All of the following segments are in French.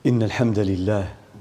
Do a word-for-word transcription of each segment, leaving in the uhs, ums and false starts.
إن الحمد لله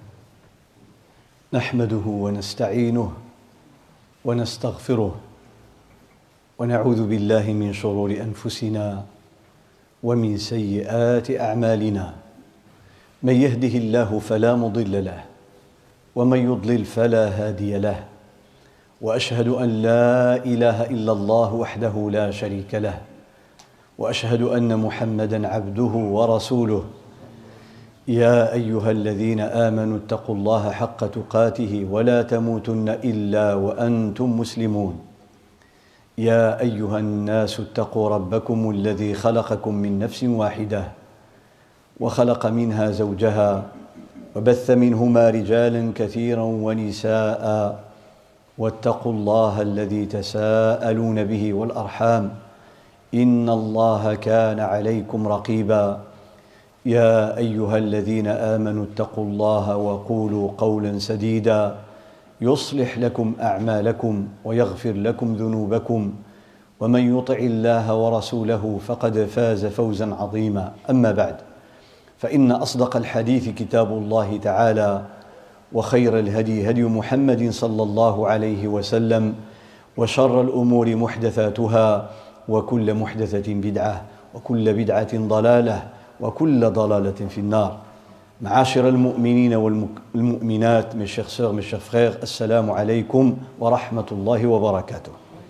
نحمده ونستعينه ونستغفره ونعوذ بالله من شرور أنفسنا ومن سيئات أعمالنا. من يهده الله فلا مضل له ومن يضلل فلا هادي له، وأشهد أن لا إله إلا الله وحده لا شريك له، وأشهد أن محمدًا عبده ورسوله. يا أيها الذين آمنوا اتقوا الله حق تقاته ولا تموتن إلا وأنتم مسلمون. يا أيها الناس اتقوا ربكم الذي خلقكم من نفس واحدة وخلق منها زوجها وبث منهما رجالا كثيرا ونساء، واتقوا الله الذي تساءلون به والأرحام إن الله كان عليكم رقيبا. يا أيها الذين آمنوا اتقوا الله وقولوا قولا سديدا يصلح لكم أعمالكم ويغفر لكم ذنوبكم، ومن يطع الله ورسوله فقد فاز فوزا عظيما. أما بعد، فإن أصدق الحديث كتاب الله تعالى، وخير الهدي هدي محمد صلى الله عليه وسلم، وشر الأمور محدثاتها، وكل محدثة بدعة، وكل بدعة ضلالة، وكل ضلالة في النار. معاشر المؤمنين والمؤمنات، mes chers sœurs, mes chers frères, السلام عليكم ورحمة الله وبركاته.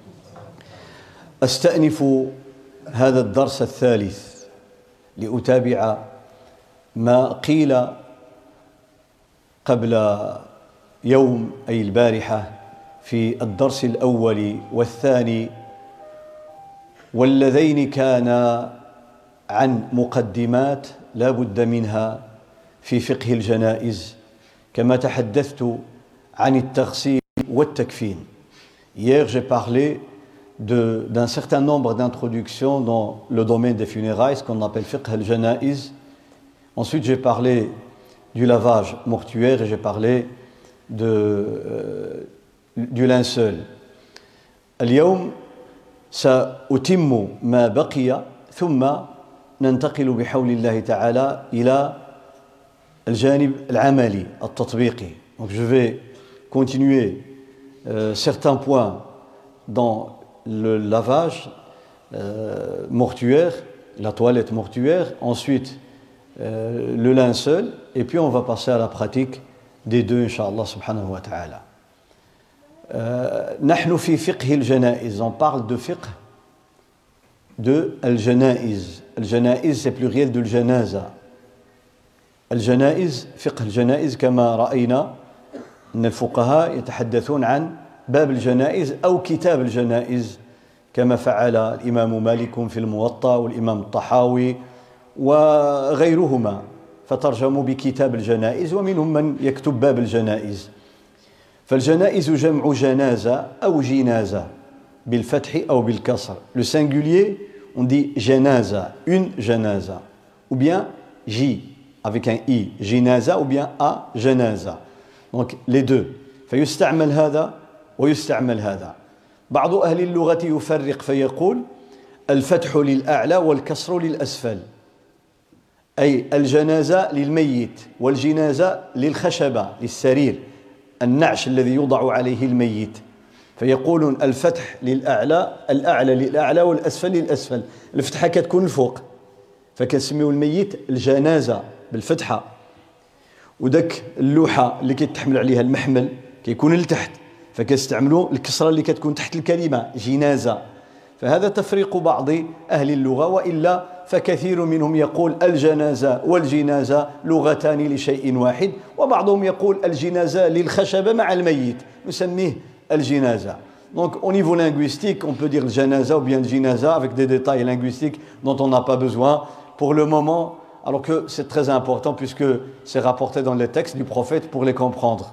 أستأنف هذا الدرس الثالث لأتابع ما قيل قبل يوم أي البارحة في الدرس الأول والثاني، واللذين كانا عن مقدمات لا بد منها في فقه الجنائز، كما تحدثت عن التغسيل والتكفين. Hier, j'ai parlé de, d'un certain nombre d'introductions dans le domaine des funérailles, ce qu'on appelle fiqh al-janaiz. Ensuite, j'ai parlé du lavage mortuaire et j'ai parlé de, euh, du linceul. اليوم سأتم ما بقي ثم ننتقل بحول الله تعالى إلى الجانب العملي التطبيقي. Donc je vais continuer euh, certains points dans le lavage euh, mortuaire, la toilette mortuaire, ensuite euh, le linceul, et puis on va passer à la pratique des deux, Inch'Allah subhanahu wa ta'ala. نحن في فقه الجنائز, on parle de fiqh de al-janaiz. Al-janaiz c'est pluriel de al-janaza. الجنائز فقه الجنائز كما رأينا أن الفقهاء يتحدثون عن باب الجنائز أو كتاب الجنائز، كما فعل الإمام مالك في الموطأ والإمام الطحاوي وغيرهما، فترجموا بكتاب الجنائز، ومنهم من يكتب باب الجنائز. فالجنائز جمع جنازة أو جنازة بالفتح أو بالكسر. Le singulier, on dit janaza, une janaza, ou bien J avec un I, jinaza, ou bien A, janaza. Donc les deux. فيستعمل هذا ويستعمل هذا. بعض أهل اللغة يفرق فيقول الفتح للأعلى والكسر للأسفل، أي الجنازة للميت والجنازة للخشبة للسرير، النعش الذي يوضع عليه الميت، فيقولون الفتح للأعلى، الأعلى للأعلى والأسفل للأسفل. الفتحة كتكون الفوق فكنسميو الميت الجنازة بالفتحة، وداك اللوحة اللي كيتحمل عليها المحمل كيكون لتحت فكنستعملوا الكسرة اللي كتكون تحت الكلمة جنازة. فهذا تفريق بعض أهل اللغة، وإلا فكثير منهم يقول الجنازة والجنازة لغتان لشيء واحد، وبعضهم يقول الجنازة للخشبة مع الميت نسميه الجنازة. Donc au niveau linguistique, on peut dire le janaza ou bien le jinaza avec des détails linguistiques dont on n'a pas besoin pour le moment, alors que c'est très important puisque c'est rapporté dans les textes du prophète pour les comprendre.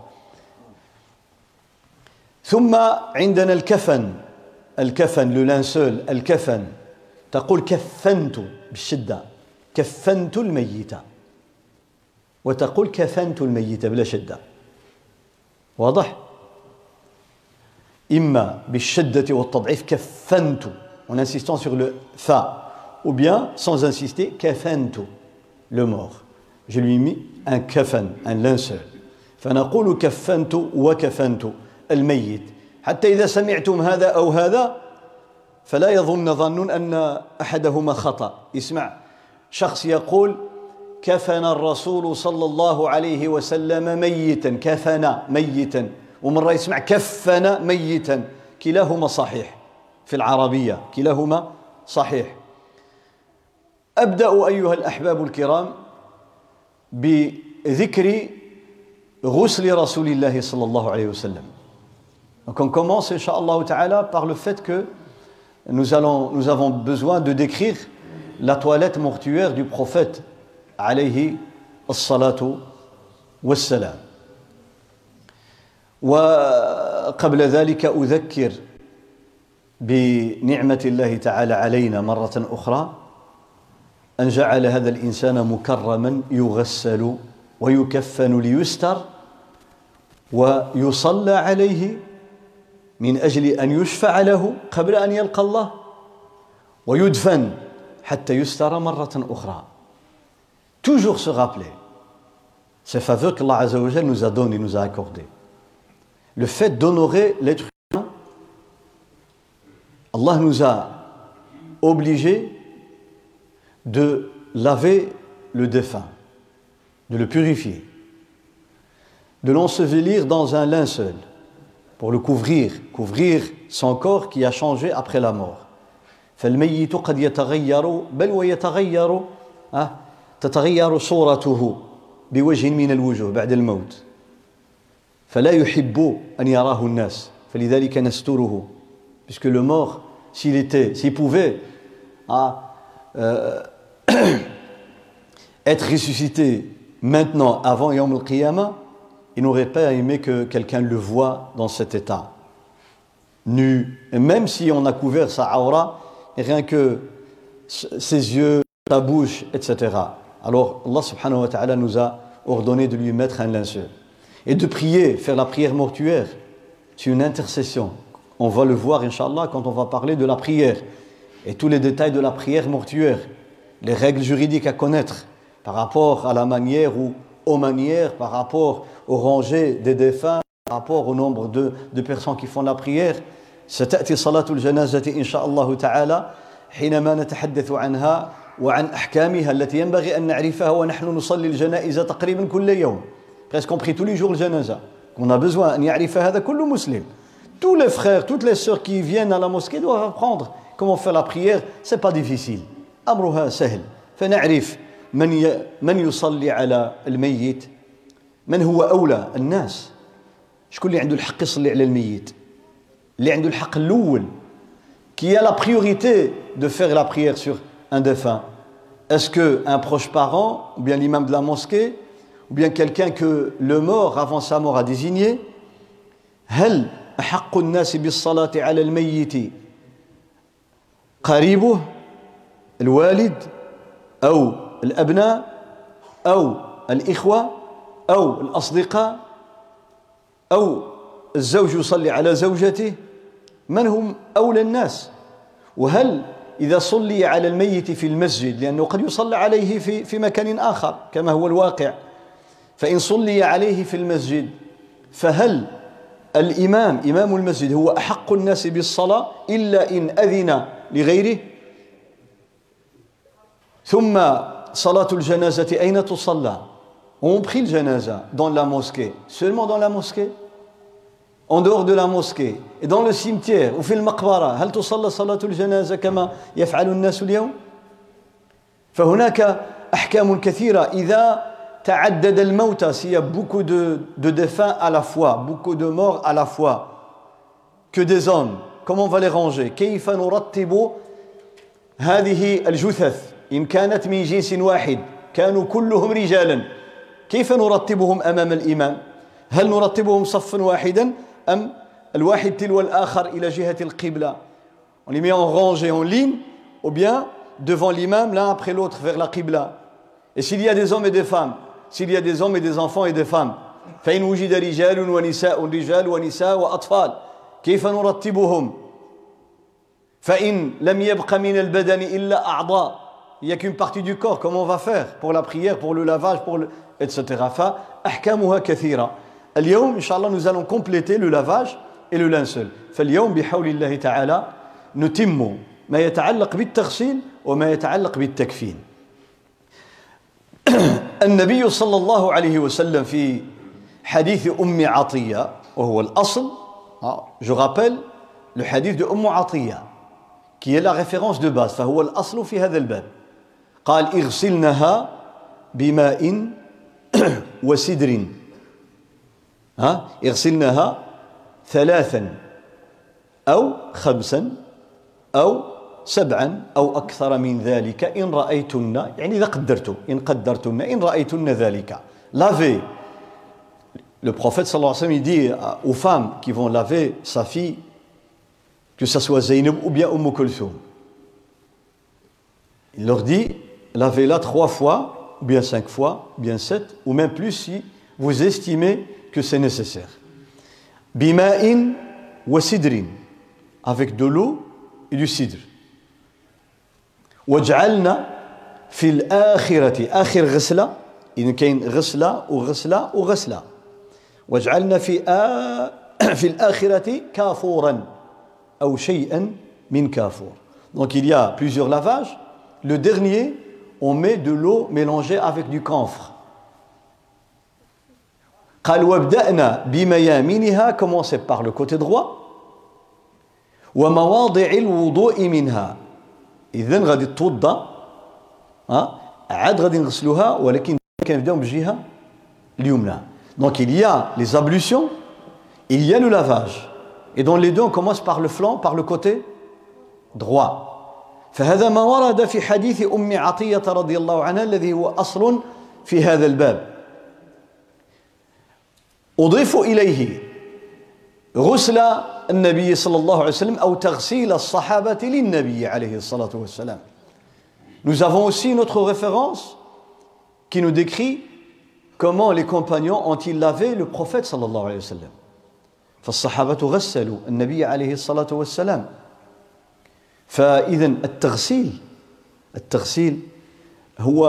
ثم عندنا الكفن. الكفن le linceul الكفن. تقول كفنت بالشدة، كفنت الميت، وتقول كفنت الميت بلا شدة. واضح؟ إما بالشدة والتضعيف كفنت en insistant sur le fa, ou bien sans insister كفنت le mort. je lui ai mis un kafan, un linceul. فنقول كفنت وكفنت الميت حتى إذا سمعتم هذا أو هذا فلا يظن ظن أن أحدهما خطأ. يسمع شخص يقول كفن الرسول صلى الله عليه وسلم ميتا، كفن ميتا، ومرة يسمع كفن ميتا، كلاهما صحيح في العربية، كلاهما صحيح. أبدأ أيها الأحباب الكرام بذكر غسل رسول الله صلى الله عليه وسلم. Donc on commence, Inch'Allah Ta'ala, par le fait que nous, allons, nous avons besoin de décrire la toilette mortuaire du prophète عليه الصلاة والسلام. وقبل ذلك أذكر بنعمة الله تعالى علينا مرة أخرى أن جعل هذا الإنسان مكرما يغسل ويكفن ليستر ويصلى عليه من أجل أن يشفع له قبل أن يلقى الله ويدفن حتى يستر مرة أخرى. Toujours se rappeler ces faveurs qu'Allah Azza wa Jal nous a données, nous a accordées. Le fait d'honorer l'être humain, Allah nous a obligés de laver le défunt, de le purifier, de l'ensevelir dans un linceul pour le couvrir, couvrir son corps qui a changé après la mort. فالميت قد يتغير بل ويتغير تتغير صورته بوجه من الوجوه بعد الموت فلا يحب أن يراه الناس فلذلك نستره puisque le mort s'il était s'il pouvait ah, euh, être ressuscité maintenant avant Yawm al-Qiyamah, il n'aurait pas aimé que quelqu'un le voie dans cet état nu, et même si on a couvert sa aura, et rien que ses yeux, sa bouche, et cetera. Alors Allah subhanahu wa ta'ala nous a ordonné de lui mettre un linceul et de prier, faire la prière mortuaire. C'est une intercession. On va le voir Inch'Allah quand on va parler de la prière et tous les détails de la prière mortuaire, les règles juridiques à connaître par rapport à la manière ou aux manières, par rapport au rangées des défunts, par rapport au nombre de, de personnes qui font la prière. ستأتي صلاة الجنازة إن شاء الله تعالى حينما نتحدث عنها وعن أحكامها التي ينبغي أن نعرفها ونحن نصلي الجنائز تقريبا كل يوم. Presque compris tous les jours le janaza. On a besoin أن يعرف هذا كل مسلم. Tous les frères, toutes les sœurs qui viennent à la mosquée doivent apprendre comment faire la prière. C'est pas difficile. أمرها سهل. فنعرف من ي... من يصلي على الميت، من هو أولى الناس، شكون اللي عنده الحق يصلي على الميت، اللي عنده الحق الأول qui a la priorité de faire la prière sur un défunt. Est-ce qu'un proche parent, ou bien l'imam de la mosquée, ou bien quelqu'un que le mort avant sa mort a désigné? هل أحق الناس بالصلاة على الميت قريبه الوالد أو الأبناء أو الإخوة أو الأصدقاء أو الزوج يصلي على زوجته؟ من هم أولى الناس؟ وهل إذا صلي على الميت في المسجد، لأنه قد يصلى عليه في في مكان آخر كما هو الواقع، فإن صلي عليه في المسجد فهل الإمام إمام المسجد هو أحق الناس بالصلاة إلا إن أذن لغيره؟ ثم صلاة الجنازة أين تصلى؟ On prie le janaza dans la mosquée, seulement dans la mosquée, en dehors de la mosquée et dans le cimetière ou في المقبرة. هل تصلى صلاة الجنازة كما يفعل الناس اليوم؟ فهناك أحكام كثيرة. إذا تعدد الموتى، s'il y a beaucoup de, de défunts à la fois, beaucoup de morts à la fois, que des hommes, comment on va les ranger؟ كيف نرتب هذه الجثث إن كانت من جنس واحد كانوا كلهم رجالا، كيف نرتبهم أمام الإمام؟ هل نرتبهم صفا واحدا أم الواحد تلو الآخر إلى جهة القبلة؟ On les met en rangée, en ligne, ou bien devant l'imam, l'un après l'autre vers la qibla. Et s'il y a des hommes et des femmes, s'il y a des hommes et des enfants et des femmes, فإن وجد رجال ونساء رجال ونساء وأطفال كيف نرتبهم؟ فإن لم يبق من البدن إلا أعضاء il n'y a qu'une partie du corps, comment on va faire pour la prière, pour le lavage, pour le... et cetera. فأحكامها كثيرة. اليوم إن شاء الله nous allons compléter le lavage et le linceul. فاليوم بحول الله تعالى نتم ما يتعلق بالتغسيل وما يتعلق بالتكفين. النبي صلى الله عليه وسلم في حديث أم عطية وهو الأصل, je rappelle le hadith de أم عطية qui est la référence de base, فهو الأصل في هذا الباب. قال اغسلنها بماء وسدر, ها اغسلنها ثلاثا أو خمسا أو سبعا أو أكثر من ذلك إن رأيتن, يعني إذا قدرتم, إن قدرتن, إن رأيتن ذلك. Lavez. Le prophète sallallahu alayhi wa sallam, il dit aux femmes qui vont laver sa fille, que ce soit Zaynab ou bien Umm Kulthum, il leur dit, lavez-la trois fois, ou bien cinq fois, ou bien sept, ou même plus si vous estimez que c'est nécessaire. Bima'in wa sidrin, avec de l'eau et du cidre. Waj'alna fil akhirati, akhir ghasla, il y a une ghasla ou ghasla ou ghasla. Waj'alna fi fi al-akhirati kafuran ou shay'an min kafur. Donc il y a plusieurs lavages. Le dernier, on met de l'eau mélangée avec du camphre. قال وابدأنا بميامنها, commencez par le côté droit. ومواضع الوضوء منها, إذن غادي توضأ, ها عاد غادي نغسلوها ولكن كنبداو بالجهة اليمنى. Donc il y a les ablutions, il y a le lavage. Et dans les deux, on commence par le flanc, par le côté droit. فهذا ما ورد في حديث أم عطية رضي الله عنها الذي هو أصل في هذا الباب. أضيف إليه غسل النبي صلى الله عليه وسلم أو تغسيل الصحابة للنبي عليه الصلاة والسلام. Nous avons aussi une autre référence qui nous décrit comment les compagnons ont-ils lavé le prophète صلى الله عليه وسلم. فالصحابة غسلوا النبي عليه الصلاة والسلام. فإذا التغسيل التغسيل هو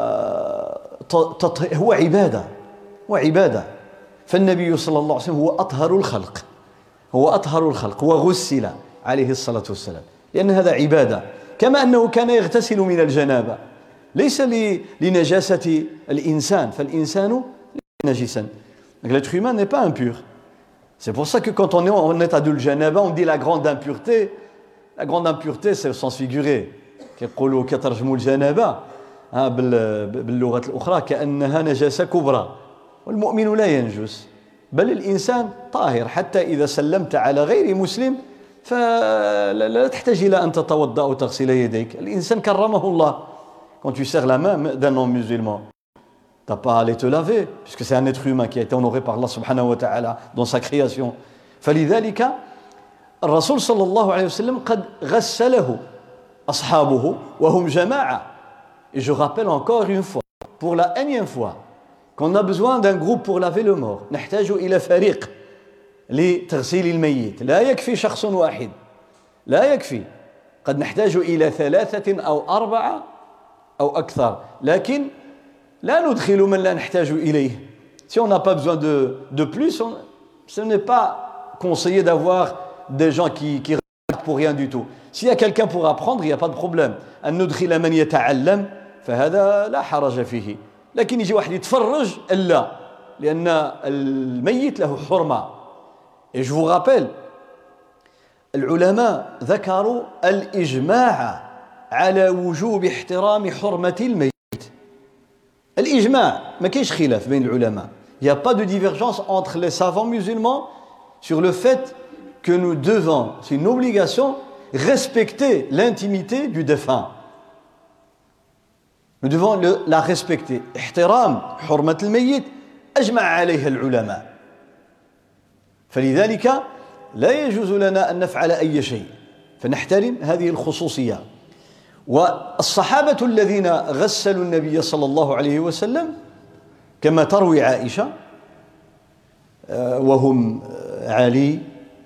هو عبادة هو عبادة. فالنبي صلى الله عليه وسلم هو أطهر الخلق هو أطهر الخلق وغسل عليه الصلاة والسلام لأن هذا عبادة. كما أنه كان يغتسل من الجنابة ليس لنجاسة الإنسان فالإنسان نجسا. L'être humain n'est pas impur. C'est pour ça que quand on est en état de janaba, on dit la grande impureté. La grande impureté, c'est le sens figuré. كيقولوا كترجموا الجنابة باللغة الأخرى كأنها نجاسة كبرى. والمؤمن لا ينجس بل الإنسان طاهر حتى إذا سلمت على غير مسلم فلا تحتاج إلى أن تتوضأ أو تغسل يديك. الإنسان كرمه الله. Quand tu serres la main d'un non-musulman, tu n'as pas à aller te laver puisque c'est un être humain qui a été honoré par Allah subhanahu wa ta'ala dans sa création. فلذلك الرسول صلى الله عليه وسلم قد غسله أصحابه وهم جماعة. Et je rappelle encore une fois, pour la énième fois, qu'on a besoin d'un groupe pour laver le mort. نحتاج إلى فريق لتغسيل الميت. لا يكفي شخص واحد. لا يكفي. قد نحتاج إلى ثلاثة أو أربعة أو أكثر. لكن لا ندخل من لا نحتاج إليه. Si on n'a pas besoin de, de plus, on, ce n'est pas conseillé d'avoir des gens qui, qui regardent pour rien du tout. S'il y a quelqu'un pour apprendre, il n'y a pas de problème. أن ندخل من يتعلم فهذا لا حرج فيه. لكن يجي واحد يتفرج لا لأن الميت له حرمة. Et je vous rappelle, العلماء ذكروا الإجماع على وجوب احترام حرمة الميت. الإجماع ما كاينش خلاف بين العلماء. Il n'y a pas de divergence entre les savants musulmans sur le fait que nous devons, c'est une obligation, respecter l'intimité du défunt. Nous devons le, la respecter. احترام حرمة الميت أجمع عليها العلماء. فلذلك لا يجوز لنا أن نفعل أي شيء فنحترم هذه الخصوصية. والصحابة الذين غسلوا النبي صلى الله عليه وسلم كما تروي عائشة وهم علي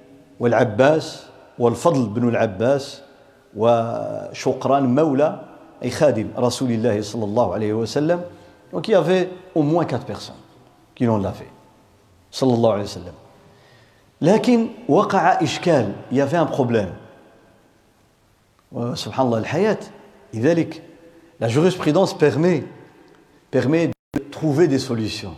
والعباس والفضل بن العباس وشقران مولى أي خادم رسول الله صلى الله عليه وسلم. Donc il y avait au moins quatre personnes qui l'ont lavé صلى الله عليه وسلم. لكن وقع إشكال, il y avait un problème. سبحان الله الحياة. لذلك la jurisprudence permet permet de trouver des solutions.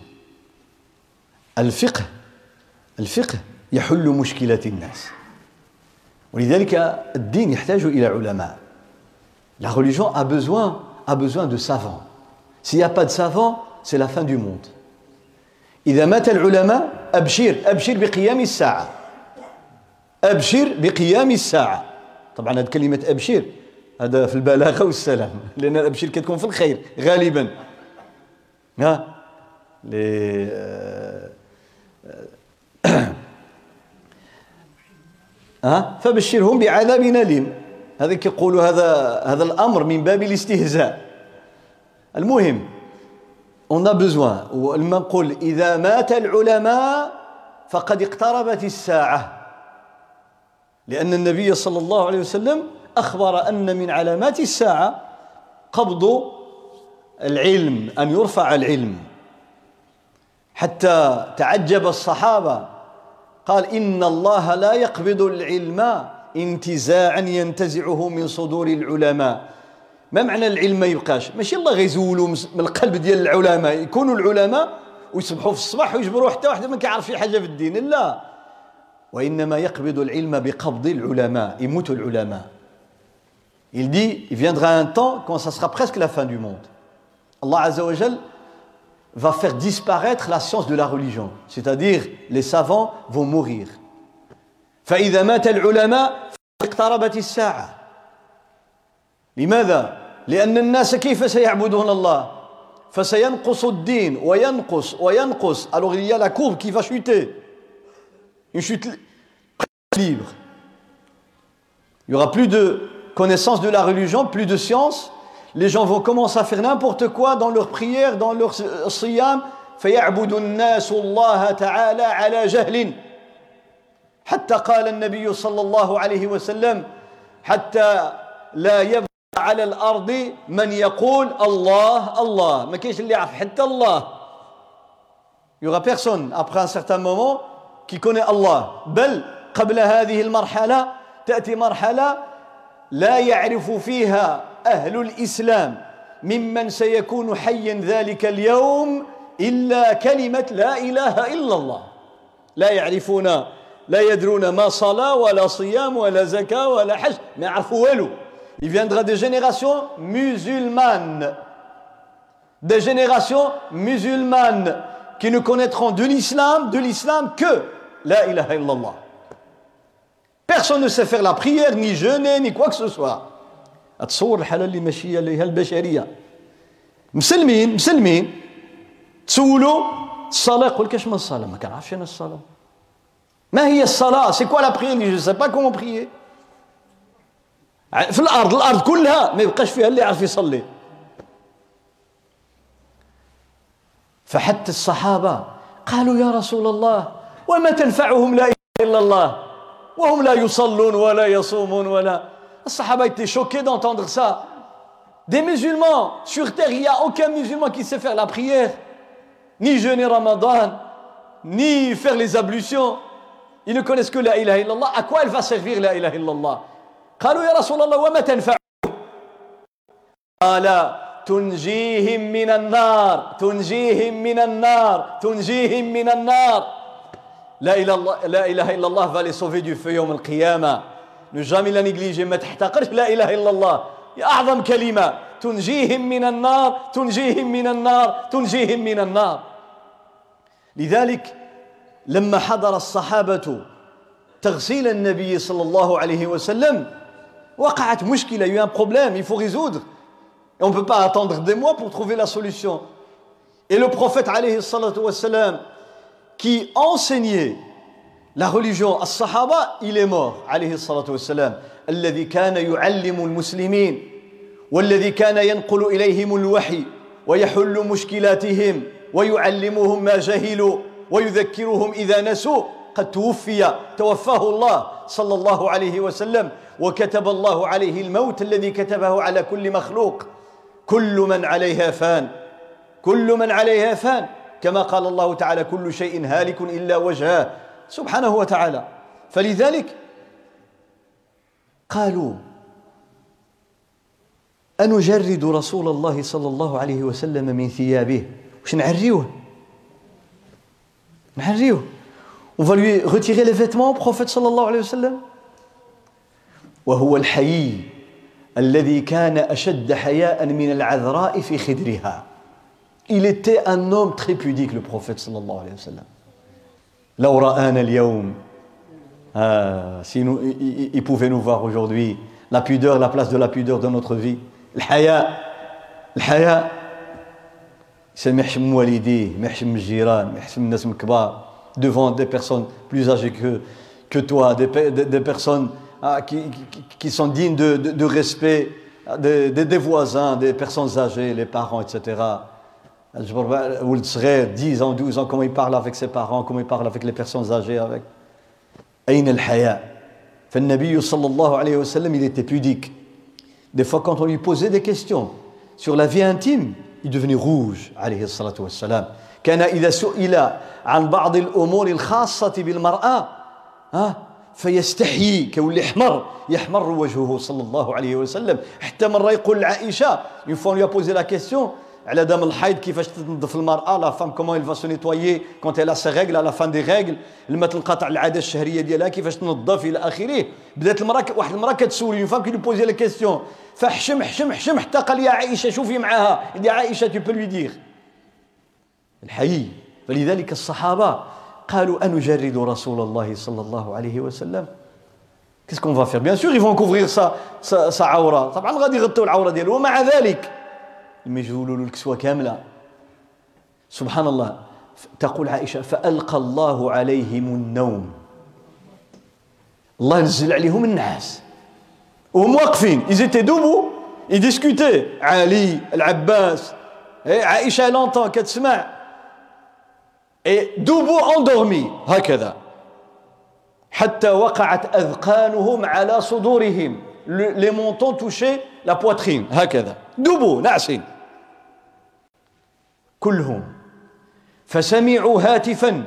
الفقه الفقه يحل مشكلات الناس. ولذلك الدين يحتاج إلى علماء. La religion a besoin a besoin de savants. S'il n'y a pas de savants, c'est la fin du monde. إذا مات العلماء أبشر أبشر بقيام الساعة. أبشر بقيام الساعة. طبعا هذه كلمة أبشر هذا في البلاغة والسلام, لأن الأبشر كتكون في الخير غالبا. ها لي ها فبشرهم بعذاب أليم. هذا كيقولوا هذا هذا الأمر من باب الاستهزاء. المهم on a besoin. ولما نقول إذا مات العلماء فقد اقتربت الساعة, لأن النبي صلى الله عليه وسلم أخبر أن من علامات الساعة قبض العلم, أن يرفع العلم. حتى تعجب الصحابة, قال إن الله لا يقبض العلم انتزاعا ينتزعه من صدور العلماء. ما معنى العلم ما يبقاش؟ ماشي الله غيزولوا من القلب ديال العلماء, يكونوا العلماء ويصبحوا في الصباح ويجبروا حتى واحد ما كيعرف شي حاجه في الدين, لا. وإنما يقبض العلم بقبض العلماء, يموت العلماء. Il dit, il viendra un temps quand ça sera presque la fin du monde. Allah Azza wa Jal va faire disparaître la science de la religion, c'est-à-dire les savants vont mourir. فإذا مات العلماء اقتربت الساعة. لماذا؟ لأن الناس كيف سيعبدون الله؟ فسينقص الدين وينقص وينقص. Alors il y a la courbe qui va chuter, une chute libre. Il n'y aura plus de connaissance de la religion, plus de science. Les gens vont commencer à faire n'importe quoi dans leurs prières, dans leur siyam. فيعبد الناس الله تعالى على جهل. حتى قال النبي صلى الله عليه وسلم حتى لا يبقى على الأرض من يقول الله الله. ما كاينش اللي يعرف حتى الله. Il y aura personne après un certain moment qui connaît Allah. بل قبل هذه المرحلة تأتي مرحلة لا يعرف فيها أهل الإسلام ممن سيكون حيا ذلك اليوم إلا كلمة لا إله إلا الله. لا يعرفون, لا يدرون ما صلاة ولا صيام ولا زكاة ولا حج, ما يعرفوا والو. Il viendra des générations musulmanes, des générations musulmanes qui ne connaîtront de l'islam, de l'islam que la ilaha illallah. Personne ne sait faire la prière, ni jeûner, ni quoi que ce soit. أتصور الحالة اللي ماشية ليها البشرية. مسلمين مسلمين تسولوا الصلاة يقول لك اش من الصلاة؟ ما كنعرفش أنا الصلاة. ما هي الصلاة؟ سي كوا لا prière? Je ne sais pas comment prier. في الأرض الأرض كلها ما يبقاش فيها اللي يعرف يصلي. فحتى الصحابة قالوا يا رسول الله وما تنفعهم لا إله إلا الله وهم لا يصلون ولا يصومون ولا. الصحابة étaient choqués d'entendre ça. Des musulmans sur terre, il n'y a aucun musulman qui sait faire la prière, ni jeûner Ramadan, ni faire les ablutions. Ils ne connaissent que la ilaha illallah. À quoi elle va servir la ilaha illallah? قالوا يا رسول الله وما تنفعهم؟ قال تنجيهم من النار تنجيهم من النار تنجيهم من النار. لا إله إلا الله va les sauver du feu يوم القيامة. Ne jamais la négliger, ما تحتقرش لا إله إلا الله. يا أعظم كلمة تنجيهم من النار تنجيهم من النار تنجيهم من النار. لذلك لما حضر الصحابة تغسيل النبي صلى الله عليه وسلم وقعت مشكلة, il y a eu un problème, il faut résoudre. Et on ne peut pas attendre des mois pour trouver la solution. Et le prophète alayhi salatu wassalam qui enseignait la religion as-sahaba, il est mort alayhi salatu wassalam. الذي كان يعلم المسلمين والذي كان ينقل إليهم الوحي ويحل مشكلاتهم ويعلمهم ما جهلوا ويذكرهم إذا نسوا قد توفي توفاه الله صلى الله عليه وسلم وكتب الله عليه الموت الذي كتبه على كل مخلوق. كل من عليها فان، كل من عليها فان، كما قال الله تعالى كل شيء هالك إلا وجهه سبحانه وتعالى. فلذلك قالوا أنجرد رسول الله صلى الله عليه وسلم من ثيابه، واش نعريوه نعريوه on va lui retirer les vêtements au prophète صلى الله عليه وسلم. وهو الحيي الذي كان أشد حياء من العذراء في خدرها. Il était un homme très pudique, le prophète صلى الله عليه وسلم. لو رآنا اليوم ah, si nous, il, il pouvait nous voir aujourd'hui, la pudeur, la place de la pudeur dans notre vie. الحياء الحياء ما يحشم والديه، ما يحشم الجيران، ما يحشم الناس الكبار devant des personnes plus âgées que, que toi, des, des, des personnes ah, qui, qui, qui sont dignes de, de, de respect, des, des, des voisins, des personnes âgées, les parents, et cetera. ولد صغير dix ans, douze ans, comment il parle avec ses parents, comment il parle avec les personnes âgées. Avec. أين الحياء؟ فالنبي صلى الله عليه وسلم il était pudique. Des fois quand on lui posait des questions sur la vie intime, il devenait rouge عليه الصلاة والسلام. كان إذا سئل عن بعض الأمور الخاصة بالمرأة ها فيستحيي كيولي حمر يحمر وجهه صلى الله عليه وسلم. حتى مرة يقول لعائشة une fois on lui a posé la question على دم الحيض كيفاش تنظف المرأة لا فام كومون il va se nettoyer quand elle a ses règles à la fin des règles لما تنقطع العادة الشهرية ديالها كيفاش تنظف إلى آخره. بدات المرأة واحد المرأة كتسول une femme qui lui posait la question فحشم حشم حشم حتى قال يا عائشة شوفي معاها il dit عائشة tu peux lui dire الحي. فلذلك الصحابة قالوا أنجرد رسول الله صلى الله عليه وسلم. Qu'est-ce qu'on va faire? Bien sûr ils vont couvrir sa sa, sa عورة طبعا غادي يغطوا العورة ديالو ومع ذلك لما يجولوا له الكسوة كاملة سبحان الله. تقول عائشة فألقى الله عليهم النوم. الله نزل عليهم النعاس وهم واقفين ils étaient debout ils discutaient علي العباس عائشة لونتون كتسمع et debout endormis هكذا حتى وقعت أذقانهم على صدورهم les mentons touchaient la poitrine هكذا debout ناعسين كلهم. فسمعوا هاتفا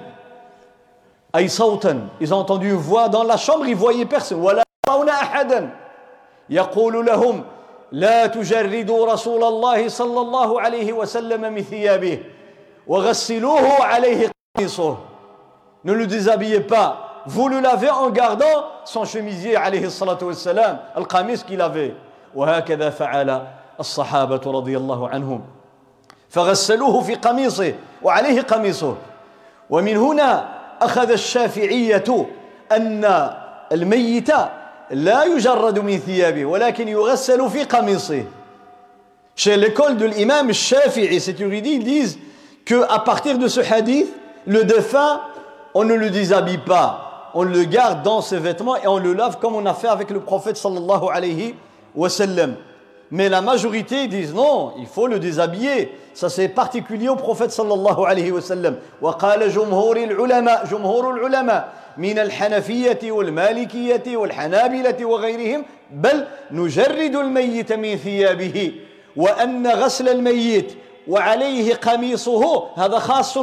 أي صوتا ils ont entendu une voix dans la chambre ils voyaient personne ولا يرون أحدا يقول لهم لا تجردوا رسول الله صلى الله عليه وسلم من ثيابه وغسلوه عليه قميصه. Ne le déshabillez pas, vous le lavez en gardant son chemisier عليه الصلاة والسلام القميص qu'il avait. وهكذا فعل الصحابة رضي الله عنهم فغسلوه في قميصه وعليه قميصه. ومن هنا أخذ الشافعية أن الميت لا يجرد من ثيابه ولكن يغسل في قميصه. Chez l'école de l'imam Shafi'i, c'est érudit, ils disent qu'à partir de ce hadith, le défunt, on ne le déshabille pas, on le garde dans ses vêtements et on le lave comme on a fait avec le prophète sallallahu alayhi wa sallam. Mais la majorité disent non, il faut le déshabiller. Ça c'est particulier au prophète sallallahu alayhi wa sallam. وقال جمهور العلماء جمهور العلماء من الحنفية والمالكية والحنابلة وغيرهم بل نجرد الميت من ثيابه وأن غسل الميت وعليه قميصه هذا خاص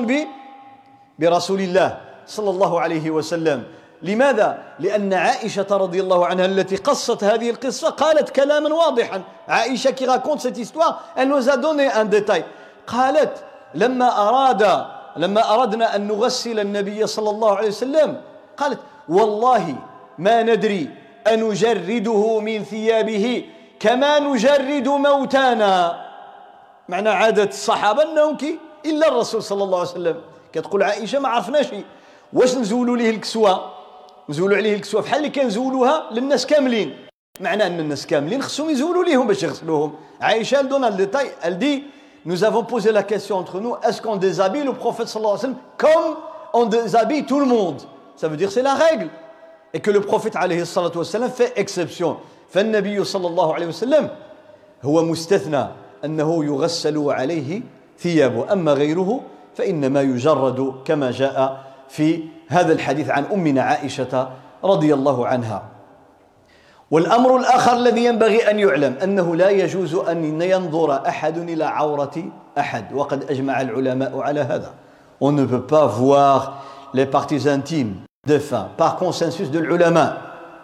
برسول الله صلى الله عليه وسلم. لماذا؟ لأن عائشة رضي الله عنها التي قصت هذه القصة قالت كلاما واضحا. عائشة qui raconte cette histoire elle nous a donné un détail. قالت لما أراد لما أردنا أن نغسل النبي صلى الله عليه وسلم قالت والله ما ندري أن نجرده من ثيابه كما نجرد موتانا. معنى عادة الصحابة أنهم كي إلا الرسول صلى الله عليه وسلم. كتقول عائشة ما عرفناش واش نزولوا ليه الكسوة نزولوا عليه الكسوة بحال اللي كنزولوها للناس كاملين. معنى أن الناس كاملين خصهم يزولوا ليهم باش يغسلوهم. عائشة elle donne le détail, elle dit nous avons posé la question entre nous est-ce qu'on déshabille le prophète sallallahu alayhi wa sallam comme on déshabille tout le monde. Ça veut dire c'est la règle et que le prophète alayhi salatu wa sallam fait exception. فالنبي صلى الله عليه وسلم هو مستثنى أنه يغسل عليه ثيابه أما غيره فإنما يجرد كما جاء في هذا الحديث عن أمنا عائشة رضي الله عنها. والأمر الآخر الذي ينبغي أن يعلم أنه لا يجوز أن ينظر أحد إلى عورة أحد، وقد أجمع العلماء على هذا. On ne peut pas voir les parties intimes des femmes par consensus de العلماء.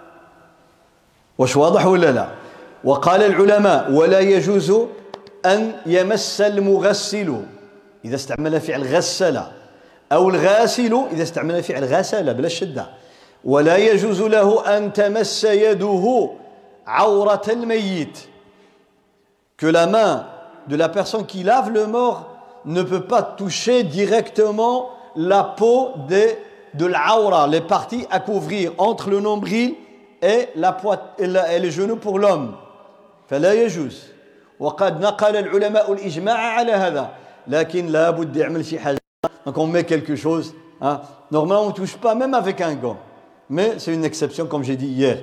واش واضح ولا لا؟ وقال العلماء ولا يجوز أن يمس المغسل إذا استعمل فعل غسل، أو الغاسل إذا استعمل فعل غسل بلا الشدة، ولا يجوز له أن تمس يده عورة الميت. Que la main de la personne qui lave le mort ne peut pas toucher directement la peau de, de l'aura, les parties à couvrir entre le nombril et, la poit- et, la, et les genoux pour l'homme. فلا يجوز. وقد نقل العلماء الإجماع على هذا، لكن لا بد يعمل شي حاجة. Donc on met quelque chose. Hein. Normalement on ne touche pas même avec un gant. Mais c'est une exception comme j'ai dit hier.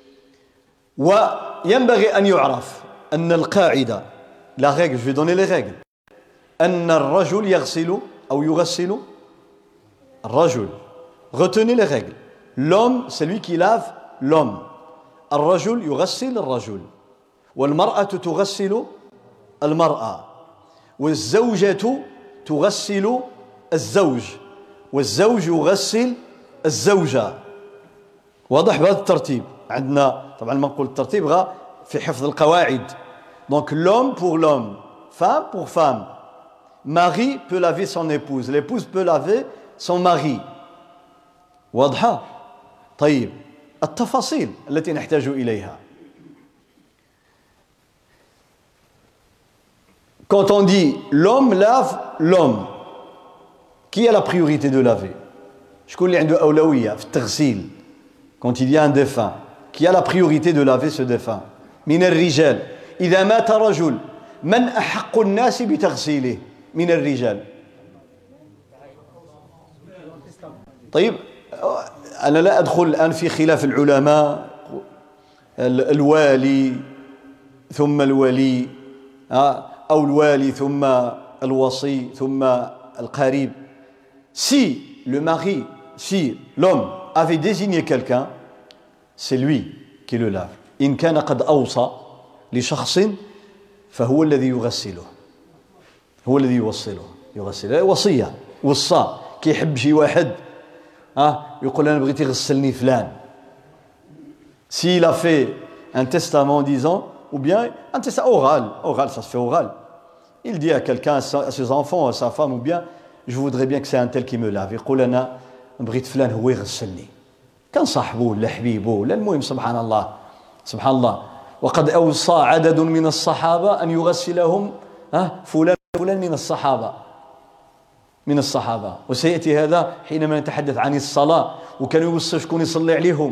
وينبغي أن يعرف أن القاعدة، la règle, je vais donner les règles. أن الرجل يغسل أو يغسل الرجل. Retenez les règles. L'homme, c'est lui qui lave l'homme. الرجل يغسل الرجل. والمرأة تغسل المرأة. والزوجة تغسل الزوج. والزوج يغسل الزوجة. واضح بهذا الترتيب. عندنا طبعا ما نقول الترتيب غا في حفظ القواعد. Donc l'homme pour l'homme, femme pour femme. Mari peut laver son épouse, l'épouse peut laver son mari. واضحة؟ طيب التفاصيل التي نحتاج إليها. Quand on dit l'homme lave l'homme, qui a la priorité de laver? شكون اللي عنده أولوية في التغسيل؟ Quand il y a un défunt, qui a la priorité de laver ce défunt? من الرجال. إذا مات رجل من أحق الناس بتغسيله من الرجال؟ طيب أنا لا أدخل الآن في خلاف العلماء، الوالي ثم الولي أو الوالي ثم الوصي ثم القريب. Si le mari, si l'homme avait désigné quelqu'un, c'est lui qui le lave. إن كان قد أوصى لشخص فهو الذي يغسله، هو الذي يوصله يغسله. وصية وصى كي يحب شي واحد ها يقول أنا بغيت يغسلني فلان. S'il a fait un testament disant, ou bien un testament oral, oral ça se fait oral. Il dit à quelqu'un, à ses enfants, à sa femme, ou bien je voudrais bien que c'est un tel qui me lave. يقول أنا بغيت فلان هو يغسلني. كان صاحبه ولا حبيبه ولا المهم سبحان الله سبحان الله. وقد أوصى عدد من الصحابة أن يغسلهم ها فلان فلان من الصحابة من الصحابة. وسيأتي هذا حينما نتحدث عن الصلاة، وكانوا يوصوا شكون يصلي عليهم.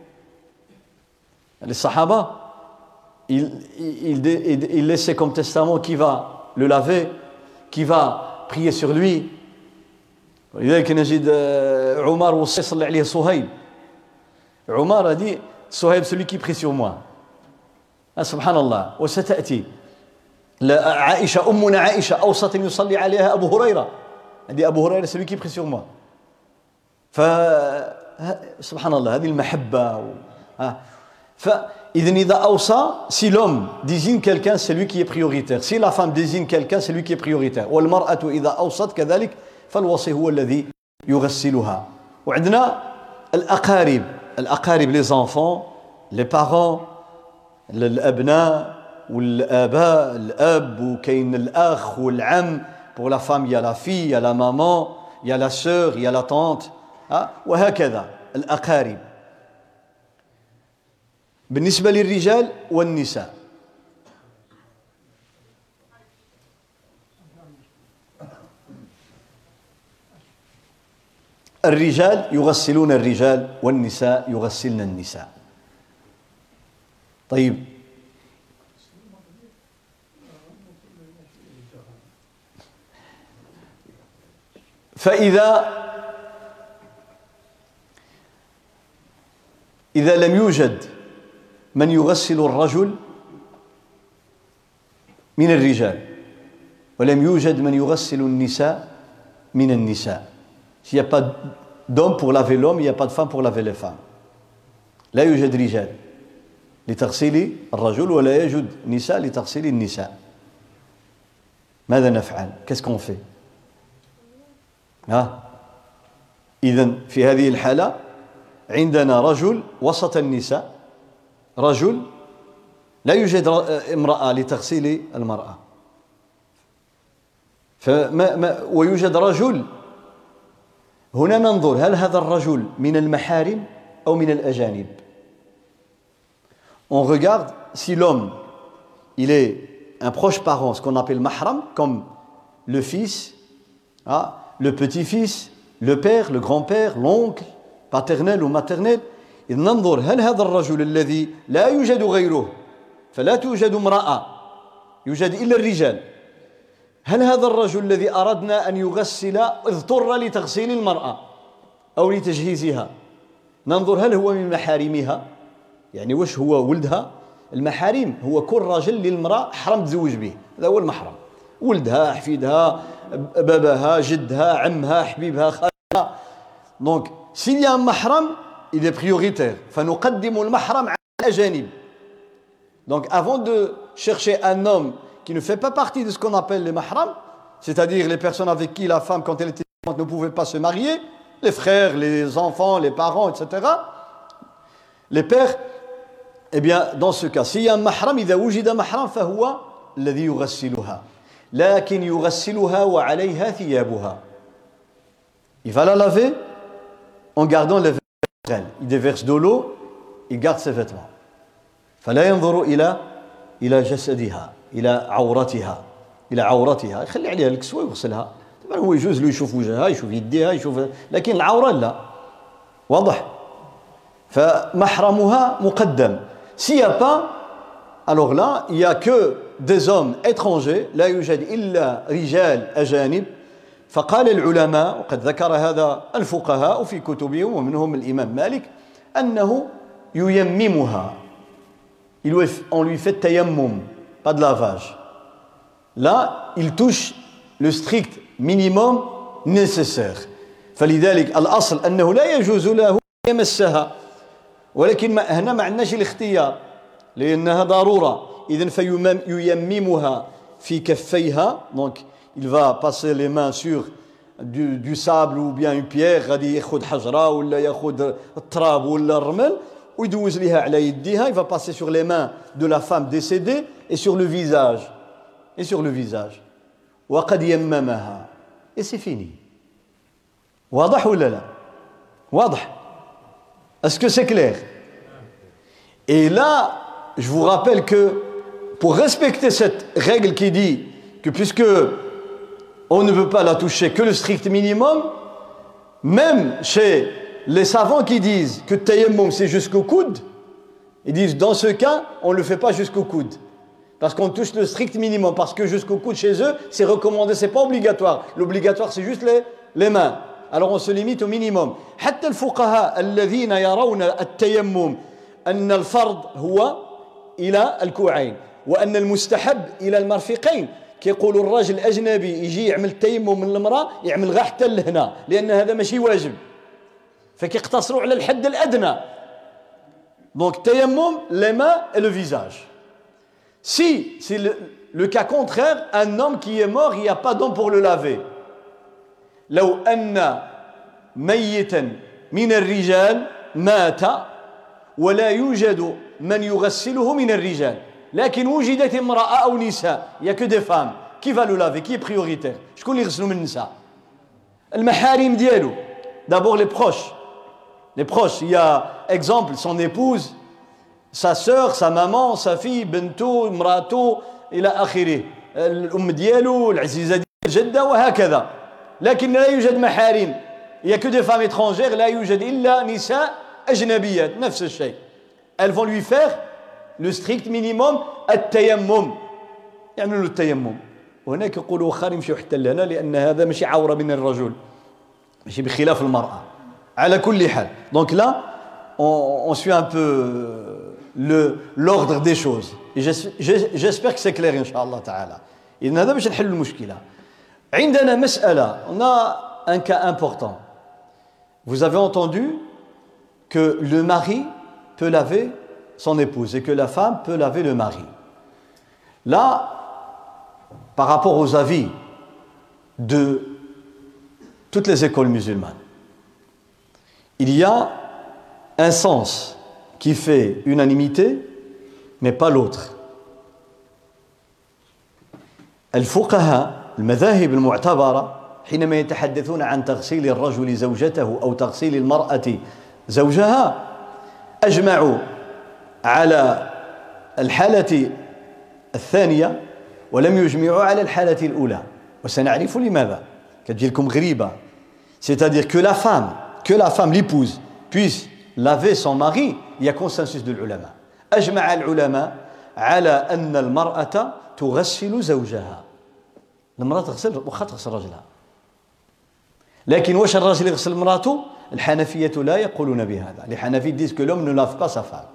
الصحابة il, il, il, il laissait comme testament qui va le laver, qui va prier sur lui. ولذلك نجد عمر وصى يصلي عليه صهيب. عمر dit صهيب celui qui prie sur moi. سبحان الله. وستأتي عائشة أمنا عائشة أوصت أن يصلي عليها أبو هريرة. dit أبو هريرة celui qui prie sur moi. ف سبحان الله هذه المحبة. فإذا إذا أوصى, si l'homme désigne quelqu'un, c'est lui qui est prioritaire. Si la femme désigne quelqu'un, c'est lui qui est prioritaire. والمرأة إذا أوصت كذلك فالوصي هو الذي يغسلها. وعندنا الأقارب، الأقارب les enfants, les parents, الأبناء والآباء، الأب وكاين الأخ والعم. Pour la femme il y a la fille, il y a la maman, il y a la sœur, il y a la tante. وهكذا الأقارب. بالنسبة للرجال والنساء، الرجال يغسلون الرجال والنساء يغسلن النساء. طيب فإذا إذا لم يوجد من يغسل الرجل من الرجال ولم يوجد من يغسل النساء من النساء، s'il n'y a pas d'hommes pour laver l'homme, il n'y a pas de femmes pour laver les femmes. لا يوجد رجال لتغسيل الرجل ولا يوجد نساء لتغسيل النساء. ماذا نفعل؟ Qu'est-ce qu'on fait؟ ها إذن في هذه الحالة عندنا رجل وسط النساء، رجل لا يوجد امرأة لتغسيل المرأة، فما ما ويوجد رجل. هنا ننظر هل هذا الرجل من المحارم أو من الأجانب. On regarde si l'homme il est un proche parent, ce qu'on appelle mahram, comme le fils, hein, le petit-fils, le père, le grand-père, l'oncle, paternel ou maternel. إذ ننظر هل هذا الرجل الذي لا يوجد غيره، فلا توجد امرأة، يوجد إلا الرجال، هل هذا الرجل الذي أردنا أن يغسل اضطر لتغسيل المرأة أو لتجهيزها، ننظر هل هو من محارمها، يعني وش هو ولدها. المحارم هو كل رجل للمرأة حرم تزوج به، هذا هو المحرم، ولدها، حفيدها، باباها، جدها، عمها، حبيبها، خالها. Donc s'il y a un mahram, il est prioritaire. فنقدم المحرم على الأجانب. Donc avant de chercher un homme qui ne fait pas partie de ce qu'on appelle les mahrams, c'est-à-dire les personnes avec qui la femme, quand elle était vivante, ne pouvait pas se marier, les frères, les enfants, les parents, et cetera, les pères, eh bien, dans ce cas, s'il y a un mahram, إذا وجد محرم فهو الذي يغسلها، لكن يغسلها وعليها ثيابها. Il va la laver en gardant les vêtements. Il déverse de l'eau, il garde ses vêtements. فلا ينظر إلى إلى جسدها، إلى عورتها، إلى عورتها، يخلي عليها الكسوة ويغسلها. طبعا هو يجوز له يشوف وجهها، يشوف يديها، يشوف، لكن العورة لا. واضح؟ فمحرمها مقدم. S'il n'y a pas, alors là, il n'y a que des hommes étrangers، لا يوجد إلا رجال أجانب. فقال العلماء، وقد ذكر هذا الفقهاء في كتبهم ومنهم الإمام مالك، أنه ييممها. On lui fait tayammum, pas de lavage. Là, il touche le strict minimum nécessaire. فلذلك الأصل أنه لا يجوز له يمسها، ولكن هنا ما عندناش الاختيار لأنها ضرورة. إذن فييممها في كفيها. Donc il va passer les mains sur du, du sable ou bien une pierre، غادي ياخذ حجرة ولا ياخذ التراب ولا الرمل ويدوز ليها على يديها. Il va passer sur les mains de la femme décédée et sur le visage et sur le visage. وقد يممها et c'est fini. واضح ولا لا؟ واضح. Est-ce que c'est clair? Et là, je vous rappelle que pour respecter cette règle qui dit que puisque on ne veut pas la toucher que le strict minimum, même chez les savants qui disent que tayammum c'est jusqu'au coude, ils disent dans ce cas, on ne le fait pas jusqu'au coude. Parce qu'on touche le strict minimum, parce que jusqu'au coude chez eux, c'est recommandé, c'est pas obligatoire. L'obligatoire, c'est juste les, les mains. Alors on se limite au minimum. حتى الفقهاء الذين يرون التيمم أن الفرض هو إلى الكوعين وأن المستحب إلى المرفقين، كيقولوا الراجل الأجنبي يجي يعمل التيمم من المرأة يعمل غير حتى لهنا، لأن هذا ماشي واجب، فكيقتصروا على الحد الأدنى. Donc tayammum, les mains et le visage. Si c'est le, le cas contraire, un homme qui est mort, il n'y a pas d'homme pour le laver. لو أن ميتا من الرجال مات ولا يوجد من يغسله من الرجال، لكن وجدت امرأة أو نساء، il n'y a que des femmes. Qui va le laver? Qui est prioritaire? شكون اللي يغسلوا من النساء؟ المحارم ديالو. D'abord les proches. Les proches, il y a exemple son épouse, sa sœur, sa maman, sa fille, بنته، امراته إلى آخره، الأم ديالو، العزيزة ديالو، الجدة وهكذا. لكن لا يوجد محارم. Il n'y a que des femmes étrangères. لا يوجد إلا نساء أجنبيات. نفس الشيء. Elles vont lui faire le strict minimum التيمم. يعملوا له التيمم. وهناك يقولوا واخا يمشيو حتى لهنا لأن هذا ماشي عورة من الرجل. ماشي بخلاف المرأة. على كل حال. Donc là, on, on suit un peu le l'ordre des choses. Et j'espère que c'est clair إن شاء الله تعالى. إذن هذا باش نحل المشكلة. عندنا مسألة. On a un cas important. vous avez entendu que le mari peut laver son épouse et que la femme peut laver le mari. Là, par rapport aux avis de toutes les écoles musulmanes, il y a un sens qui fait unanimité, mais pas l'autre. الفقهاء المذاهب المعتبرة حينما يتحدثون عن تغسيل الرجل زوجته أو تغسيل المرأة زوجها أجمعوا على الحالة الثانية ولم يجمعوا على الحالة الأولى وسنعرف لماذا. كتجي لكم غريبة. C'est-à-dire que la femme, que la femme, l'épouse, puisse laver son mari, il y a consensus de l'ulama. أجمع العلماء على أن المرأة تغسل زوجها. المرأة تغسل واخا تغسل رجلها. لكن واش الراجل يغسل مراته؟ الحنفية لا يقولون بهذا. Les Hanafis disent que l'homme ne lave pas sa femme.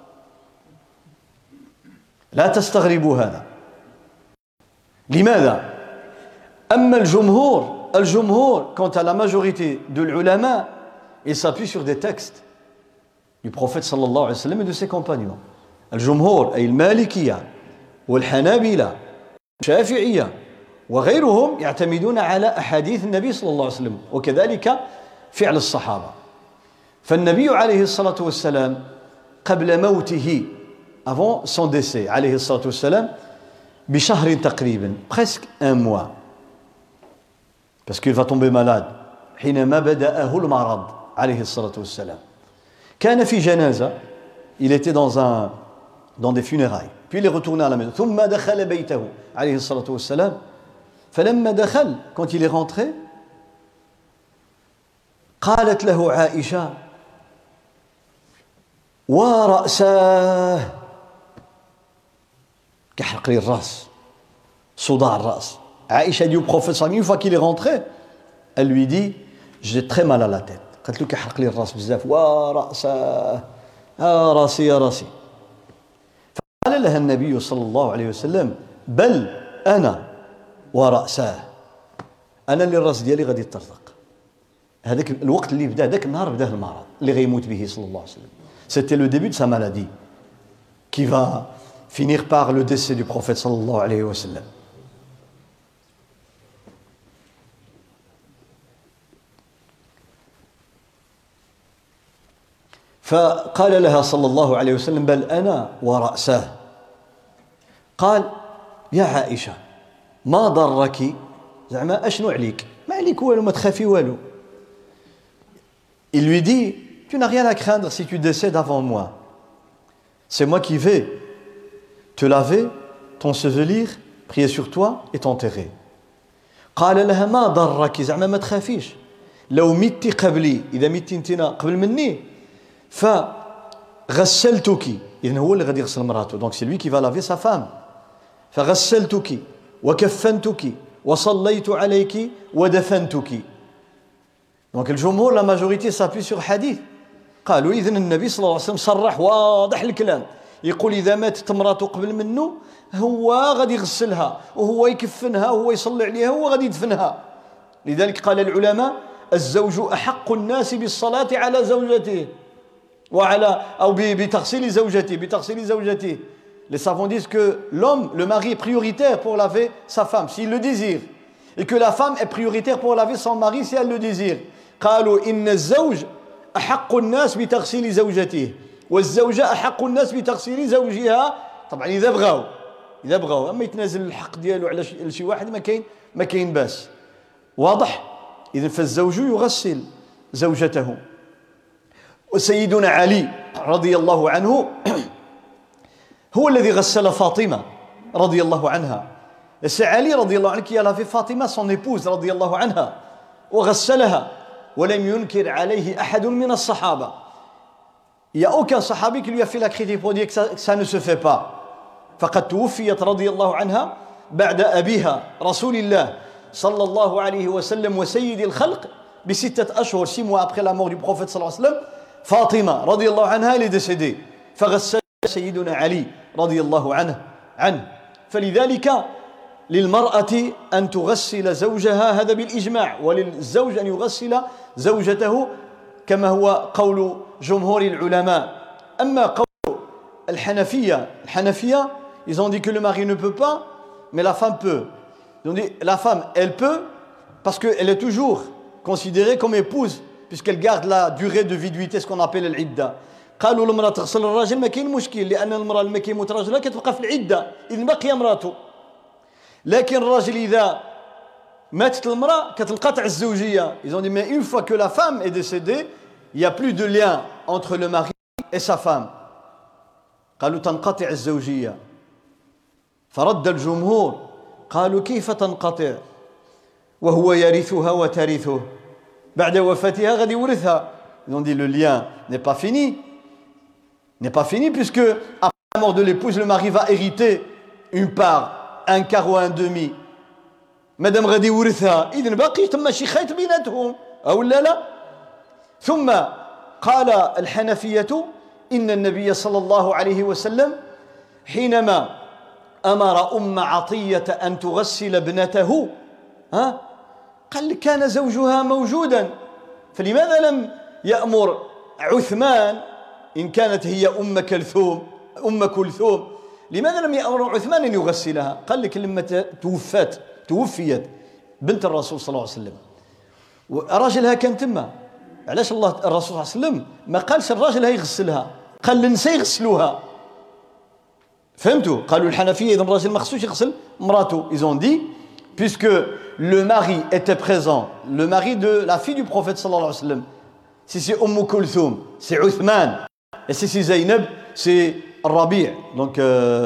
لا تستغربوا هذا. لماذا؟ أما الجمهور الجمهور quant à la majorité de l'ulama, il s'appuie sur des textes du prophète صلى الله عليه وسلم et de ses compagnons. الجمهور أي المالكية والحنابلة والشافعية وغيرهم يعتمدون على أحاديث النبي صلى الله عليه وسلم وكذلك فعل الصحابة. فالنبي عليه الصلاة والسلام قبل موته avant son décès عليه الصلاة والسلام بشهر تقريبا presque un mois parce qu'il va tomber malade حينما بدأه المرض عليه الصلاة والسلام كان في جنازة il était dans un dans des funérailles puis il est retourné à la maison ثم دخل بيته عليه الصلاة والسلام فلما دخل quand il est rentré قالت له عائشة ورأساه كحرق لي الراس صداع الراس. عائشة dit au prophète sallallahu alayhi wa sallam une fois qu'il est rentré elle lui dit j'ai très mal à la tête. قالت له كحرق لي الراس بزاف ورأساه آه راسي يا راسي. فقال لها النبي صلى الله عليه وسلم بل أنا ورأساه أنا اللي الراس ديالي غادي يطرطق. هذاك الوقت اللي بدا ذاك النهار بداه المرض اللي غيموت به صلى الله عليه وسلم. C'était le début de sa maladie qui va finir par le décès du prophète sallallahu alayhi wa sallam. فقال لها صلى الله عليه وسلم بل أنا ورأساه. قال يا عائشة ما ضرك زعما أشنو عليك ما عليك والو ما تخافي والو. Il lui dit tu n'as rien à craindre si tu décèdes avant moi. C'est moi qui vais te laver, t'ensevelir, prier sur toi et t'enterrer. قال لها ما ضرك زعما ما تخافيش لو مت قبلي إذا مت انتنا قبل مني فغسلتك إذن هو اللي غادي يغسل مراته donc c'est lui qui va laver sa femme. فغسلتك وكفنتك وصليت عليك ودفنتك. donc الجمهور la majorité s'appuie sur hadith. قالوا إذن النبي صلى الله عليه وسلم صرح واضح الكلام يقول إذا ماتت مراته قبل منه هو غادي يغسلها وهو يكفنها وهو يصلي عليها وهو غادي يدفنها. لذلك قال العلماء الزوج أحق الناس بالصلاة على زوجته وعلى أو بتغسيل زوجته بتغسيل زوجته. Les savants disent que l'homme, le mari est prioritaire pour laver sa femme s'il le désire et que la femme est prioritaire pour laver son mari si elle le désire. قالوا إن الزوج أحق الناس بتغسيل زوجته والزوجة أحق الناس بتغسيل زوجها. طبعا إذا بغاو إذا بغاو أما يتنازل الحق ديالو على شي واحد ما كاين ما كاين باس. واضح؟ إذن فالزوج يغسل زوجته. وسيدنا علي رضي الله عنه هو الذي غسل فاطمة رضي الله عنها. C'est Ali رضي الله عنه qui a lavé Fatima son épouse رضي الله عنها وغسلها ولم ينكر عليه أحد من الصحابة. Il n'y a aucun sahabi qui lui a fait la critique pour dire que ça, que ça ne se fait pas. فقد توفيت رضي الله عنها بعد أبيها رسول الله صلى الله عليه وسلم وسيد الخلق بستة أشهر six mois après la mort du prophète صلى الله عليه وسلم. فاطمة رضي الله عنها elle est décédée فغسل سيدنا علي رضي الله عنه عنه. فلذلك للمرأة أن تغسل زوجها هذا بالإجماع وللزوج أن يغسل زوجته كما هو قول جمهور العلماء. أما قول الحنفية الحنفية ils ont dit que le mari ne peut pas mais la femme peut. Ils ont dit la femme elle peut parce qu'elle est toujours considérée comme épouse puisqu'elle garde la durée de viduité, ce qu'on appelle العدة. قالوا المرأة تغسل الراجل ما كاين مشكل لأن المرأة لما كيموت راجلها كتبقى في العدة إذن باقية مراته. لكن الراجل إذا ماتت المرأة كتنقطع الزوجية. Ils ont dit mais une fois que la femme est décédée, il n'y a plus de lien entre le mari et sa femme. قالوا تنقطع الزوجية. فرد الجمهور قالوا كيف تنقطع وهو يرثها وترثه بعد وفاتها غادي يورثها. Ils ont dit le lien n'est pas fini. N'est pas fini puisque après la mort de l'épouse, le mari va hériter une part, un quart ou un demi. مادام غادي يورثها إذن باقي تما شي خيط بيناتهم أو لا لا. ثم قال الحنفية إن النبي صلى الله عليه وسلم حينما أمر أم عطية أن تغسل ابنته ها قال كان زوجها موجودا فلماذا لم يأمر عثمان إن كانت هي أم كلثوم أم كلثوم لماذا لم يأمر عثمان أن يغسلها؟ قال لك لما توفت توفيت بنت الرسول صلى الله عليه وسلم وراجلها كان تما علاش الله الرسول صلى الله عليه وسلم ما قالش الراجل هي يغسلها قال للنساء يغسلوها. فهمتوا؟ قالوا الحنفية إذا الراجل ما خصوش يغسل مراته. Ils ont dit puisque le mari était présent, le mari de la fille du prophète sallallahu alayhi wa sallam, si c'est Umm Kulthum, c'est Uthman, et si c'est Zaynab, c'est Rabi'. Donc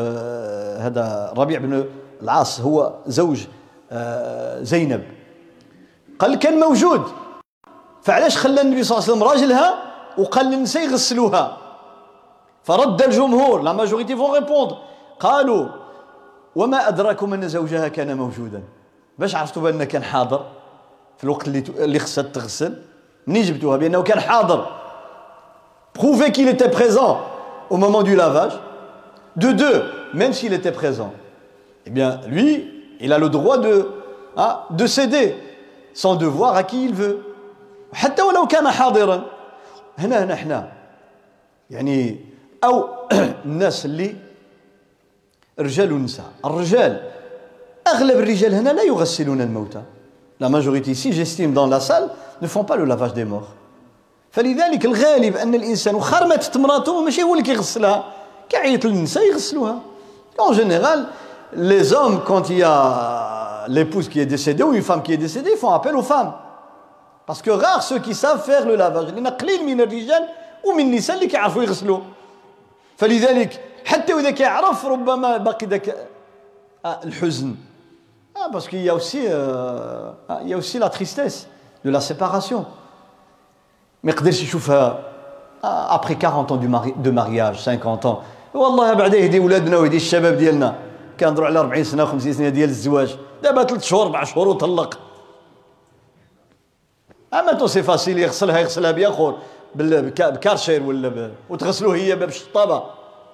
هذا ربيع بن العاص هو زوج زينب. قال كان موجود فعلاش خلى النبي صلى الله عليه وسلم راجلها وقال للنساء يغسلوها. فرد الجمهور la majorité vont répondre قالوا وما أدراكم أن زوجها كان موجودا. باش عرفتوا بأنه كان حاضر في الوقت اللي اللي خصها تغسل؟ منين جبتوها بأنه كان حاضر؟ Prouvez qu'il était présent au moment du lavage. De deux, même s'il était présent, eh bien lui, il a le droit de hein, de céder son devoir à qui il veut. حتى ولو كان حاضرا. هنا نحن يعني أو الناس اللي رجال ونساء. الرجال أغلب الرجال هنا لا يغسلون الموتى. La majorité ici, j'estime dans la salle, ne font pas le lavage des morts. فلذلك الغالب أن الإنسان وخار ماتت مراته ماشي هو اللي كيغسلها كيعيط للنساء يغسلوها. En général, les hommes quand il y a l'épouse qui est décédée ou une femme qui est décédée, ils font appel aux femmes. Parce que rares ceux qui savent faire le lavage. لأن قليل من الرجال ومن النساء اللي كيعرفوا يغسلوا. فلذلك حتى وإذا كيعرف ربما باقي ذاك الحزن. Ah, parce qu'il y a aussi euh, il y a aussi la tristesse de la séparation. ما يقدرش يشوفها après quarante ans du mari, de mariage, cinquante ans. والله بعدا يهدي ولادنا ويهدي الشباب ديالنا كنهضروا على أربعين سنة وخمسين سنة ديال الزواج دابا ثلاث شهور أربع شهور وطلق. اما تو سي فاسيل يغسلها يغسلها بياخر بكارشير ولا وتغسلوه هي بالشطابه.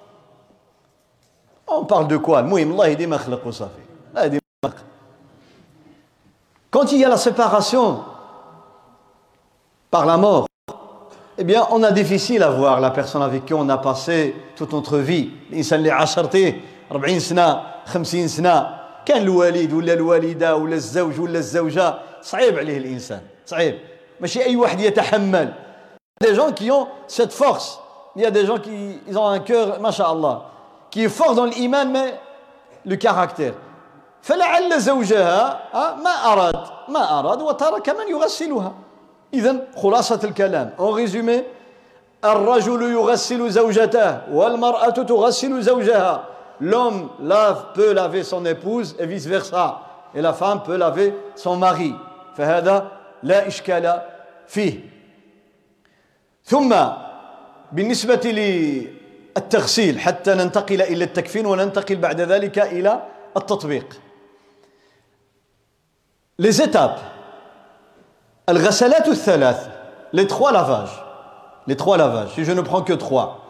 On parle de quoi? المهم الله يهدي ما خلق وصافي. الله يهدي ما خلق. Quand il y a la séparation par la mort, eh bien on a difficile à voir la personne avec qui on a passé toute notre vie. الانسان اللي عاشرتيه أربعين سنة خمسين سنة كان الوالد ولا الوالده ولا الزوج ولا الزوجه صعيب عليه الانسان صعيب ماشي اي واحد يتحمل. Des gens qui ont cette force. Il y a des gens qui ils ont un cœur masha'Allah qui est fort dans l'iman mais le caractère. فلعل زوجها ما أراد ما أراد وترك من يغسلها. إذن خلاصة الكلام en résumé الرجل يغسل زوجته والمرأة تغسل زوجها. L'homme lave peut laver son épouse et vice versa et la femme peut laver son mari. فهذا لا إشكال فيه. ثم بالنسبة للتغسيل حتى ننتقل إلى التكفين وننتقل بعد ذلك إلى التطبيق. Les étapes. الغسلات الثلاث. Les trois lavages. Les trois lavages. Si je ne prends que trois.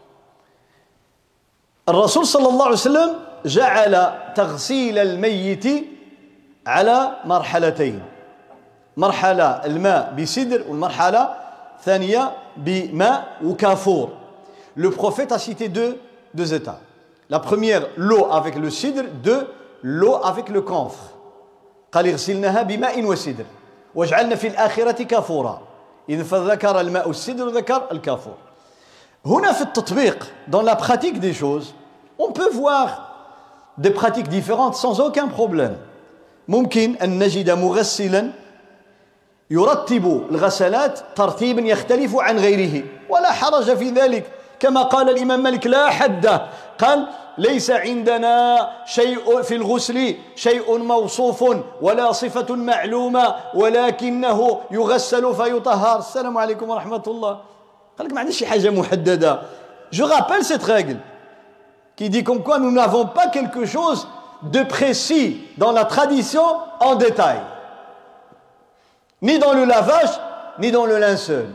الرسول صلى الله عليه وسلم جعل تغسيل الميت على مرحلتين. مرحلة الماء بسدر والمرحلة ثانية بماء وكافور. Le prophète a cité deux, deux états. La première, l'eau avec le cidre. Deux, l'eau avec le camphre. قال اغسلناها بماء وسدر واجعلنا في الآخرة كافورا. إذن فذكر الماء السدر وذكر الكافور. هنا في التطبيق, dans la pratique des choses, on peut voir des pratiques différentes sans aucun problème. ممكن أن نجد مغسلا يرتب الغسلات ترتيبا يختلف عن غيره ولا حرج في ذلك، كما قال الإمام مالك لا حد، قال ليس عندنا شيء في الغسل شيء موصوف ولا صفة معلومة ولكنه يغسل فيطهر. السلام عليكم ورحمة الله. قال لك ما عندناش شي حاجة محددة. Je rappelle cette règle qui dit comme quoi nous n'avons pas quelque chose de précis dans la tradition en détail, ni dans le lavage ni dans le linceul.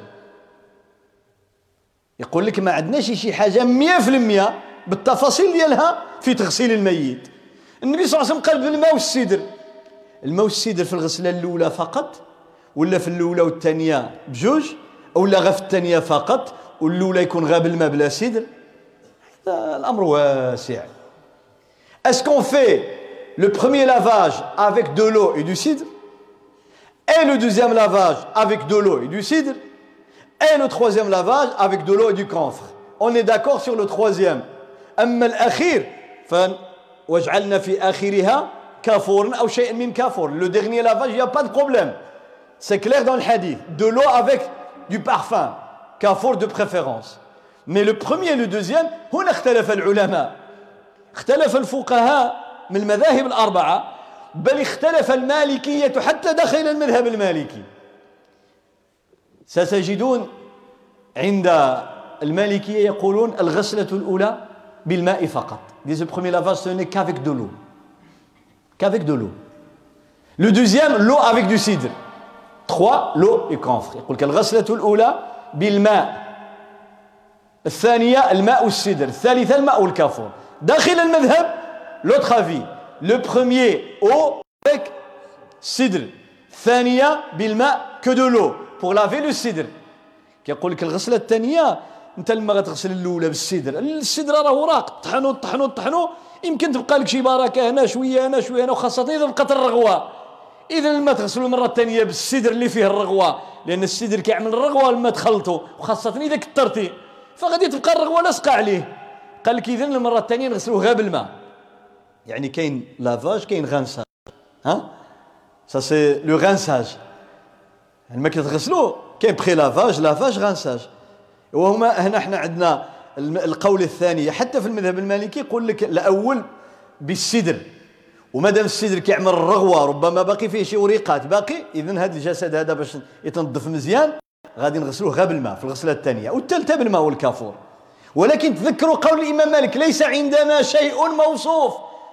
يقول لك ما عندناش شي حاجة مية في المية بالتفاصيل ديالها في تغسيل الميت. النبي صلى الله عليه وسلم قال بالماء والسدر. الماء والسدر في الغسلة الأولى فقط ولا في الأولى والثانية بجوج ولا غير في الثانية فقط والأولى يكون غير بالماء بلا سدر؟ الأمر واسع. Est-ce qu'on fait le premier lavage avec de l'eau et du cidre et le deuxième lavage avec de l'eau et du cidre et le troisième lavage avec de l'eau et du camphre? On est d'accord sur le troisième. أما الأخير فواجعلنا في آخرها كافورا أو شيء من كافور. Le dernier lavage, il n'y a pas de problème. C'est clair dans le hadith. De l'eau avec du parfum, كافور de préférence. Mais le premier et le deuxième, هنا اختلف العلماء. اختلف الفقهاء من المذاهب الأربعة، بل اختلف المالكية حتى داخل المذهب المالكي. ستجدون عند المالكية يقولون الغسلة الأولى بالماء فقط. Disent le premier lavage ce n'est qu'avec de l'eau. Qu'avec de l'eau. Le deuxième, l'eau avec du cidre. Trois, l'eau et camphre. يقول لك الغسلة الأولى بالماء. الثانية الماء والسدر. الثالثة الماء والكافور. داخل المذهب l'autre avis. Le premier eau avec cidre. الثانية بالماء que de l'eau pour laver le cidre. كيقول لك الغسلة الثانية انت لما غتغسل الاولى بالسدر، السدر راه وراق طحنو طحنو طحنو يمكن تبقى لك شي بركه هنا شويه هنا شويه هنا، وخاصه اذا بقات الرغوه. اذا لما تغسلوا المره الثانيه بالسدر اللي فيه الرغوه، لان السدر كيعمل الرغوه لما تخلطوا، وخاصه اذا كثرتي فغادي تبقى الرغوه لاصقه عليه. قال لك اذا المره الثانيه نغسلوه غير بالماء. يعني كاين لافاج كاين غانساج. ها سا سي لو غانساج. لما كتغسلوه كاين بري لافاج لافاج غانساج. وهما هنا احنا عندنا القول الثاني حتى في المذهب المالكي يقول لك الاول بالسدر، ومادام السدر كيعمل الرغوه ربما باقي فيه شي وريقات باقي، اذا هذا الجسد هذا باش يتنظف مزيان غادي نغسلوه غير بالماء في الغسله الثانيه، والثالثه بالماء والكافور. ولكن تذكروا قول الامام مالك ليس عندنا شيء موصوف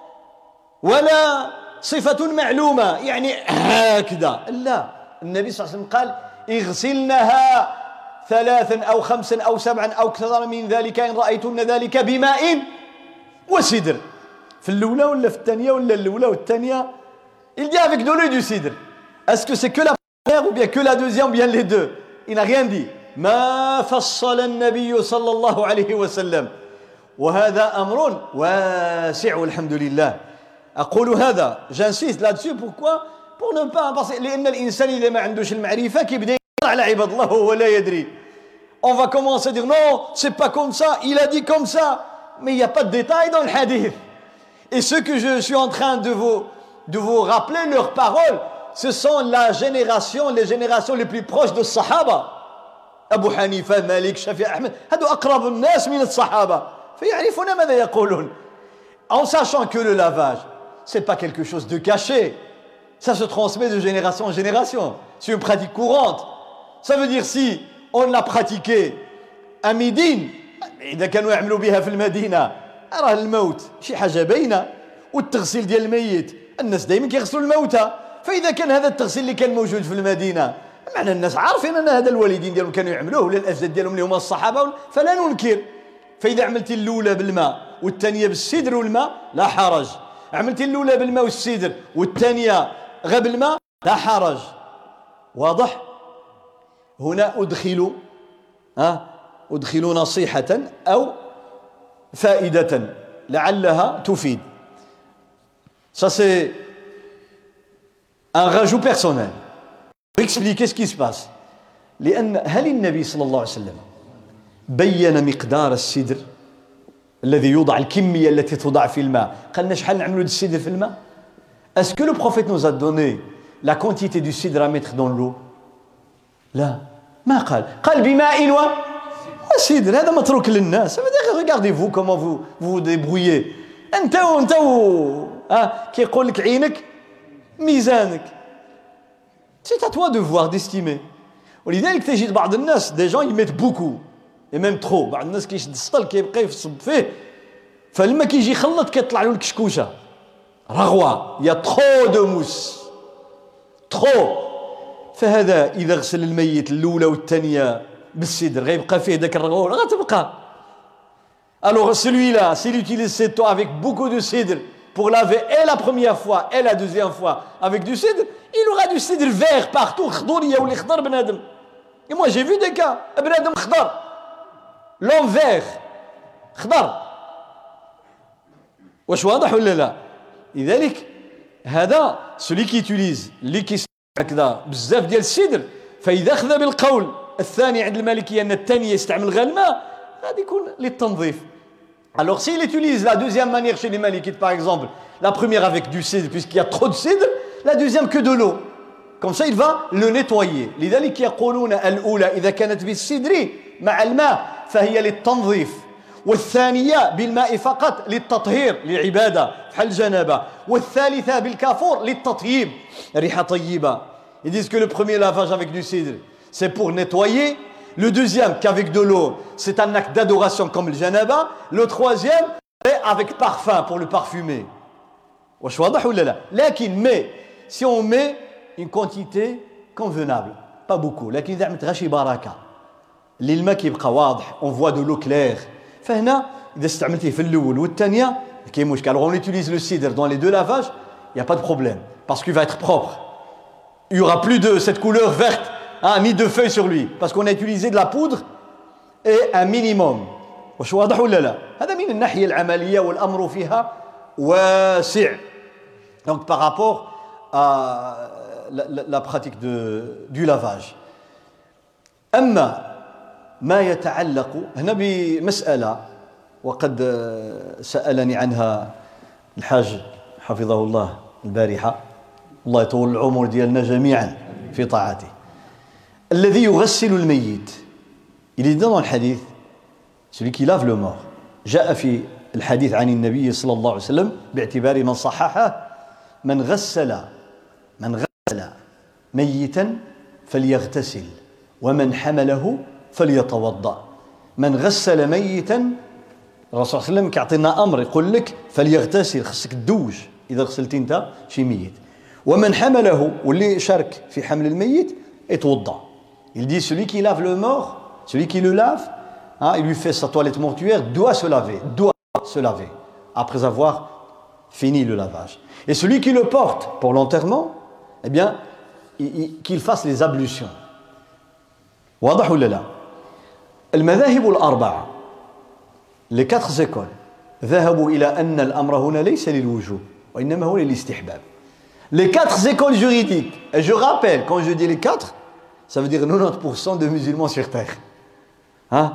ولا صفه معلومه، يعني هكذا لا. النبي صلى الله عليه وسلم قال اغسلنها ثلاثا أو خمسا أو سبعا أو أكثر من ذلك إن رأيتن ذلك بماء وسدر. في الأولى ولا في الثانية ولا الأولى والثانية il dit avec de l'eau et du cidre. Est-ce que c'est que la première ou bien que la deuxième ou bien les deux? Il n'a rien dit. ما فصل النبي صلى الله عليه وسلم، وهذا أمر واسع والحمد لله. أقول هذا j'insiste là-dessus. Pourquoi? Pour ne pas parce لأن الإنسان إذا ما عندوش المعرفة كيبدا على عباد الله وهو لا يدري. On va commencer à dire non, c'est pas comme ça, il a dit comme ça, mais il n'y a pas de détails dans le hadith. Et ce que je suis en train de vous de vous rappeler leurs paroles, ce sont la génération, les générations les plus proches de Sahaba. Abu Hanifa, Malik, Shafi, Ahmed, هذو أقرب الناس من الصحابة فيعرفون ماذا يقولون. En sachant que le lavage, c'est pas quelque chose de caché, ça se transmet de génération en génération, c'est une pratique courante. Ça veut dire si on l'a pratiqué à Médine، إذا كانوا يعملوا بها في المدينة راه الموت شي حاجة باينة، والتغسيل ديال الميت الناس دائما كيغسلوا الموتى. فإذا كان هذا التغسيل اللي كان موجود في المدينة معنى الناس عارفين أن هذا الوالدين ديالهم كانوا يعملوه ولا الأجداد ديالهم اللي هما الصحابة، فلا ننكر. فإذا عملتي الأولى بالماء والثانية بالسدر والماء لا حرج، عملتي الأولى بالماء والسدر والثانية غير بالماء لا حرج. واضح؟ هنا أدخل ها أدخل نصيحة أو فائدة لعلها تفيد. Ça c'est un rajout personnel pour expliquer ce qui se passe. لأن هل النبي صلى الله عليه وسلم بين مقدار السدر الذي يوضع الكمية التي توضع في الماء؟ قالنا شحال نعملوا السدر في الماء؟ Est-ce que le prophète nous a donné la quantité du cidre à mettre dans l'eau? لا ما قال قال بماء و وسدر. هذا متروك للناس. Regardez-vous comment vous vous, vous débrouillez. أنت وأنت و ها كيقول لك عينك ميزانك. C'est à toi de voir, d'estimer. ولذلك تجد بعض الناس des gens ils mettent beaucoup et même trop. بعض الناس كيشد السطل كيبقى يصب فيه فلما كيجي يخلط كيطلع له الكشكوشه رغوه. Il y a trop de mousse. trop. فهذا إذا غسل الميت الأولى والثانية بالسدر غيبقى فيه ذاك الرغوه غتبقى. Alors celui-là s'il utilise cette eau avec beaucoup de cidre pour laver et la première fois et la deuxième fois avec du cidre, il aura du cidre vert partout. خضوريه ولا خضر بنادم. Et moi j'ai vu des cas بنادم خضر l'homme vert خضر. واش واضح ولا لا؟ لذلك هذا celui qui utilise اللي كيستعمل هكذا بزاف ديال السدر فإذا أخذ بالقول الثاني عند المالكية أن الثاني يستعمل غير الماء غادي يكون للتنظيف. Alors s'il utilise la deuxième manière chez les malikites par exemple, la première avec du cidre puisqu'il y a trop de cidre, la deuxième que de l'eau. Comme ça il va le nettoyer. لذلك يقولون الأولى إذا كانت بالسدر مع الماء فهي للتنظيف والثانية بالماء فقط للتطهير للعبادة بحال الجنابة والثالثة بالكافور للتطييب ريحة طيبة. Ils disent que le premier lavage avec du cidre c'est pour nettoyer, le deuxième qu'avec de l'eau c'est un acte d'adoration comme le janaba, le troisième c'est avec parfum pour le parfumer. واش واضح ولا لا؟ لكن mais si on met une quantité convenable pas beaucoup لكن إذا عملت غير شي بركة اللي الماء كيبقى واضح on voit de l'eau claire فهنا إذا استعملتيه في الأول والثانية كاين مشكل. Alors on utilise le cidre dans les deux lavages, il n'y a pas de problème parce qu'il va être propre. Il n'y aura plus de cette couleur verte hein, ni de feuilles sur lui parce qu'on a utilisé de la poudre et un minimum. واش واضح ولا لا؟ هذا من الناحية العملية والأمر فيها واسع. Donc par rapport à la, la, la pratique de, du lavage. أما ما يتعلق هنا بمسألة وقد سألني عنها الحاج حفظه الله البارحة الله يطول العمر ديالنا جميعا في طاعته. الذي يغسل الميت il est dit dans le hadith celui qui lave le mort جاء في الحديث عن النبي صلى الله عليه وسلم باعتبار من صححه من غسل من غسل ميتا فليغتسل ومن حمله فليتوضأ. من غسل ميتا الرسول صلى الله عليه وسلم كيعطينا امر يقول لك فليغتسل خصك تدوج اذا غسلتي انت شي ميت ومن حمله واللي شارك في حمل الميت يتوضا. Il dit celui qui lave le mort, celui qui le lave, hein, il lui fait sa toilette mortuaire, doit se laver, doit se laver après avoir fini le lavage. Et celui qui le porte pour l'enterrement, eh bien, il, il, qu'il fasse les ablutions. واضح ولا لا؟ المذاهب الأربعة les quatre écoles ذهبوا إلى أن الأمر هنا ليس للوجوب وإنما هو للاستحباب. Les quatre écoles juridiques, et je rappelle quand je dis les quatre, ça veut dire quatre-vingt-dix pour cent de musulmans sur terre. Hein?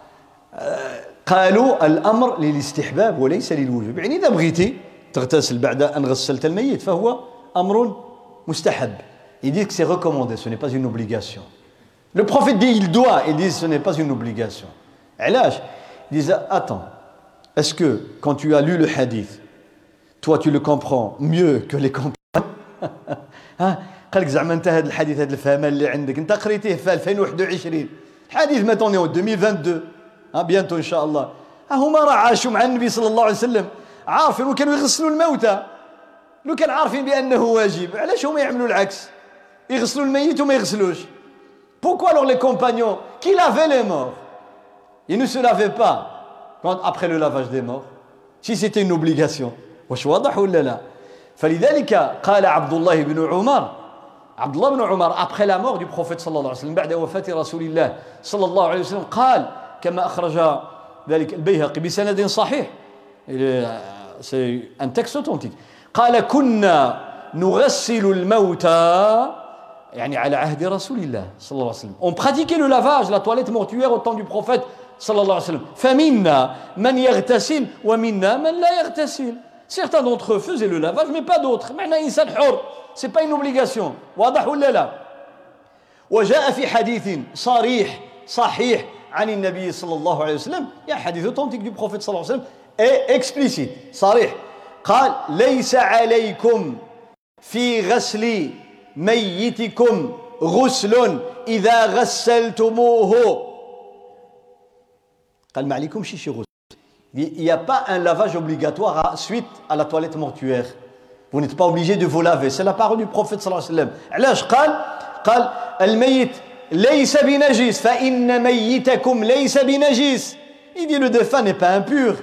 قالوا الأمر للاستحباب وليس للوجوب. يعني إذا بغيتي تغتسل بعد أن غسلت الميت فهو أمر مستحب. Ils disent que c'est recommandé, ce n'est pas une obligation. Le prophète dit il doit, ils disent ce n'est pas une obligation. علاش؟ Ils disent attends, est-ce que quand tu as lu le hadith, toi tu le comprends mieux que les compagnons? ها قال لك زعما انت هذا الحديث هذا الفهم اللي عندك انت قريتيه في ألفين وواحد وعشرين الحديث ما توني ألفين واثنين وعشرين ها بيانتو ان شاء الله ها هما راه عاشوا مع النبي صلى الله عليه وسلم عارفين وكانوا يغسلوا الموتى لو كان عارفين بانه واجب علاش هما يعملوا العكس يغسلوا الميت وما يغسلوش؟ Pourquoi alors les compagnons qui lavaient les morts ils ne se lavaient pas quand, après le lavage des morts si c'était une obligation؟ واش واضح ولا لا؟ فلذلك قال عبد الله بن عمر عبد الله بن عمر après la mort du prophète صلى الله عليه وسلم بعد وفاة رسول الله صلى الله عليه وسلم قال كما أخرج ذلك البيهقي بسند صحيح c'est un texte authentique قال كنا نغسل الموتى يعني على عهد رسول الله صلى الله عليه وسلم on pratiquait le lavage la toilette mortuaire au temps du prophète صلى الله عليه وسلم فمنا من يغتسل ومنا من لا يغتسل certains d'entre eux faisaient le lavage mais pas d'autres معنى إنسان حر c'est pas une obligation واضح ولا لا وجاء في حديث صريح صحيح عن النبي صلى الله عليه وسلم يا حديث authentique du prophète صلى الله عليه وسلم et explicite صريح قال ليس عليكم في غسل ميتكم غسل إذا غسلتموه قال ما عليكم شي شي غسل il n'y a pas un lavage obligatoire à, suite à la toilette mortuaire vous n'êtes pas obligé de vous laver c'est la parole du prophète صلى الله عليه وسلم علاش قال قال الميت ليس بنجس فإن ميتكم ليس بنجس il dit le défunt n'est pas impur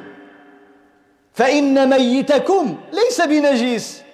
فإن ميتكم ليس بنجس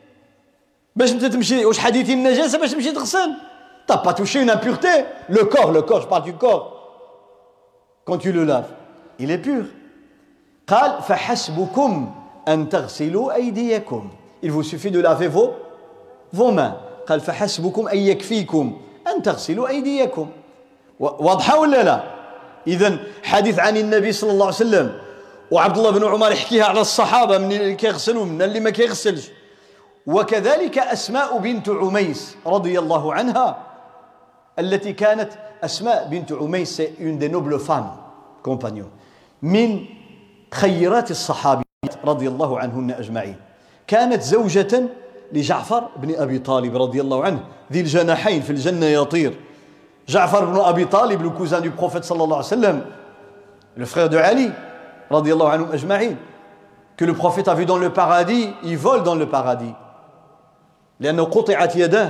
باش انت تمشي واش حديث النجاسه باش تمشي تغسل t'as pas touché une impureté le corps le corps je parle du corps quand tu le laves il est pur قال فحسبكم أن تغسلوا أيديكم il vous suffit de laver vos vos mains قال فحسبكم أن يكفيكم أن تغسلوا أيديكم واضحة ولا لا إذن حديث عن النبي صلى الله عليه وسلم وعبد الله بن عمر يحكيها على الصحابة من اللي كيغسلوا من اللي ما كيغسلش وكذلك أسماء بنت عميس رضي الله عنها التي كانت أسماء بنت عميس c'est une des nobles femmes compagnons من خيرات الصحابيات رضي الله عنهن أجمعين كانت زوجة لجعفر بن أبي طالب رضي الله عنه ذي الجناحين في الجنة يطير جعفر بن أبي طالب le cousin du prophète صلى الله عليه وسلم le frère de Ali رضي الله عنهم أجمعين que le prophète a vu dans le paradis il vole dans le paradis لأنه قطعت يداه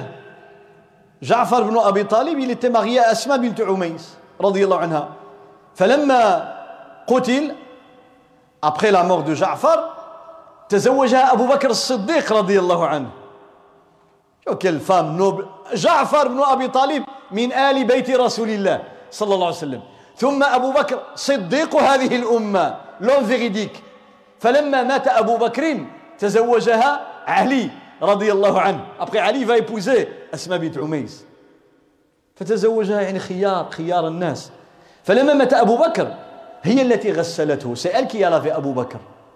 جعفر بن أبي طالب il était marié à أسماء بنت عميس رضي الله عنها فلما قتل après la mort de Ja'far تزوجها أبو بكر الصديق رضي الله عنه quelle femme noble جعفر بن أبي طالب من آل بيت رسول الله صلى الله عليه وسلم ثم أبو بكر صديق هذه الأمة l'homme véridique فلما مات أبو بكر تزوجها علي رضي الله عنه après علي va épouser أسماء بنت عميس فتزوجها يعني خيار خيار الناس فلما مات أبو بكر هي التي غسلته c'est elle qui a lavé أبو بكر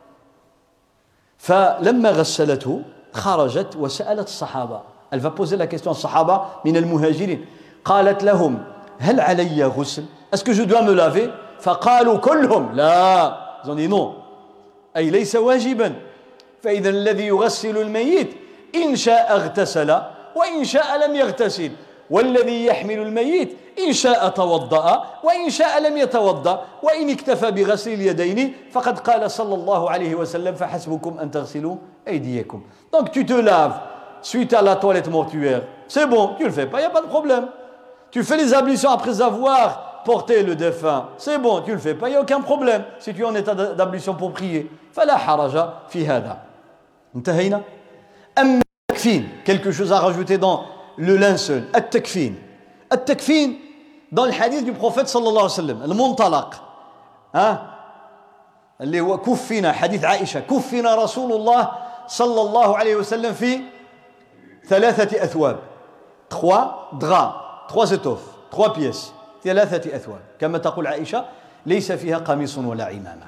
فلما غسلته خرجت وسألت الصحابة elle va poser la question aux الصحابة من المهاجرين قالت لهم هل علي غسل est-ce que je dois me laver فقالوا كلهم لا ils ont dit non أي ليس واجبا فإذا الذي يغسل الميت إن شاء اغتسل وإن شاء لم يغتسل والذي يحمل الميت إن شاء توضأ وإن شاء لم يتوضأ وإن اكتفى بغسل اليدين فقد قال صلى الله عليه وسلم فحسبكم أن تغسلوا أيديكم donc tu te laves suite à la toilette mortuaire c'est bon tu le fais pas il n'y a pas de problème tu fais les ablutions après avoir porté le défunt c'est bon tu le fais pas il n'y a aucun problème si tu es en état d'ablution pour prier فلا حرج في هذا انتهينا أما التكفين quelque chose à rajouter dans le linceul التكفين التكفين dans le hadith du prophète صلى الله عليه وسلم المنطلق ها اللي هو كفنا حديث عائشة كفنا رسول الله صلى الله عليه وسلم في ثلاثة أثواب trois draps trois étoffes trois pièces ثلاثة أثواب كما تقول عائشة ليس فيها قميص ولا عمامة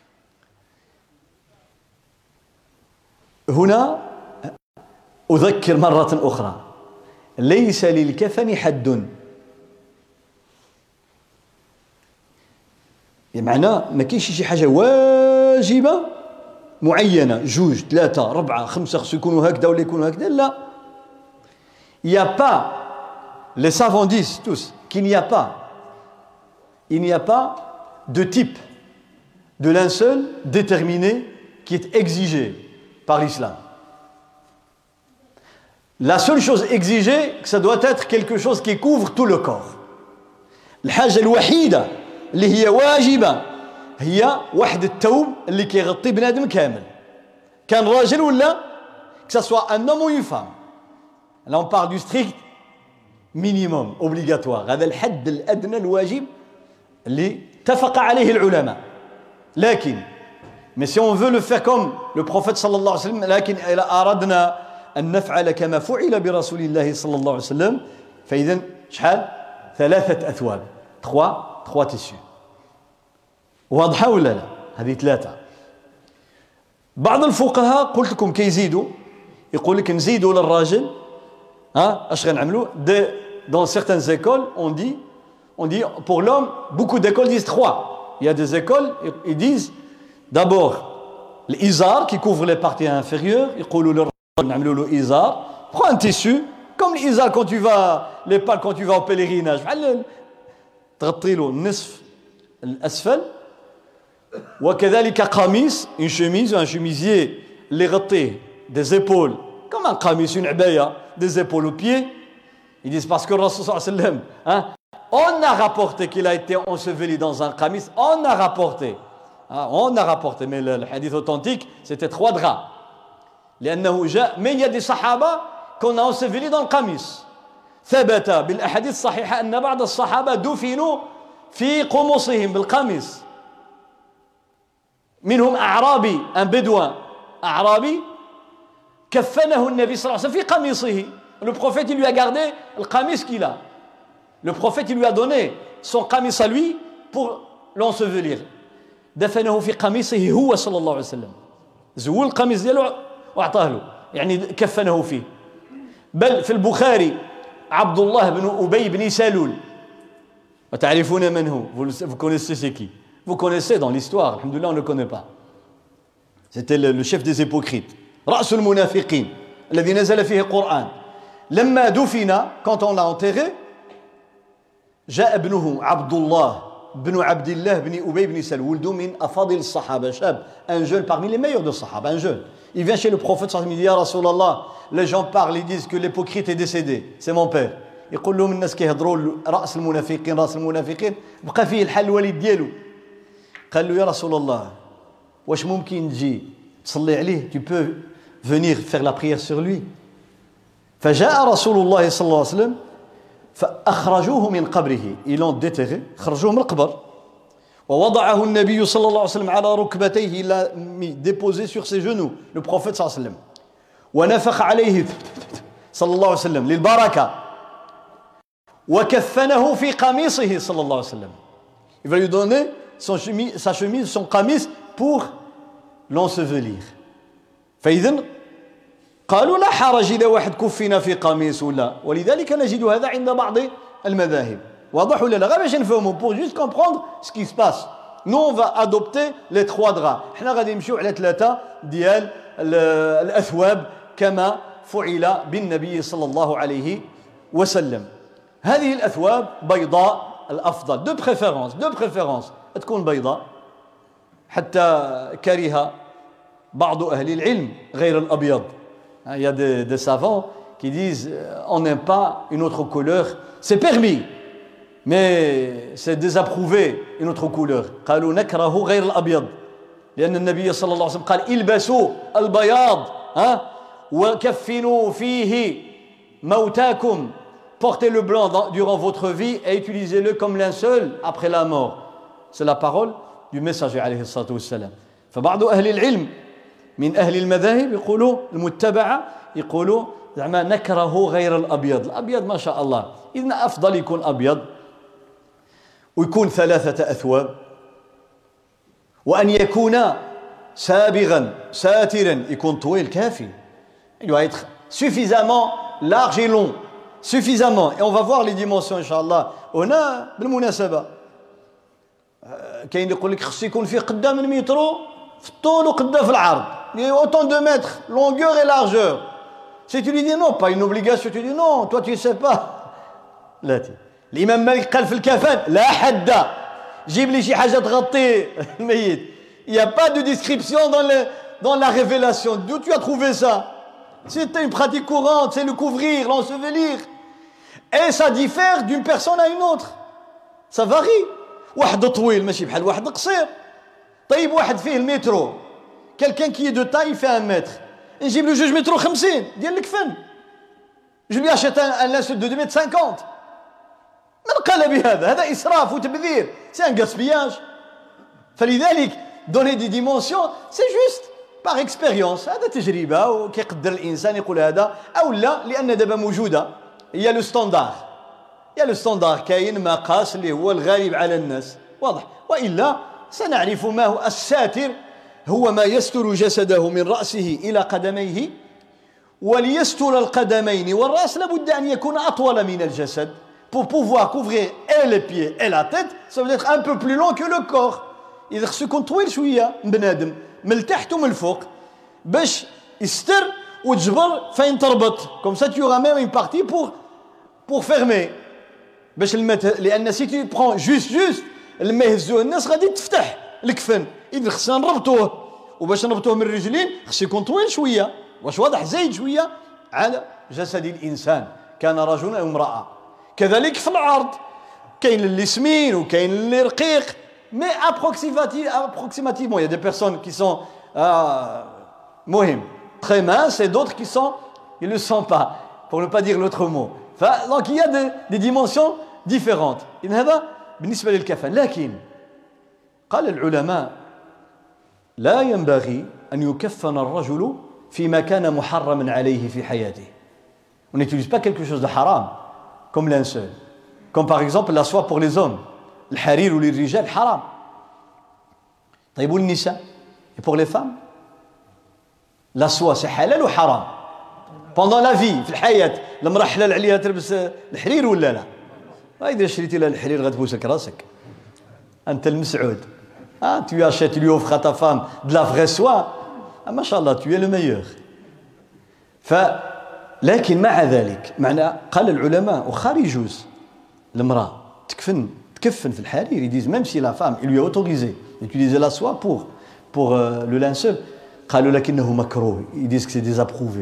هنا أذكر مرة أخرى ليس للكفن حد بمعنى ما كاينش شي حاجة واجبة معينة جوج ثلاثة ربعة خمسة خصو يكونوا هكذا ولا يكونوا هكذا لا il n'y a pas les savants disent tous qu'il n'y a pas il n'y a pas de type de linceul déterminé qui est exigé par l'islam la seule chose exigée que ça doit être quelque chose qui couvre tout le corps الحاجة الوحيدة اللي هي واجبة هي واحد الثوب اللي كيغطي بنادم كامل كان راجل ولا que ça soit un homme ou une femme Là on parle du strict minimum obligatoire. هذا الحد الأدنى الواجب اللي اتفق عليه العلماء. لكن mais si on veut le faire comme le prophète صلى الله عليه وسلم لكن إذا أردنا أن نفعل كما فعل برسول الله صلى الله عليه وسلم فإذا شحال ثلاثة أثواب trois trois tissus. واضحة ولا لا؟ هذه ثلاثة. بعض الفقهاء قلت لكم كيزيدوا يقول لك نزيدوا للراجل ها اش غنعملوا dans certaines écoles on dit on dit pour l'homme beaucoup d'écoles disent trois. Il y a des écoles ils disent d'abord l'izar qui couvre les parties inférieures يقولوا للراجل نعملوا له izar. Prends un tissu comme l'izar quand tu vas les pales quand tu vas au pèlerinage بحال تغطي له النصف الاسفل. وكذلك قميص une chemise un chemisier اللي يغطيه des épaules comme un قميص une عباية des épaules aux pieds. Ils disent parce que le Rasul sallallahu alayhi wa sallam hein, on a rapporté qu'il a été enseveli dans un qamis, on a rapporté hein, on a rapporté mais le, le hadith authentique c'était trois draps لأنه جاء mais il y a des sahaba qu'on a enseveli dans le qamis. ثبت بالأحاديث الصحيحة أن بعض الصحابة دفنوا في قمصهم بالقميص. منهم أعرابي un bédouin أعرابي كفنه النبي صلى الله عليه وسلم في قميصه. Le prophète il lui a gardé le qamis qu'il a. Le prophète il lui a donné son qamis à lui pour l'ensevelir. دفنه في قميصه هو صلى الله عليه وسلم. زول القميص ديالو واعطاه له يعني كفنه فيه. بل في البخاري عبد الله بن أبي بن سلول وتعرفون من هو. Vous connaissez c'est qui? Vous connaissez dans l'histoire, alhamdoulilah on ne le connaît pas. C'était le, le chef des hypocrites. رأس المنافقين الذي نزل فيه القرآن. لما دفن quand on l'a enterré جاء ابنه عبد الله بن عبد الله بن أبي بن سلول ولد من أفاضل الصحابة شاب un jeune parmi les meilleurs de Sahaba un jeune. Il vient chez le prophète sallallahu alayhi wa sallam il dit يا رسول الله les gens parlent ils disent que l'hypocrite est décédé c'est mon père. يقول لهم الناس كيهضروا رأس المنافقين رأس المنافقين بقى فيه الحل الوليد ديالو. قال له يا رسول الله واش ممكن تجي تصلي عليه tu peux venir faire la prière sur lui. فجاء رسول الله صلى الله عليه وسلم فأخرجوه من قبره ils l'ont déterré خرجوه من القبر ووضعه النبي صلى الله عليه وسلم على ركبتيه il l'a mis déposé sur ses genoux le prophète صلى الله عليه وسلم ونفخ عليه صلى الله عليه وسلم للبركة وكفنه في قميصه صلى الله عليه وسلم. Il va lui donner son chemise, sa chemise son qamis pour l'ensevelir. فإذن قالوا لا حرج إذا واحد كفنا في قميص ولا ولذلك نجد هذا عند بعض المذاهب. واضح ولا لا؟ غير باش نفهموا pour juste comprendre ce qui se passe. Nous on va adopter les trois draps. احنا غادي نمشيو على ثلاثة ديال الأثواب كما فعل بالنبي صلى الله عليه وسلم. هذه الأثواب بيضاء الأفضل de préférence de préférence تكون بيضاء حتى كره بعض أهل العلم غير الأبيض. Il y a des, des savants qui disent on n'aime pas une autre couleur. C'est permis, mais c'est désapprouvé une autre couleur. قالوا نكره غير الأبيض لأن النبي صلى الله عليه وسلم قال البسوا البياض وكفنوا فيه موتاكم. Portez le blanc dans, durant votre vie et utilisez-le comme linceul après la mort. C'est la parole du messager عليه الصلاة والسلام. فبعض أهل العلم من أهل المذاهب يقولوا المتبعة يقولوا زعما نكره غير الأبيض. الأبيض ما شاء الله إذن أفضل يكون أبيض ويكون ثلاثة أثواب وأن يكون سابغا ساترا يكون طويل كافي. Il doit être suffisamment large et long. Suffisamment. Et on va voir les dimensions Inch'Allah. هنا بالمناسبة كاين اللي يقول لك خص يكون فيه قدام من مترو في الطول وقدام في العرض. Il y a autant de mètres, longueur et largeur. Si tu lui dis non, pas une obligation, tu dis non, toi tu ne sais pas. لا تي. الإمام مالك قال في الكفن لا حد. جيب لي شي حاجة تغطي الميت. Il n'y a pas de description dans, le, dans la révélation. D'où tu as trouvé ça? C'était une pratique courante, c'est le couvrir, l'ensevelir. Et ça diffère d'une personne à une autre. Ça varie. واحد طويل ماشي بحال واحد قصير. طيب واحد فيه المترو. Quelqu'un qui est de taille, il fait un mètre. نجيب له جوج مترو خمسين ديال الكفن. Je lui achète un, un linceul de deux mètres cinquante. من قال بهذا؟ هذا إسراف وتبذير. C'est un gaspillage. فلذلك donner des dimensions c'est juste par expérience. هذا تجربة وكيقدر الإنسان يقول هذا أو لا لأن دابا موجودة. Il y a le standard. Il y a le standard كاين مقاس اللي هو الغالب على الناس. واضح. وإلا سنعرف ما هو الساتر هو ما يستر جسده من رأسه إلى قدميه وليستر القدمين والرأس لابد أن يكون أطول من الجسد pour pouvoir couvrir et les pieds et la tête ça veut être un peu plus long que le corps إذا خصو يكون طويل شوية بنادم من التحت ومن الفوق باش يستر وتجبر فين تربط comme ça tu auras même une partie pour pour fermer باش الماء لأن si tu prends juste juste الماء يهزوه الناس غادي تفتح الكفن إذا خصنا نربطوه وباش نربطوه من الرجلين خصو يكون طويل شوية واش واضح زايد شوية على جسد الإنسان كان رجل أو امرأة كذلك في العرض كاين اللي سمين وكاين اللي رقيق mais approximativement il y a des personnes qui sont euh, مهم très minces et d'autres qui sont ils ne le sont pas pour ne pas dire l'autre mot donc il y a des, des dimensions différentes إذن هذا بالنسبة للكفن لكن قال العلماء لا ينبغي أن يكفن الرجل فيما كان محرما عليه في حياته. On n'utilise pas quelque chose de haram comme linceul. Comme par exemple la soie pour les hommes. الحرير للرجال حرام. طيب والنساء et pour les femmes la soie c'est halal ou haram pendant la vie في الحياة المرأة حلال عليها تلبس الحرير ولا لا؟ إذا شريتي لها الحرير غتبوسك راسك. أنت المسعود. Ah, tu achètes, tu lui offres à ta femme de la vraie soie. Ah, mashallah, tu es le meilleur. فلكن مع ذلك معنى قال العلماء وخارج يجوز المرأة تكفن تكفن في الحرير. Ils disent même si la femme il lui a autorisé d'utiliser la soie pour pour euh, le linceul قالوا لكنه مكروه. Ils disent que c'est désapprouvé.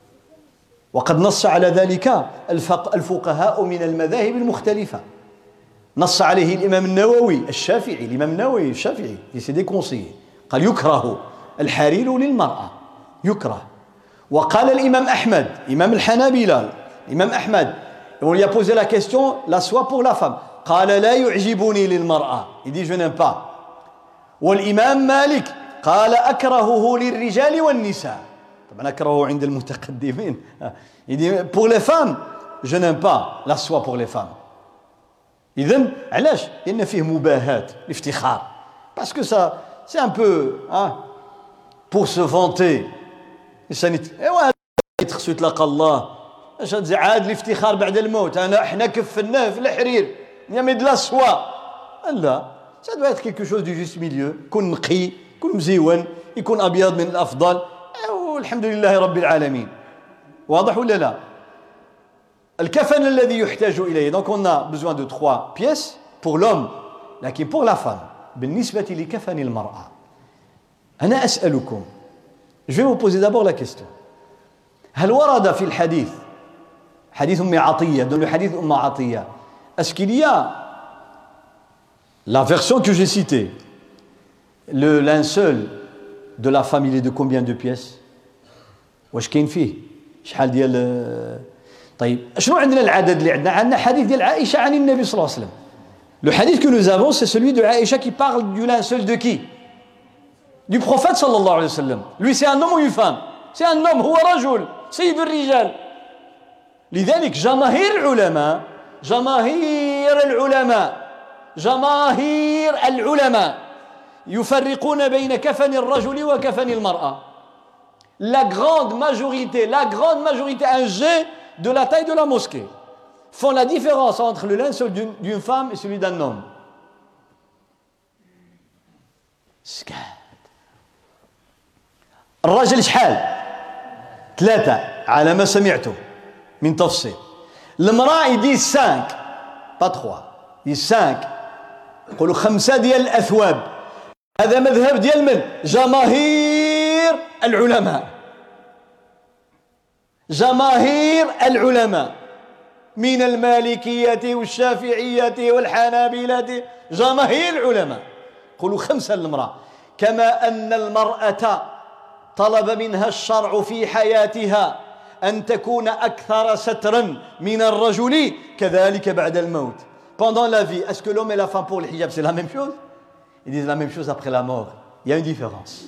وقد نص على ذلك الفقهاء من المذاهب المختلفة. نص عليه الإمام النووي الشافعي الإمام النووي الشافعي qui s'est déconseillé قال يكره الحرير للمرأة يكره. وقال الإمام أحمد إمام الحنابلة الإمام أحمد on lui a posé la question la soie pour la femme قال لا يعجبني للمرأة il dit je n'aime pas. والإمام مالك قال أكرهه للرجال والنساء طبعا أكرهه عند المتقدمين il dit pour les femmes je n'aime pas la soie pour les femmes. إذن علاش؟ لأن فيه مباهاة الافتخار parce que ça c'est un peu hein, pour se vanter الإنسان ايوا يتخسو يتلاقى الله اش هاد عاد الافتخار بعد الموت انا احنا كفناه في الحرير يا مي دلا سوا لا ça doit être quelque chose du juste milieu يكون نقي يكون مزيون يكون أبيض من الأفضل والحمد لله رب العالمين. واضح ولا لا؟ الكفن الذي يحتاج إليه donc on a besoin de trois pièces pour l'homme لكن pour la femme بالنسبة لكفن المرأة أنا أسألكم je vais vous poser d'abord la question هل ورد في الحديث حديث أم عطية dans le حديث أم عطية est-ce qu'il y a la version que j'ai citée le linceul de la femme il est de combien de pièces واش كاين فيه شحال ديال طيب شنو عندنا العدد اللي عندنا عندنا حديث ديال عائشة عن النبي صلى الله عليه وسلم. Le hadith que nous avons c'est celui de Aïcha qui parle du linceul de qui? Du prophète sallallahu alayhi wa sallam. Lui c'est un homme ou une femme? C'est un homme هو رجل سيد الرجال. لذلك جماهير العلماء جماهير العلماء جماهير العلماء يفرقون بين كفن الرجل وكفن المرأة. La grande majorité, la grande majorité, un jet de la taille de la mosquée, font la différence entre le linceul d'une, d'une femme et celui d'un homme. الرجل شحال؟ ثلاثة على ما سمعته من تفصيل. المرأة يدي cinq, pas trois, يدي cinq. يقولوا خمسة ديال الأثواب. هذا مذهب ديال من؟ جماهير العلماء. جماهير العلماء من المالكية والشافعية والحنابلة جماهير العلماء يقولوا خمسة للمرأة كما أن المرأة طلب منها الشرع في حياتها أن تكون أكثر سترا من الرجل كذلك بعد الموت. Pendant la vie, est-ce que l'homme et la femme pour le hijab c'est la même chose? Ils disent la même chose après la mort. Il y a une différence.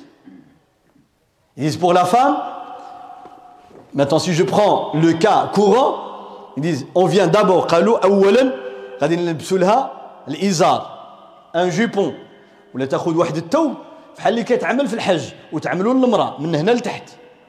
Ils disent pour la femme, maintenant si je prends le cas courant, ils disent on vient d'abord قالوا أولا غادي نلبسوا لها الإزار un jupon ولا تاخذ واحد الثوب بحال اللي كيتعمل في الحج وتعملوا للمراه من هنا لتحت.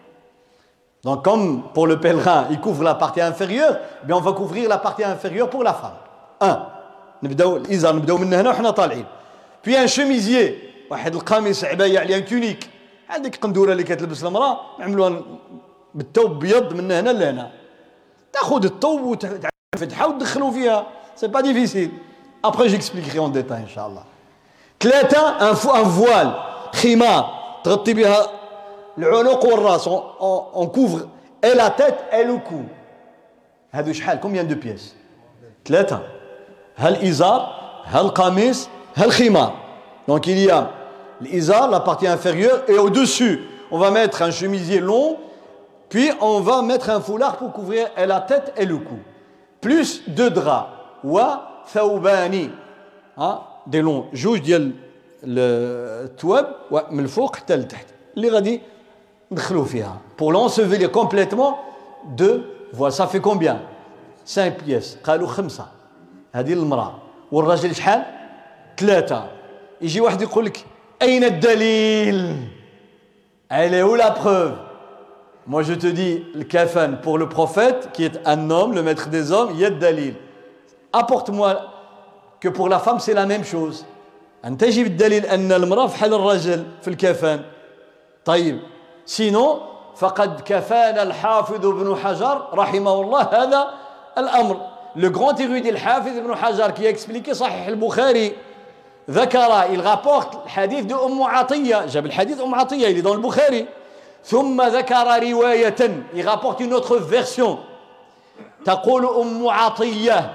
Donc comme pour le pèlerin, il couvre la partie inférieure, bien on va couvrir la partie inférieure pour la femme. un نبداو الإزار نبداو من هنا وحنا طالعين. Puis un chemisier واحد القميص عباية عليه un tunique هذيك قندوره اللي كتلبس المراه نعملوها بالثوب بيض من هنا لهنا. تاخذ الثوب وتفتحها وتدخلوا فيها. C'est pas difficile. Après j'expliquerai en détail inchallah. ثلاثة un, un voile خمار تغطي بها العنق والراس on, on, on couvre et la tête et le cou. هذو شحال combien de pièces؟ ثلاثة. هل إزار هل قميص هل خمار. Donc il y a l'izar, la partie inférieure, et au-dessus on va mettre un chemisier long, puis on va mettre un foulard pour couvrir et la tête et le cou, plus deux draps wa thawbani, des longs جوج ديال الثواب من الفوق حتى لتحت اللي غادي ندخلوا فيها pour l'ensevelir complètement. deux voilà ça fait combien؟ cinq pièces. قالوا خمسة. هذه المرأة والراجل شحال؟ ثلاثة. يجي واحد يقول لك أين الدليل؟ Elle est où la preuve? Moi je te dis le kafan pour le prophète qui est un homme, le maître des hommes, il y a le dalil. Apporte-moi que pour la femme c'est la même chose. أنت جيب الدليل أن المرأة بحال الرجل في الكفن. طيب sinon فقد كفانا الحافظ ابن حجر رحمه الله هذا الأمر. Le grand érudit الحافظ ابن حجر qui a expliqué صحيح البخاري ذكر il rapporte الحديث de أم عطية جاب الحديث أم عطية il est dans le Bukhari ثم ذكر رواية il rapporte une autre version تقول أم عطية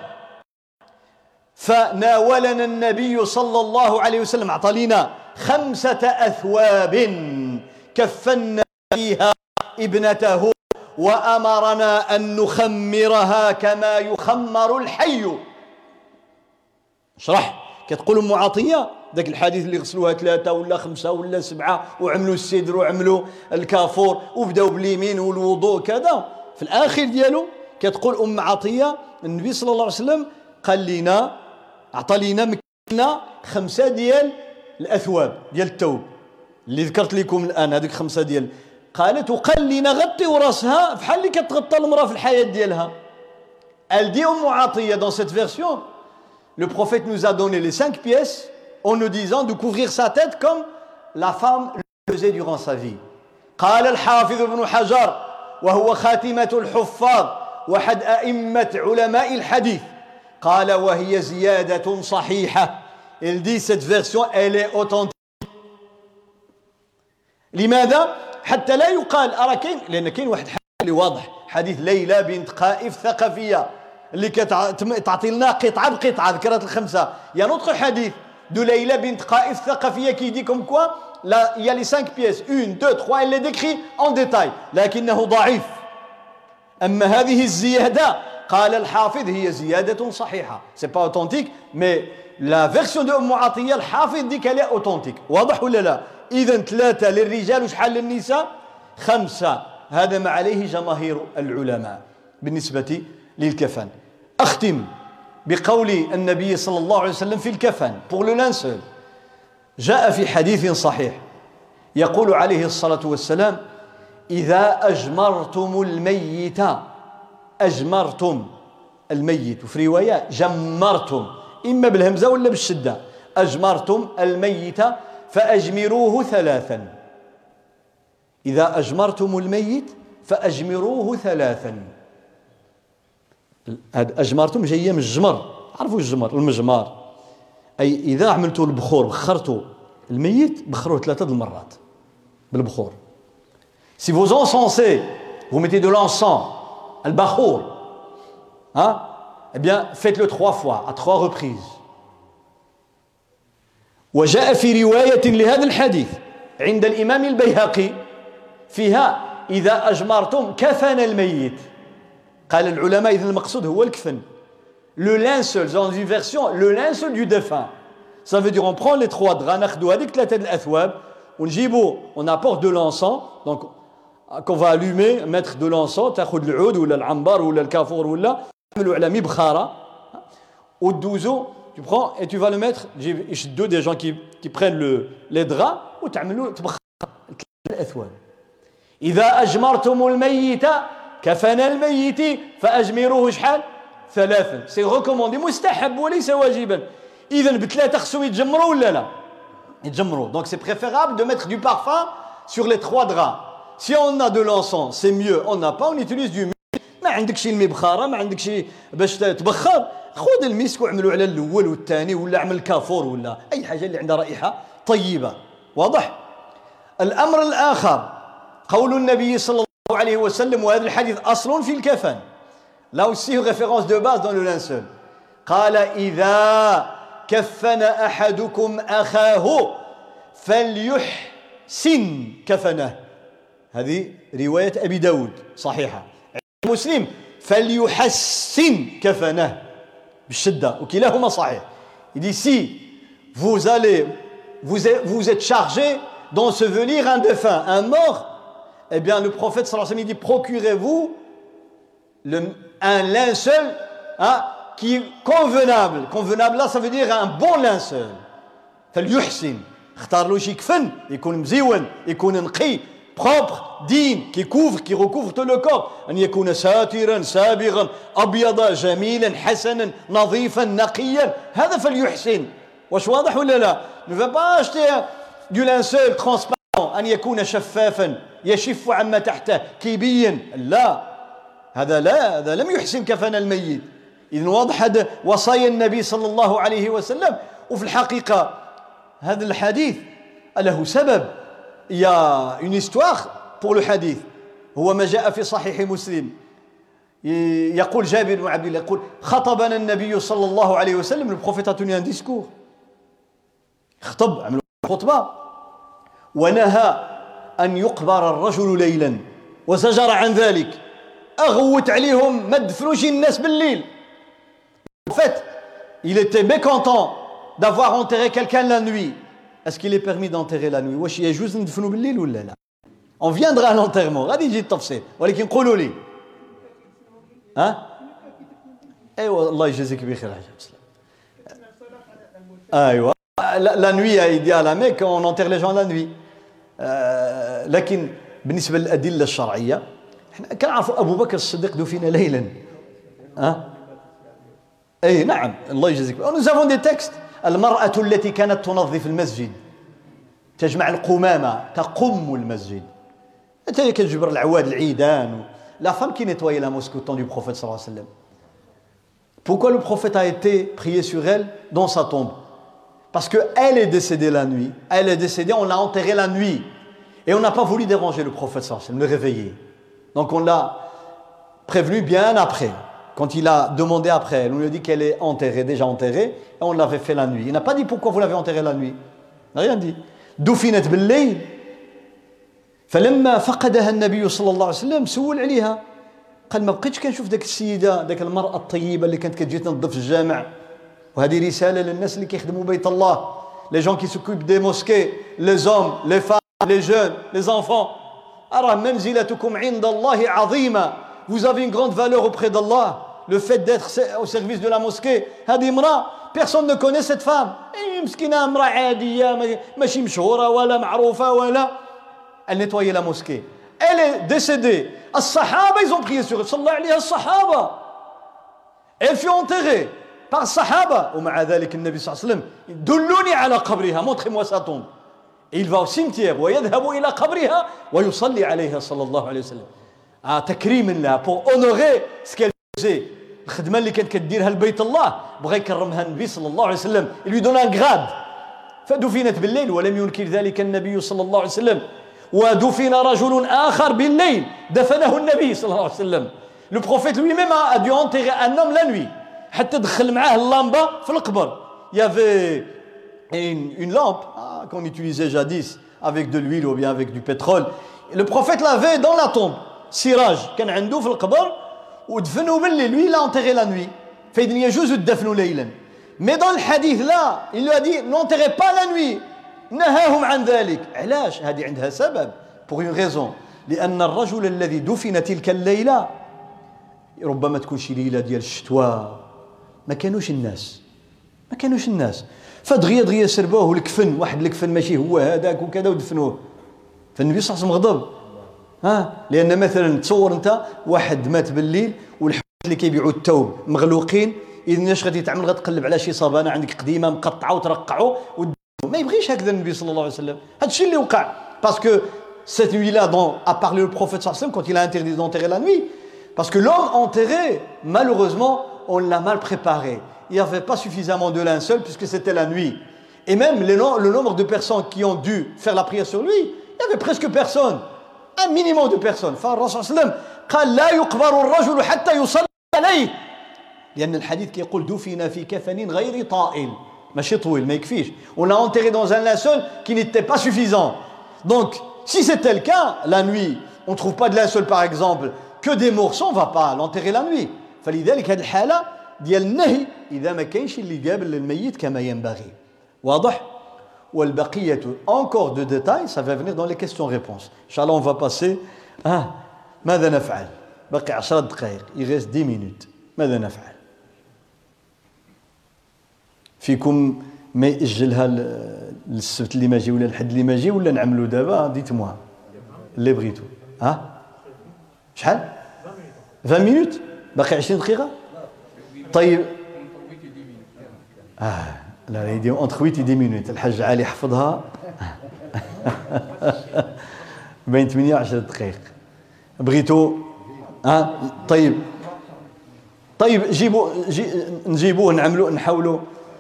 فناولنا النبي صلى الله عليه وسلم أعطى خمسة أثواب كفنا فيها ابنته وأمرنا أن نخمرها كما يخمر الحي. اشرح كتقول أم عطية ذاك الحديث اللي غسلوها ثلاثة ولا خمسة ولا سبعة وعملوا السدر وعملوا الكافور وبداوا باليمين والوضوء كذا في الآخر ديالو كتقول أم عطية النبي صلى الله عليه وسلم قال لنا أعطى لنا مكنا خمسة ديال الأثواب ديال الثوب اللي ذكرت لكم الآن هذيك خمسة ديال قالت وقال لنا غطيوا راسها بحال اللي كتغطى المرأة في الحياة ديالها. Elle dit أم عطية dans cette version le prophète nous a donné les cinq pièces en nous disant de couvrir sa tête comme la femme le faisait durant sa vie. قال الحافظ ابن حجر وهو خاتمة الحفاظ وحد أئمة علماء الحديث قال وهي زيادة صحيحة. Il dit cette version elle est authentique. لماذا؟ حتى لا يقال أرى كاين لأن كاين واحد حديث اللي واضح حديث ليلى بنت قائف ثقفية اللي كتعطي لنا قطعة بقطعة ذكرت الخمسة. Il y a un autre hadith de Layla bint Qaif Thaqafiyya qui dit comme quoi là, il y a les cinq pièces une, deux, trois elle les décrit en détail لكنه ضعيف. أما هذه الزيادة قال الحافظ هي زيادة صحيحة. C'est pas authentique mais la version de أم عطية الحافظ dit qu'elle est authentique. واضح ولا لا؟ إذن ثلاثة للرجال وشحال للنساء؟ خمسة. هذا ما عليه جماهير العلماء بالنسبة للكفن. أختم بقول النبي صلى الله عليه وسلم في الكفن pour le linceul. جاء في حديث صحيح يقول عليه الصلاة والسلام إذا أجمرتم الميت أجمرتم الميت وفي رواية جمرتم إما بالهمزة ولا بالشدة أجمرتم الميت فأجمروه ثلاثا. إذا أجمرتم الميت فأجمروه ثلاثا. أجمرتم جاية من الجمر عرفوا الجمر المجمار أي إذا عملتوا البخور بخرتوا الميت بخروه ثلاثة المرات بالبخور. Si vous encensez vous mettez de l'encens al-bakhour hein eh bien faites-le trois fois à trois reprises. وجاء في رواية لهذا الحديث عند الإمام البيهقي فيها إذا أجمرتم كفن الميت. قال العلماء إذن المقصود هو الكفن. Le linceul, dans une version, le linceul du défunt. Ça veut dire on prend les trois draps, ناخدو هذيك ثلاثة الأثواب ونجيبو, on apporte de l'encens, donc qu'on va allumer, mettre de l'encens, تاخد العود ولا العنبر ولا الكافور ولا تعملوا على مبخرة ودوزو, tu prends et tu vas le mettre, يشدوا des gens qui, qui prennent le, les draps وتعملوا تبخر الأثواب. إذا أجمرتم الميت كفن الميت فأجمروه شحال؟ ثلاثا. سي ريكوموندي, مستحب وليس واجبا. إذن بثلاثة خصهم يتجمروا ولا لا؟ يتجمروا. Donc c'est préférable de mettre du parfum sur les trois draps. Si on a de l'encens, c'est mieux. On n'a pas, on utilise du misk. ما عندك شي المبخرة, ما عندك شي باش تبخر, خذ المسك واعملوا على الأول والثاني ولا اعمل كافور ولا أي حاجة اللي عندها رائحة طيبة. واضح؟ الأمر الآخر قول النبي صلى الله عليه وسلم, وهذا الحديث أصل في الكفن. Là aussi, référence de base dans le linceul. قال إذا كفن أحدكم أخاه فليحسن كفنه. هذه رواية أبي داود صحيحة. مسلم فليحسن كفنه بالشدة, وكلاهما صحيح. Il dit si vous allez, vous êtes, vous êtes chargé d'ensevelir un défunt, un mort, eh bien le prophète sallallahu alayhi wa sallam dit procurez-vous le, un linceul hein, qui est convenable. Convenable là, ça veut dire un bon linceul. فليحسن, اختار له شي كفن يكون مزيون, يكون نقي, propre, digne, qui couvre, qui recouvre tout le corps. أن يكون ساترا سابغا أبيضا جميلا حسنا نظيفا نقيا. هذا فليحسن. واش واضح ولا لا؟ Ne va pas acheter du linceul transparent, أن يكون شفافا يشف عما تحته كيبين. لا, هذا لا, هذا لم يحسن كفن الميت. إذن واضح هذا وصايا النبي صلى الله عليه وسلم. وفي الحقيقة هذا الحديث له سبب. Il y a une histoire pour le hadith. هو ما جاء في صحيح مسلم. يقول جابر بن عبد الله يقول خطبنا النبي صلى الله عليه وسلم. Le prophète a tenu un discours. خطب, عملوا خطبة, ونهى أن يقبر الرجل ليلا وزجر عن ذلك. أغوت عليهم ما تدفنوش الناس بالليل. En fait, il était mécontent d'avoir enterré quelqu'un la nuit. Est-ce qu'il est permis d'enterrer la nuit? واش يجوز ندفنوا بالليل ولا لا؟ On viendra à l'enterrement, غادي يجي التفصيل, ولكن قولوا لي. ها؟ ايوا الله يجازيك بخير حاج بسلام. ايوا la nuit il dit à la Mecque on enterre les gens la nuit. لكن بالنسبة للأدلة الشرعية احنا كنعرفوا أبو بكر الصديق دفن ليلا. ها؟ اي نعم الله يجازيك. Nous avons des textes. المرأة التي كانت تنظف المسجد, تجمع القمامة, تقم المسجد, أنت كتجبر العواد العيدان. La femme qui nettoyait la mosquée au temps du prophète sallallahu alayhi wa sallam. Pourquoi le prophète a été prié sur elle dans sa tombe? Parce qu'elle est décédée la nuit. Elle est décédée, on l'a enterrée la nuit. Et on n'a pas voulu déranger le prophète sallallahu alayhi wa sallam, le réveiller. Donc on l'a prévenu bien après. Quand il a demandé après elle, on lui a dit qu'elle est enterrée, déjà enterrée, et on l'avait fait la nuit. Il n'a pas dit pourquoi vous l'avez enterrée la nuit. Il n'a rien dit. دفنت بالليل فلما فقدها النبي صلى الله عليه وسلم سول عليها قال ما بقيتش كنشوف ذاك السيده ذاك المراه الطيبه اللي كانت كتجي تنظف الجامع. وهذه رساله للناس اللي كيخدموا بيت الله, les gens qui s'occupent des mosquées, les hommes, les femmes, les jeunes, les enfants. أرى منزلتكم عند الله عظيمة. Vous avez une grande valeur auprès d'Allah. Le fait d'être au service de la mosquée. هذه امرأة, personne ne connaît cette femme. مسكينة امرأة عادية ماشي مشهورة ولا معروفة ولا. Elle nettoyait la mosquée. Elle est décédée. الصحابة ils ont prié sur elle. صلى الله عليها الصحابة. Elle fut enterrée par الصحابة. ومع ذلك النبي صلى الله عليه وسلم دلوني على قبرها, montrez-moi sa tombe. Et il va au cimetière ويذهب إلى قبرها ويصلي عليها صلى الله عليه وسلم. آه تكريم لها, pour honorer ce qu'elle faisait. الخدمة اللي كانت كديرها لبيت الله بغى يكرمها النبي صلى الله عليه وسلم. Il lui donne un grade. فدفنت بالليل ولم ينكر ذلك النبي صلى الله عليه وسلم. ودفن رجل آخر بالليل دفنه النبي صلى الله عليه وسلم. Le prophète lui-même a dû enterrer un homme la nuit حتى دخل معاه اللمبة في القبر. Il y avait une, une lampe ah, qu'on utilisait jadis avec de l'huile ou bien avec du pétrole. le prophète l'avait dans la tombe. Siraj, كان عنده في القبر ودفنوا بالليل. Lui, il l'a enterré la nuit. فإذن يجوز الدفن ليلا. Mais dans le hadith là, il lui a dit n'enterrez pas la nuit. نهاهم عن ذلك. علاش؟ هذه عندها سبب. Pour une raison. لأن الرجل الذي دفن تلك الليلة ربما تكون شي ليلة ديال الشتوى. ما كانوش الناس. ما كانوش الناس. فدغيا دغيا سربوه الكفن، واحد الكفن ماشي هو هذاك وكذا ودفنوه. فالنبي صلى الله عليه وسلم غضب. ها لأن مثلا تصور أنت واحد مات بالليل والحوت اللي كيبيعوا الثوب مغلوقين، إذا اش غادي تعمل؟ غتقلب على شي صبانة عندك قديمة مقطعة وترقعوا ما يبغيش هكذا النبي صلى الله عليه وسلم. هذا الشيء اللي وقع. Parce que cette nuit-là dont a parlé le prophète sallallahu alayhi wa sallam quand il a interdit d'enterrer la nuit, parce que l'homme enterré, malheureusement, on l'a mal préparé. Il n'y avait pas suffisamment de linceul puisque c'était la nuit. Et même le, le nombre de personnes qui ont dû faire la prière sur lui, il n'y avait presque personne. Un minimum de personnes. فالرسول صلى الله عليه وسلم قال لا يقبر الرجل حتى يصلى عليه. لأن الحديث كيقول دفن في كفن غير طائل. ماشي طويل ما يكفيش. On l'a enterré dans un linceul qui n'était pas suffisant. Donc, si c'était le cas, la nuit, on ne trouve pas de linceul par exemple, que des morceaux, on ne va pas l'enterrer la nuit. فلذلك هذه الحالة ديال النهي إذا ما كاينش اللي قابل للميت كما ينبغي. واضح؟ والبقية encore de détails, ça va venir dans les questions-réponses. Inch'Allah, on va passer. Ah, ماذا نفعل؟ بقي عشر دقائق. Il reste dix minutes. ماذا نفعل؟ فيكم ما يأجلها للسبت اللي ما جي ولا الحد اللي ما جي ولا نعملوا دابا؟ ديت موا اللي بغيتو. ها؟ شحال؟ عشرين minutes؟ باقي عشرين دقيقة؟ طيب. آه لا يدير entre huit et dix minutes. الحاج علي حفظها بين ثمانية وعشر دقائق. بغيتو؟ ها؟ طيب. طيب جيبوا جي نجيبوه نعملوا نحاولوا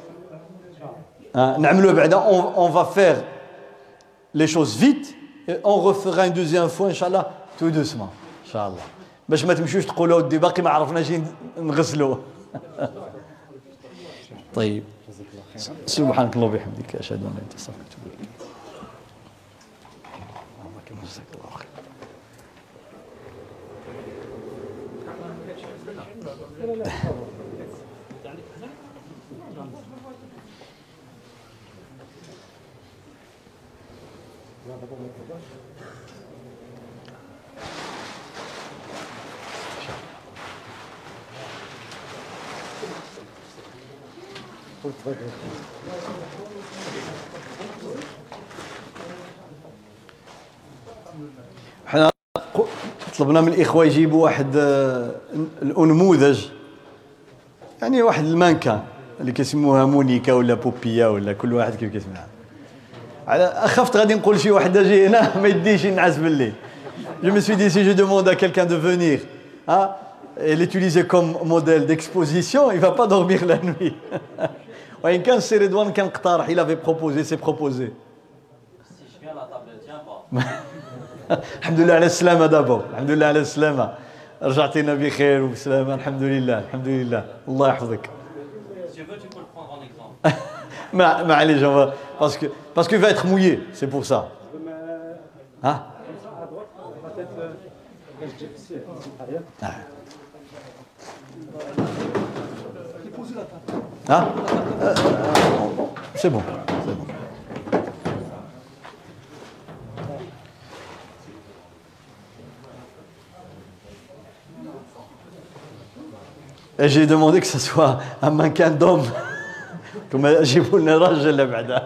نعملوا بعدا. on, on va faire les choses vite et on refera une deuxième fois inchallah tout doucement inchallah باش ما تمشوش تقولوا ودي باقي ما عرفناش نغسلوه. طيب سبحانك اللهم وبحمدك اشهد ان لا اله الا انت استغفرك واتوب اليك. جزاك الله خير. حنا طلبنا من الاخوه يجيبوا واحد الانموذج يعني واحد المانكا اللي كيسموها مونيكا ولا بوبيا ولا كل واحد كيف كيسمعها. على اخفت غادي نقول شي واحد اجي هنا ما يديش ينعس بالليل. Je me suis dit si je demande à quelqu'un de venir hein, et l'utiliser comme modèle d'exposition, il va pas dormir la nuit. وإن كان سي رضوان كان اقترح il avait proposé c'est proposé. Si je viens la table tient pas. الحمد لله على السلامة دابا. الحمد لله على السلامة. رجعتينا بخير وبسلامة الحمد لله الحمد لله الله يحفظك. Si tu veux tu peux le prendre en exemple. ما ما عليش parce que parce qu'il va être mouillé c'est pour ça. Hein? Ah. Ah euh, c'est bon, c'est bon. Et j'ai demandé que ce soit un mannequin d'homme. Comme j'ai voulu le ranger là بعدا.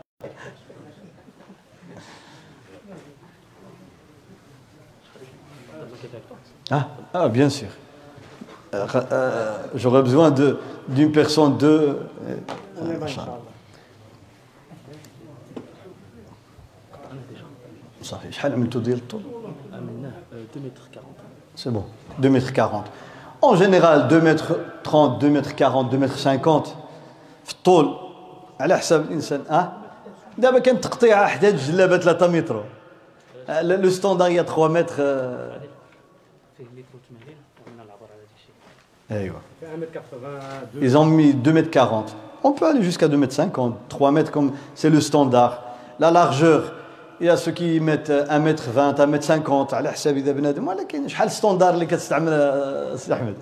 Ah, ah, bien sûr. Euh, euh, j'aurais besoin de d'une personne de. Euh, صافي شحال عملتو ديال الطول؟ عملناه deux mètres quarante. C'est bon, deux mètres quarante. En général deux mètres trente, deux mètres quarante, deux mètres cinquante في الطول على حساب الانسان. اه دابا كان تقطيع حداد الجلابه ثلاثة متر. لو ستاندار هي trois mètres. فيه اللي كنت مهلين ومن العبر على هذا الشيء. ايوه. Ils ont mis deux mètres quarante. On peut aller jusqu'à deux mètres cinquante, trois mètres comme c'est le standard. La largeur يا سو كي ميت واحد متر عشرين واحد متر خمسين على حساب اذا بنادم، ولكن شحال ستوندار اللي كتستعمل سي احمد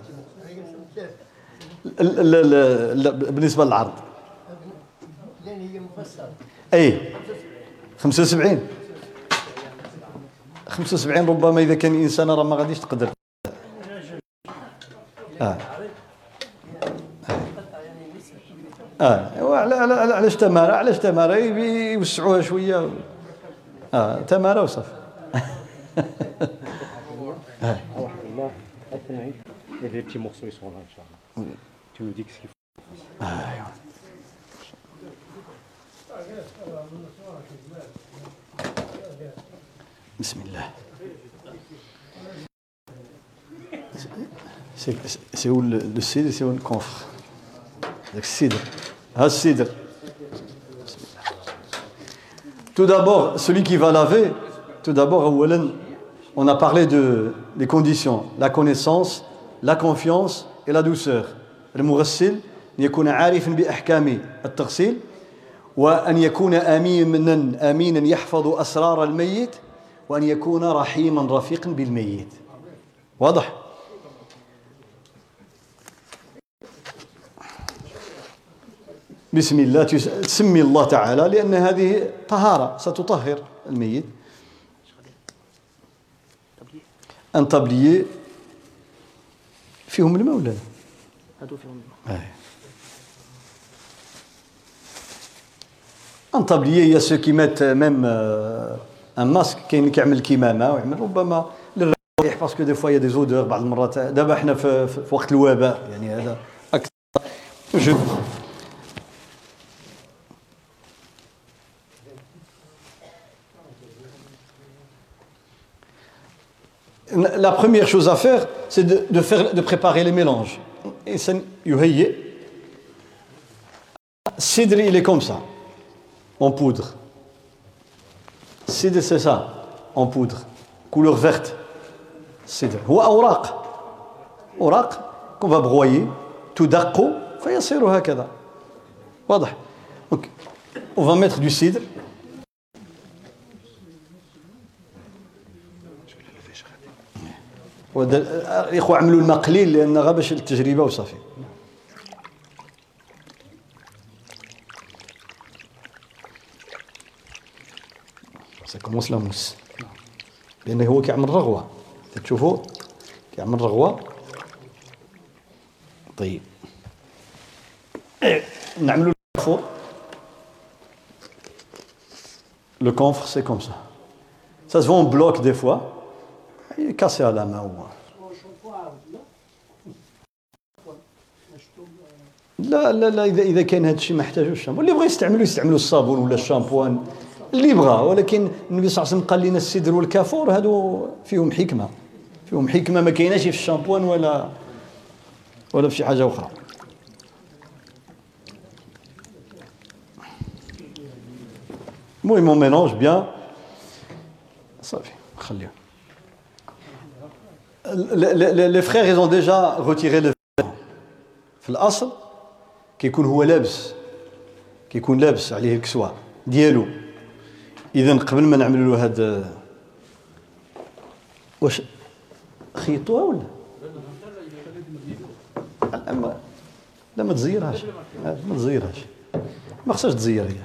بالنسبه للعرض؟ لان هي مفصله. اي خمسة وسبعين خمسة وسبعين ربما اذا كان انسان راه ما غاديش تقدر. اه اه على على علاش تماره علاش تماره يوسعوها شويه. اه تماره وصافي. الله اثنين et les petits morceaux ils sont là inchallah. Tu me dis ce qu'il faut. ايوه بسم الله. C'est c'est où le, le cidre, c'est où le confre. Le cidre. Ah, cidre. Tout d'abord, celui qui va laver, tout d'abord, on a parlé de, des conditions, la connaissance, la confiance et la douceur. المغسل يكون عارفا بأحكام التغسيل وأن يكون أمينا أمينا يحفظ أسرار الميت وأن يكون رحيما رفيقا بالميت. واضح؟ بسم الله تسمي الله تعالى لأن هذه طهارة ستطهر الميت. أن طبلية فيهم الماء ولا لا؟ هادو فيهم الماء. أن طبلية هي سو كي مات ميم ان ماسك كاين اللي كيعمل الكمامة ويعمل ربما للريح باسكو دي فوا يا دي زودور بعض المرات. دابا حنا في, في وقت الوباء يعني هذا أكثر. La première chose à faire, c'est de, de, faire, de préparer les mélanges. Et ça, yuhayyi. Cidre, il est comme ça, en poudre. Cidre, c'est ça, en poudre, couleur verte. Cidre. Ou awraq. Awraq, qu'on va broyer, tout daqo, فيصير هكذا. واضح. Donc, on va mettre du cidre. الإخوة عملوا الماء قليل لأن غا باش التجربة وصافي. سا كومونس لا موس لأنه هو كيعمل رغوة. تشوفوا كيعمل رغوة. طيب نعملوا الكونفور. Le confre c'est comme ça. Ça se vend en bloc des fois. كاسي على ما هو. لا لا لا اذا اذا كان هذا الشيء ما احتاجوش الشامبو. اللي بغى يستعملوا يستعملوا الصابون ولا الشامبوان اللي بغى، ولكن النبي صلى الله عليه وسلم قال لنا السدر والكافور هادو فيهم حكمه فيهم حكمه ما كايناش في الشامبوان ولا ولا في شي حاجه اخرى. المهم on mélange bien صافي خليهم. Les frères ils ont déjà retiré le vêtement. في الأصل كيكون هو لابس كيكون لابس عليه الكسوة ديالو. إذا قبل ما نعملوا له هاد واش خيطوها ولا؟ لا لا ما تزيرهاش ما تزيرهاش ما خصهاش تزير هي.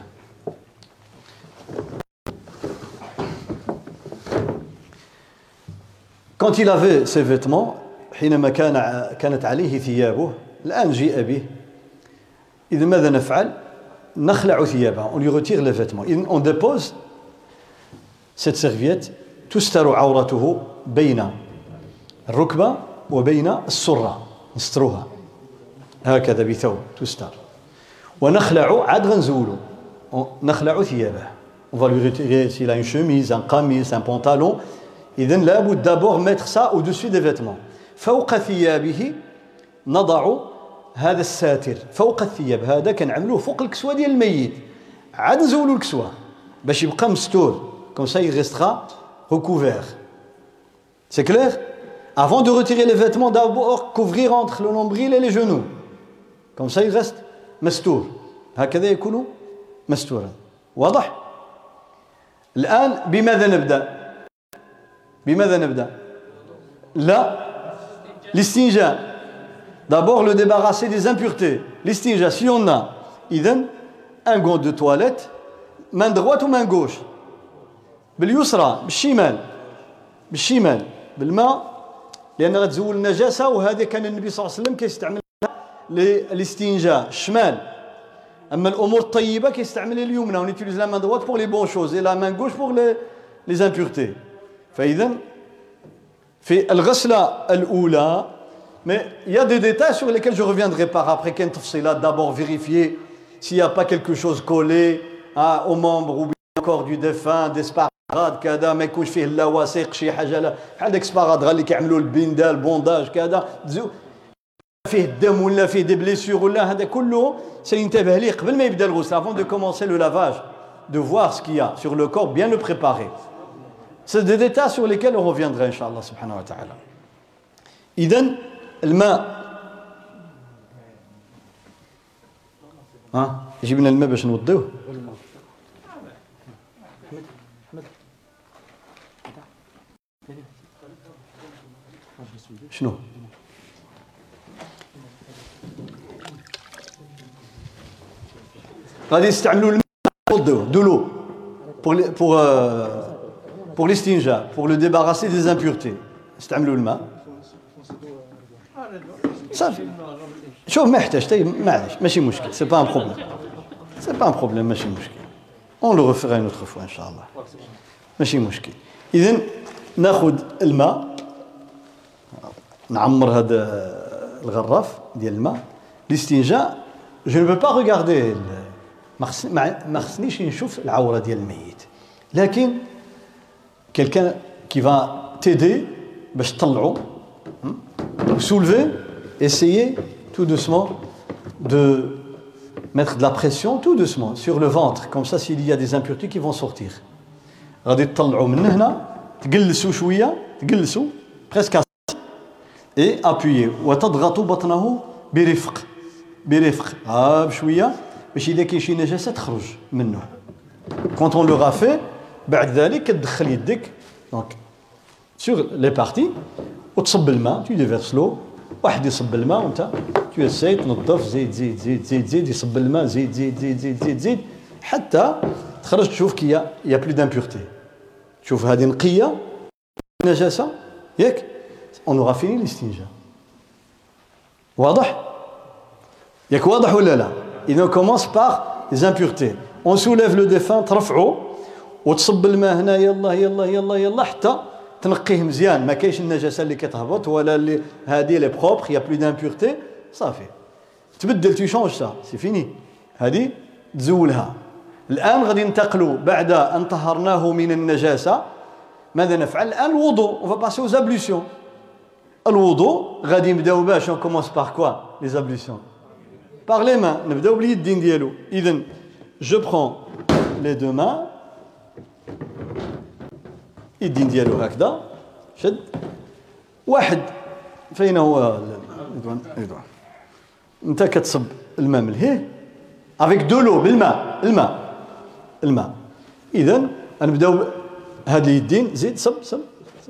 Quand il avait ses vêtements حينما كان كانت عليه ثيابه الآن جيء به. إذا ماذا نفعل؟ نخلع ثيابه. On lui retire les vêtements. On dépose cette serviette تستر عورته بين الركبة وبين السرة. نسترها هكذا بثوب تستر. ونخلع عاد غنزولو نخلع ثيابه. On va lui retirer s'il a une chemise, un qamis, un pantalon. إذن لابد d'abord mettre ça au-dessus des vêtements. فوق ثيابه نضع هذا الساتر فوق الثياب. هذا كنعملوه فوق الكسوة ديال الميت. عاد نزولوا الكسوة باش يبقى مستور. Comme ça il restera recouvert. C'est clair? Avant de retirer les vêtements, d'abord couvrir entre le nombril et les genoux. Comme ça il reste مستور. هكذا يكون مستورا. واضح؟ الآن بماذا نبدأ؟ بماذا نبدأ؟ لا الاستنجاء. D'abord le débarrasser des impuretés. L'estinja, si on a إذن un gant de toilette, main droite ou main gauche؟ باليسرى بالشمال بالشمال بالماء لأن غتزول النجاسة وهذا كان النبي صلى الله عليه وسلم كيستعملها للاستنجاء الشمال. أما الأمور الطيبة كيستعمل اليمنى. On utilise la main droite pour les bonnes choses et la main gauche pour les, les impuretés. فإذا في الغسلة الأولى mais il y a des détails sur lesquels je reviendrai par après. كاين تفصيلات. D'abord vérifier s'il n'y a pas quelque chose collé hein, aux membres ou bien encore du défunt des sparadrad كذا ما يكونش فيه اللواثق شي حاجة لا بحال داك السبارادغا اللي كيعملوا البندا البونداج كذا فيه الدم ولا فيه دي بليسيور ولا هذا كله سينتبه ليه قبل ما يبدا الغسل avant de commencer le lavage de voir ce qu'il y a sur le corps bien le préparer. C'est des détails sur lesquels on reviendra inchallah subhanahu wa ta'ala. إذن الماء ها يجيب لنا الماء باش نوضيوه. شنو غادي يستعملوا الماء يوضيوه de l'eau pour pour pour l'estinja pour le débarrasser des impuretés. يستعملوا الماء صافي. شوف ما يحتاج تاي معليش ماشي مشكل. سي با ان بروبليم سي با ان بروبليم ماشي مشكل. اون لو ريفيرا اون اوتر فوا ان شاء الله ماشي مشكل. اذا ناخذ الماء نعمر هذا الغراف ديال الماء الاستنجاء. جو ne peux pas regarder ما خصنيش نشوف العوره ديال الميت لكن quelqu'un qui va t'aider باش تطلعوا soulever essayez tout doucement de mettre de la pression tout doucement sur le ventre comme ça s'il y a des impuretés qui vont sortir. غادي تطلعوا من هنا تجلسوا شويه تجلسوا presque et appuyez وتضغطوا بطنه برفق برفق ها بشويه باش اذا كاين شي نجاسه تخرج منه. quand on l'aura fait بعد ذلك كتدخل يدك donc sur les parties وتصب الماء tu déverses l'eau واحد يصب الماء وانت tu essayes تنظف زيد زيد زيد زيد زيد يصب الماء زيد زيد زيد زيد زيد زيد حتى تخرج تشوف كي يا بلو دامبورتي. تشوف هذه نقيه نجاسه ياك on aura fini الاستنجاء. واضح ياك واضح ولا لا؟ إذا commence par les impuretés. on soulève le défunt ترفعه وتصب الماء هنا يلا يلا يلا يلا حتى تنقيه مزيان. ما كاينش النجاسه اللي كتهبط ولا اللي هذه لي بروبر يا بلو دامبورتي صافي تبدل تو شونج سا سي فيني. هذه تزولها. الان غادي ننتقلوا بعد ان طهرناه من النجاسه ماذا نفعل الان؟ الوضوء. on va passer aux ablutions. الوضوء غادي نبداو باش on commence par quoi les ablutions par les mains. نبداو باليدين ديالو. اذا je prends les deux mains يدين ديالو هكذا شد واحد فين هو رضوان رضوان انت كتصب الماء ملهيه افيك دو لو بالماء الماء الماء. اذا نبداو هاد اليدين زيد صب صب صب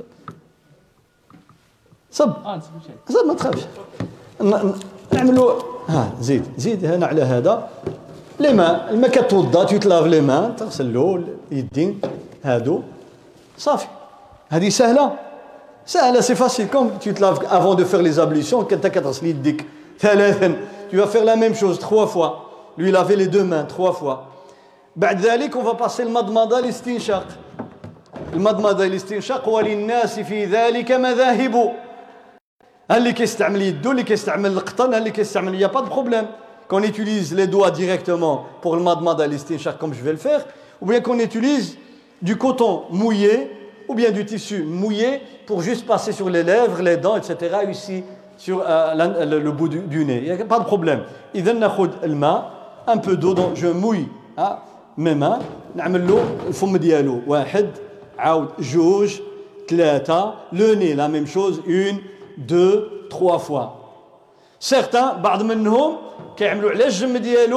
صب صب ما تخافش نعملوا ها زيد زيد هنا على هذا لي ماء الماء كتوضا تيتلاف لي ماء تغسلو اليدين هادو صافي. هذه سهله سهله سي فاسيل كوم tu te laves avant de faire les ablutions كنت كتغسل يديك ثلاثا tu vas faire la même chose trois fois lui laver les deux mains trois fois. بعد ذلك on va passer المضمضه الاستنشاق. المضمضه الاستنشاق وللناس في ذلك مذاهب. اللي كيستعمل يدو اللي كيستعمل القطن اللي كيستعمل يا با دو بروبليم qu'on utilise les doigts directement pour le madmada الاستنشاق comme je vais le faire ou bien qu'on utilise du coton mouillé ou bien du tissu mouillé pour juste passer sur les lèvres, les dents, et cetera ici sur euh, la, le, le bout du, du nez. Il n'y a pas de problème. إذا ناخذ الماء un peu d'eau donc je mouille hein, mes mains نعمل له الفم ديالو واحد عاود جوج ثلاثة le nez la même chose une deux trois fois. certains بعض منهم كيعملوا على الجم ديالو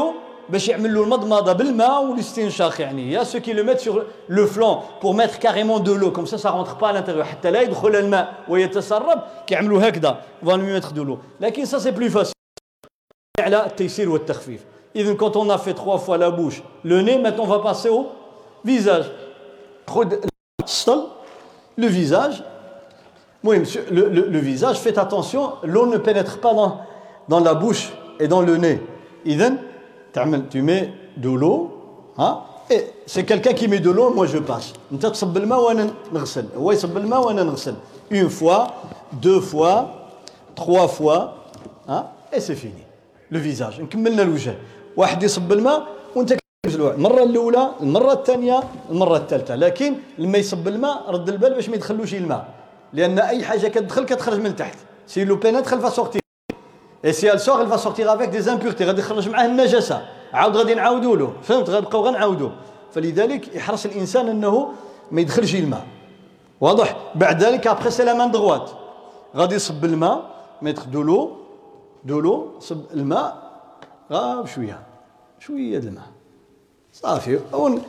باش يعملوا المضمضه بالماء والاستنشاق يعني يا ceux qui le mettent sur le flanc pour mettre carrément de l'eau comme ça ça rentre pas à l'intérieur حتى لا يدخل الماء ويتسرب كيعملوا هكذا on va lui mettre de l'eau لكن ça c'est plus facile على التيسير والتخفيف إذن quand on a fait trois fois la bouche le nez maintenant on va passer au visage خذ السطل le visage oui monsieur le, le, le visage faites attention l'eau ne pénètre pas dans dans la bouche et dans le nez إذن تعمل tu mets de l'eau hein et c'est quelqu'un qui met de l'eau moi je passe انت تصب الماء وانا نغسل هو يصب الماء وانا نغسل une fois deux fois trois fois hein et c'est fini le visage نكملنا الوجه واحد يصب الماء وانت كتغسلوه المره الاولى المره الثانيه المره الثالثه لكن لما يصب الماء رد البال باش ما يدخلوش الماء لان اي حاجه كتدخل كتخرج من تحت سي لو بينيتر فا سورتي et si elle sort elle va sortir avec des impuretés غادي يخرج معاه النجاسه عاود غادي نعاودوا له فهمت غنبقاو غنعاودوا فلذلك يحرص الانسان انه ما يدخلش الماء واضح بعد ذلك ابري سي لا مان دغوات غادي يصب الماء ميتر دو لو دو لو صب الماء غا بشويه شويه د الماء صافي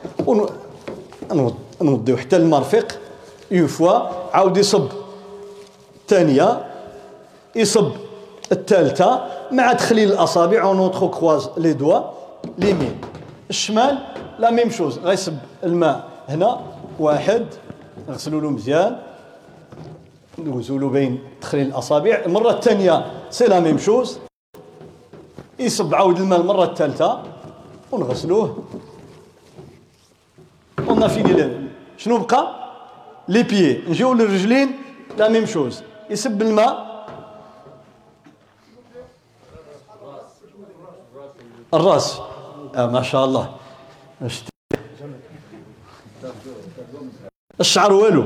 نوضيو حتى المرفق اون فوا عاود يصب الثانيه يصب الثالثه مع تخليل الاصابع ونوترو كروز لي دوا ليمين الشمال لا ميم شوز غيصب الماء هنا واحد نغسلوا له مزيان ندوزوا له بين تخليل الاصابع المره الثانيه سي لا ميم شوز يصب عاود الماء المره الثالثه ونغسلوه اون فيني شنو بقى لي بيي نجيو للرجلين لا ميم شوز يصب الماء الراس آه ما شاء الله الشعر والو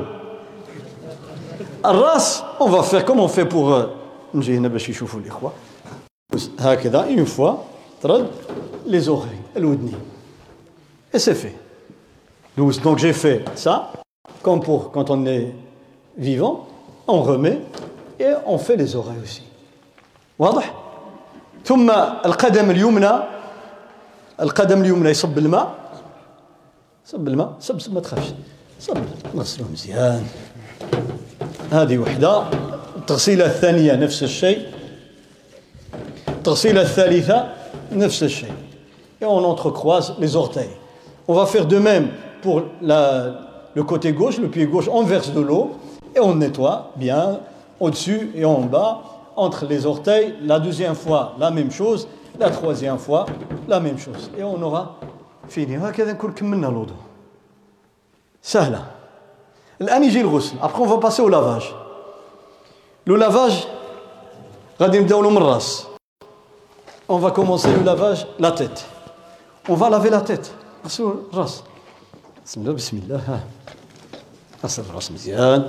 الراس on va faire comme on fait pour نجي هنا باش يشوفوا الاخوه هكذا une fois ترد les oreilles الودنين et c'est fait donc j'ai fait ça comme pour quand on est vivant on remet et on fait les oreilles aussi واضح ثم القدم اليمنى القدم اليمنى يصب الماء صب الماء صب صب ما تخافش صب نغسلوه مزيان هذه وحده التغسيله الثانيه نفس الشيء التغسيله الثالثه نفس الشيء et on entrecroise les orteils on va faire de même pour la, le côté gauche le pied gauche on verse de l'eau et on nettoie bien au-dessus et en bas entre les orteils la deuxième fois la même chose la troisième fois la même chose et on aura fini هكذا نكون كملنا الوضوء سهله الان يجي الغسل après on va passer au lavage le lavage غادي نبداو له من الراس on va commencer le lavage la tête on va laver la tête غسلوا الراس بسم الله بسم الله ها غسل الراس مزيان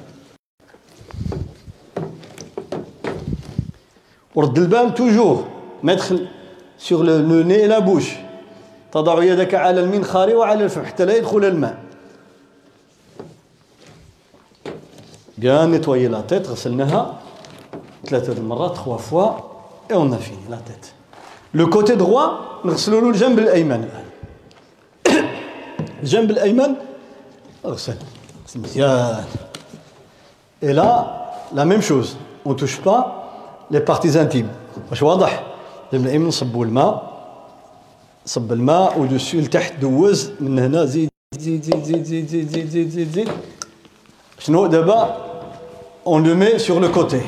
ورد البال toujours mettre sur le, le nez et la bouche تضع يدك على المنخار وعلى الفم حتى لا يدخل الماء bien nettoyer la tête غسلناها ثلاثة المرات trois fois et on a fini la tête le côté droit نغسلوا له الجنب الأيمن الآن الجنب الأيمن اغسل غسل مزيان et là la même chose on touche pas les parties intimes واش واضح الجنب الأيمن نصبوا الماء صب الماء ودسو لتحت دوز من هنا زيد زيد زيد زيد زيد زيد زيد زيد زيد زيد شنو دابا on le met sur le côté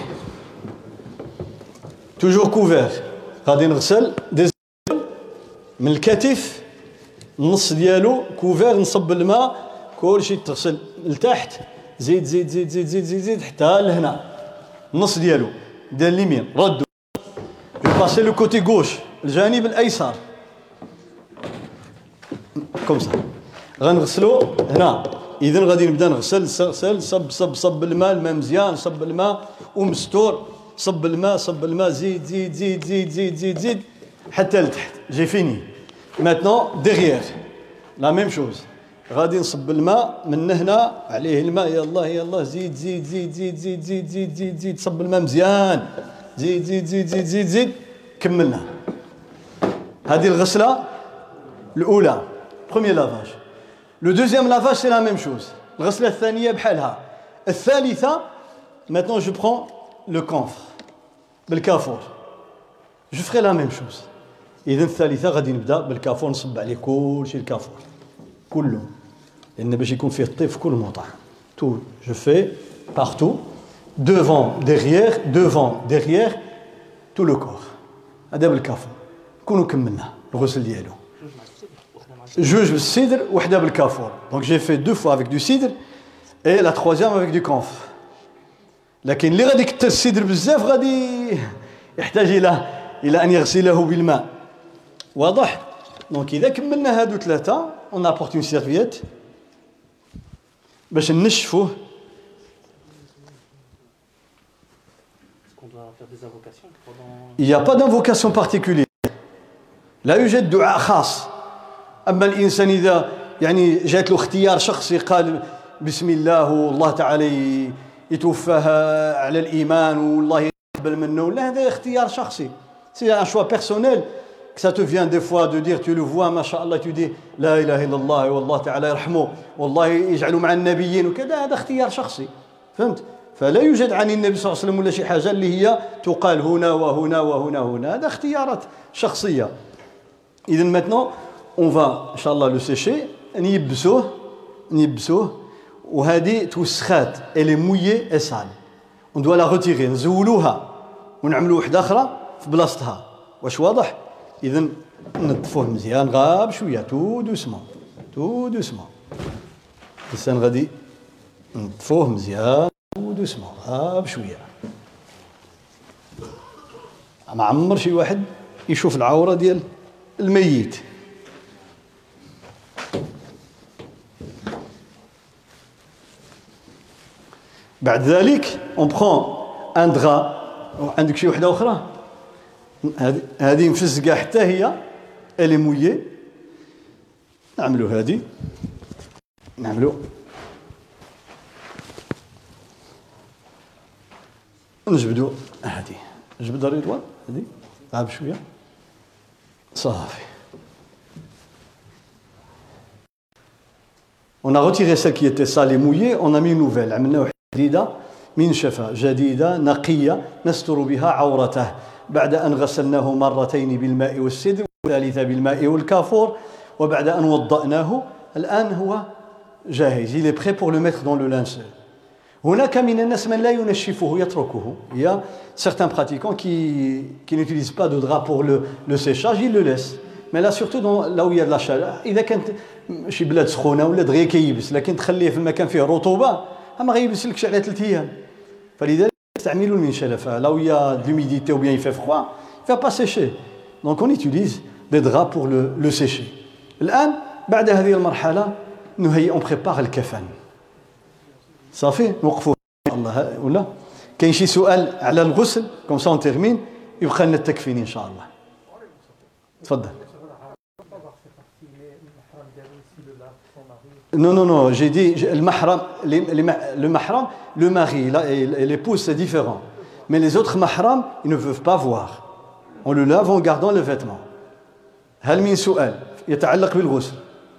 toujours couvert غادي نغسل من الكتف النص ديالو كوفير نصب الماء كلشي تغسل لتحت زيد زيد زيد زيد زيد زيد, زيد حتى لهنا النص ديالو ديال اليمين ردو جو باسي لو كوتي غوش الجانب الايسر كوم سا غنغسلو هنا اذا غادي نبدا نغسل غسل صب صب صب الماء الماء مزيان صب الماء ومستور صب الماء صب الماء زيد زيد زيد زيد زيد زيد زيد حتى لتحت جي فيني maintenant derrière la même chose غادي نصب الماء من هنا عليه الماء يلا يلا زيد زيد زيد زيد زيد زيد زيد زيد زيد صب الماء مزيان زيد زيد زيد زيد زيد زيد كملنا هذه الغسلة الأولى premier lavage. Le deuxième lavage c'est la même chose. الغسلة الثانية بحالها. الثالثة maintenant je prends le camphre بالكافور. Je ferai la même chose. إذن الثالثة غادي نبدأ بالكافور نصب عليه كل شيء الكافور كله لأن باش يكون فيه الطيب في كل موضع. Tout je fais partout devant derrière devant derrière tout le corps. هذا بالكافور. كونوا كملنا الغسل ديالو. جوج بالسدر وحده بالكافور. Donc j'ai fait deux fois avec du cidre et la troisième avec du camphre. لكن اللي غادي يكثر السدر بزاف غادي يحتاج الى الى ان يغسله بالماء. واضح؟ دونك اذا كملنا هادو ثلاثه on apporte une serviette باش نشفوه. Il n'y a pas d'invocation particulière. لا يوجد دعاء خاص. أما الإنسان إذا يعني جات له اختيار شخصي قال بسم الله والله تعالى يتوفاها على الإيمان والله يقبل منه، لا هذا اختيار شخصي. C'est un choix personnel. Que ça te vient des fois de dire, tu le vois, mashallah, tu dis لا إله إلا الله والله تعالى يرحمه والله يجعله مع النبيين وكذا، هذا اختيار شخصي. فهمت؟ فلا يوجد عن النبي صلى الله عليه وسلم ولا شي حاجة اللي هي تقال هنا وهنا وهنا وهنا، هذا اختيارات شخصية. إذن maintenant on va إن شاء الله le sécher، نيبسوه نيبسوه وهذه توسخات elle est mouillée et sale. On doit la retirer، نزولوها ونعملوا وحدة أخرى في بلاصتها. واش واضح؟ إذن نطفوه مزيان غاب شوية تو دوسمون تو دوسمون. الإنسان غادي نطفوه مزيان تو دوسمون غاب شوية. ما عمر شي واحد يشوف العورة ديال الميت. بعد ذلك on prend un drap. عندك شي وحدة أخرى؟ هذه هذه مفزقة حتى هي elle est mouillée. نعملوا هذه نعملوا نجبدوا هذه نجبد رضوان هذه غاب شوية صافي. On a retiré celle qui était sale et mouillée, on a mis une nouvelle. عملنا وحدة جديدة منشفة جديدة نقية نستر بها عورته بعد أن غسلناه مرتين بالماء والسدر والثالثة بالماء والكافور وبعد أن وضأناه. الآن هو جاهز. Il est prêt pour le mettre dans le linceul. هناك من الناس من لا ينشفه يتركه. Il y a certains pratiquants qui, qui n'utilisent pas de drap pour le, le séchage, ils le laissent. Mais là surtout dans, là où il y a de la chaleur. إذا كانت شي بلاد سخونة ولا دغيا كيبس، لكن تخليه في المكان فيه رطوبة ما غيبسلكش على ثلاث أيام. فلذلك استعملوا المنشلة. Là où il y a de l'humidité ou bien il fait froid, il ne va pas sécher. Donc on utilise des draps pour le, le sécher. الآن بعد هذه المرحلة نهيئ on prépare الكفن. صافي نوقفوا الله ولا كاين شي سؤال على الغسل كوم سا اون تيرمين يبقى لنا التكفين ان شاء الله. تفضل. Non, non, non, j'ai dit le mahram, les, les, le mahram, le mari là, et, et l'épouse, c'est différent. Mais les autres mahram, ils ne peuvent pas voir. On le lave en gardant le vêtement. هل من سؤال يتعلق بالغسل؟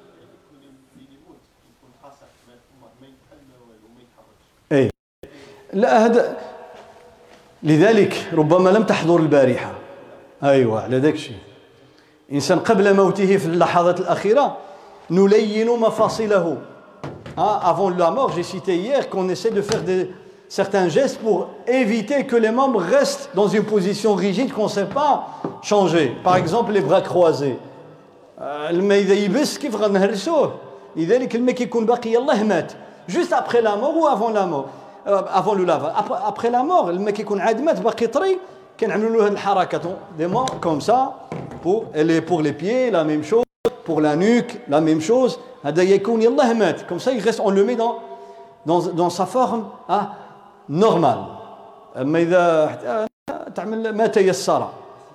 إيه لا هذا لذلك ربما لم تحضر البارحة. أيوة على ذاك الشيء. إنسان قبل موته في اللحظات الأخيرة نلين مفاصله. Avant la mort, j'ai cité hier qu'on essaie de faire des, certains gestes pour éviter que les membres restent dans une position rigide qu'on ne sait pas changer. Par exemple, les bras croisés. الماء إذا يبس كيف غنهرسوه؟ لذلك الماء كيكون باقي يلاه مات. Juste après la mort ou avant la mort, euh, avant le lavage. Après, après la mort, الماء كيكون عاد مات باقي طري كنعملوا له هذه الحركات des mains comme ça pour les pour les pieds la même chose. Pour la nuque, la même chose. Comme ça, il reste, on le met dans, dans, dans sa forme hein, normale. Mais ما تيسر.